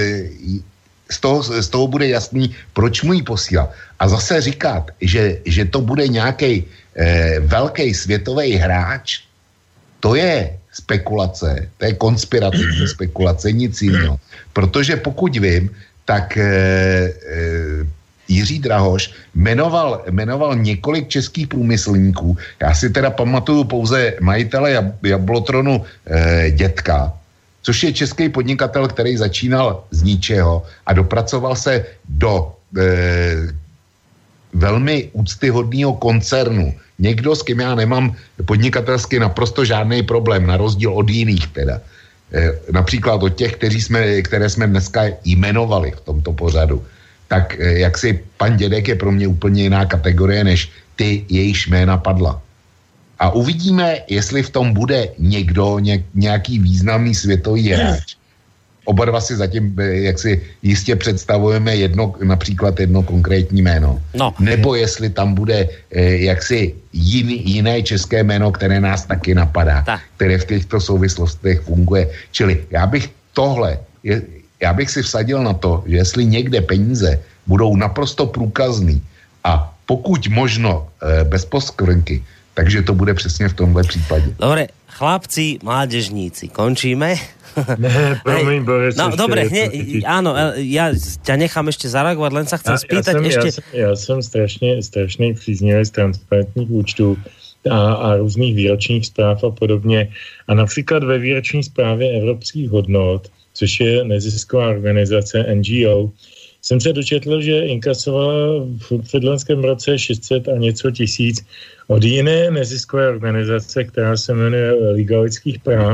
z toho, z toho bude jasný, proč mu ji posílal. A zase říkat, že, že to bude nějaký eh, velký světový hráč, to je spekulace, to je konspirativní spekulace, nic jiného. Protože pokud vím, tak eh, eh, Jiří Drahoš jmenoval, jmenoval několik českých průmyslníků. Já si teda pamatuju pouze majitele Jab- Jablotronu eh, Dětka, což je český podnikatel, který začínal z ničeho a dopracoval se do eh, velmi úctyhodného koncernu. Někdo, s kým já nemám podnikatelsky naprosto žádný problém, na rozdíl od jiných teda. Eh, například od těch, kteří jsme, které jsme dneska jmenovali v tomto pořadu. Tak jak si pan Dědek je pro mě úplně jiná kategorie, než ty, jejíž jména padla. A uvidíme, jestli v tom bude někdo, ně, nějaký významný světový hráč. Oba dva si zatím, jak si jistě představujeme jedno, například jedno konkrétní jméno. No. Nebo jestli tam bude jaksi jiný, jiné české jméno, které nás taky napadá, Ta. které v těchto souvislostech funguje. Čili já bych tohle... Je, Já bych si vsadil na to, že jestli někde peníze budou naprosto průkazný a pokud možno e, bez poskvrnky, takže to bude přesně v tomhle případě. Dobre, chlapci, mládežníci, končíme? Ne, promiň, Borec. No dobre, hne, áno, ja ťa nechám ešte zareagovať, len sa chcem ja, spýtať ja som, ešte... Ja som, ja som strašne, strašný příznivec transparentních účtů a, a různých výročních zpráv a podobně. A například ve výroční zprávě evropských hodnot, což je nezisková organizace N G O, jsem se dočetl, že inkasovala v předloňském roce šest set a něco tisíc od jiné neziskové organizace, která se jmenuje Liga lidských práv,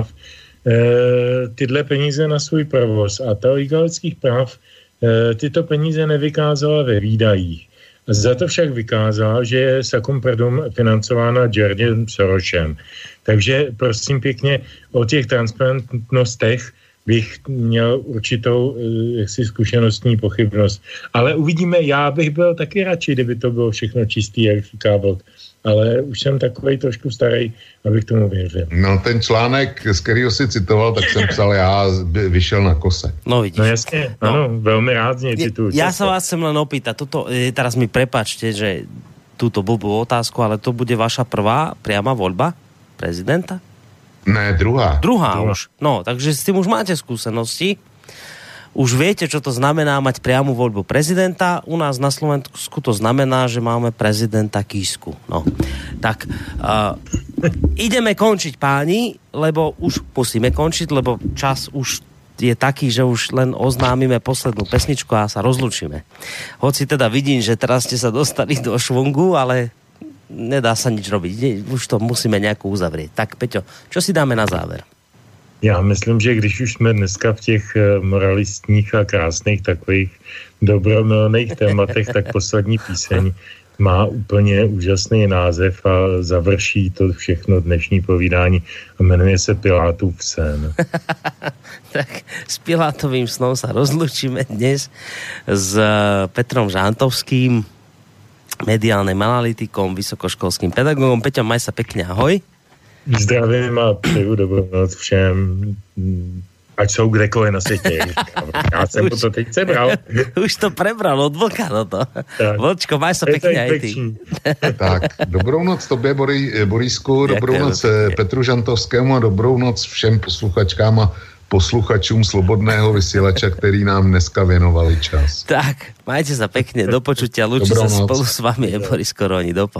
e, tyhle peníze na svůj provoz. A ta Liga lidských práv e, tyto peníze nevykázala ve výdajích. Za to však vykázala, že je Sacrum Perdum financována Georgem Sorosem. Takže prosím pěkně o těch transparentnostech bych měl určitou jaksi zkušenostní pochybnost. Ale uvidíme, já bych byl taky radši, kdyby to bylo všechno čistý, jak říká Vlk. Ale už jsem takovej trošku starý, abych tomu věřil. No ten článek, z kterého si citoval, tak jsem psal, já vyšel na kose. No vidíš. No jasně, no. Ano, velmi rád z něj cituju. Ja sa vás chcem len opýtať, toto, teraz mi prepáčte, že túto blbú otázku, ale to bude vaša prvá priama voľba prezidenta? Ne, druhá. Druhá už. No, takže s tým už máte skúsenosti. Už viete, čo to znamená mať priamu voľbu prezidenta. U nás na Slovensku to znamená, že máme prezidenta Kísku. No, tak uh, ideme končiť, páni, lebo už musíme končiť, lebo čas už je taký, že už len oznámime poslednú pesničku a sa rozlučíme. Hoci teda vidím, že teraz ste sa dostali do švungu, ale nedá sa nič robiť. Už to musíme nejako uzavrieť. Tak, Peťo, čo si dáme na záver? Já myslím, že když už jsme dneska v těch moralistních a krásných takových dobromilných tématech, tak poslední píseň má úplně úžasný název a završí to všechno dnešní povídání a jmenuje se Pilátův sen. Tak s Pilátovým snom sa rozlučíme dnes s Petrom Žantovským, mediálnym analytikom, vysokoškolským pedagogom. Peťo, maj sa pekne, ahoj. Zdravím a přeju dobrou noc všem. ať jsou kdekoliv na světě. Já jsem to teď sebral. Už to prebral od Vlka, no to. Vlčko, máš sa pekne aj ty. Tak, dobrou noc tobě, Borisku, dobrou noc Petru Žantovskému a dobrou noc všem posluchačkám a posluchačům Slobodného vysielača, který nám dneska věnovali čas. Tak, majte sa pekne, do počutia. Lúči sa spolu s vami je Boris Koroni. Dopo.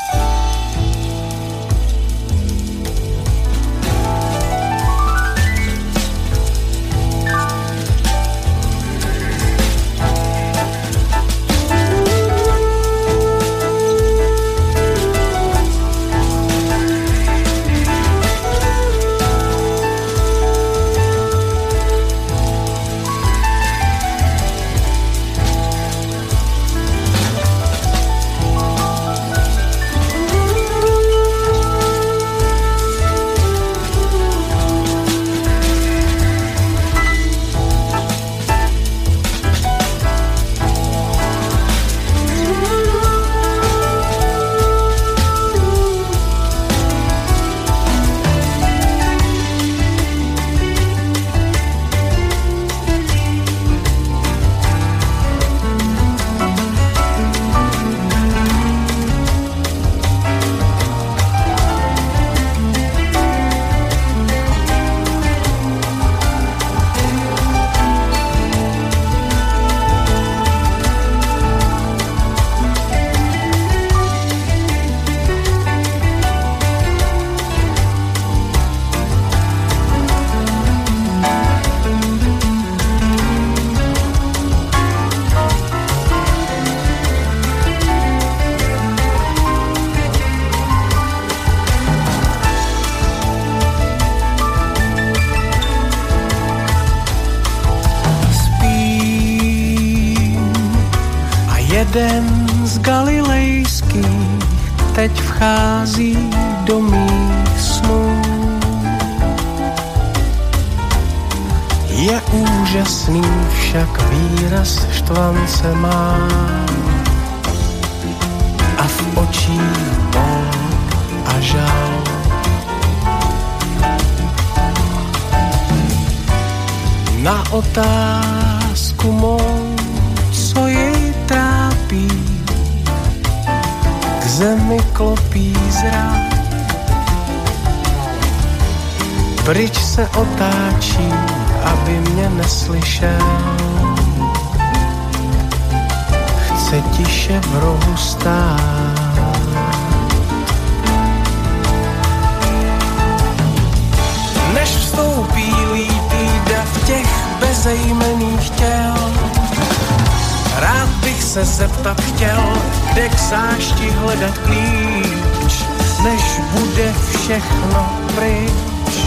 Jeden z galilejských teď vchází do mých snů. Je úžasný, však výraz štvance má a v očích bol a žal. Na otázku mou, co jej trápí, k zemi klopí zrak. Pryč se otáčí, aby mě neslyšel. Chce tiše v rohu stát. Než vstoupí lítý dav těch bezejmenných těl, rád bych se zeptat chtěl, kde k zášti hledat klíč, než bude všechno pryč.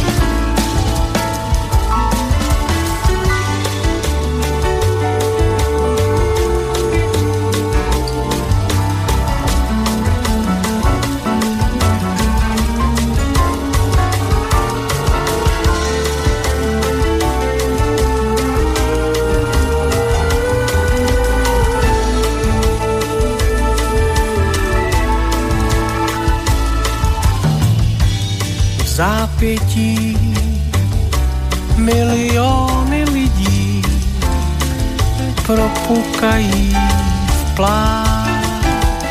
Zápětí miliony lidí propukají v pláč.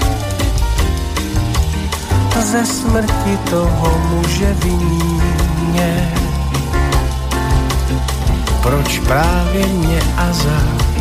Ze smrti toho muže viní mě. Proč právě mě a za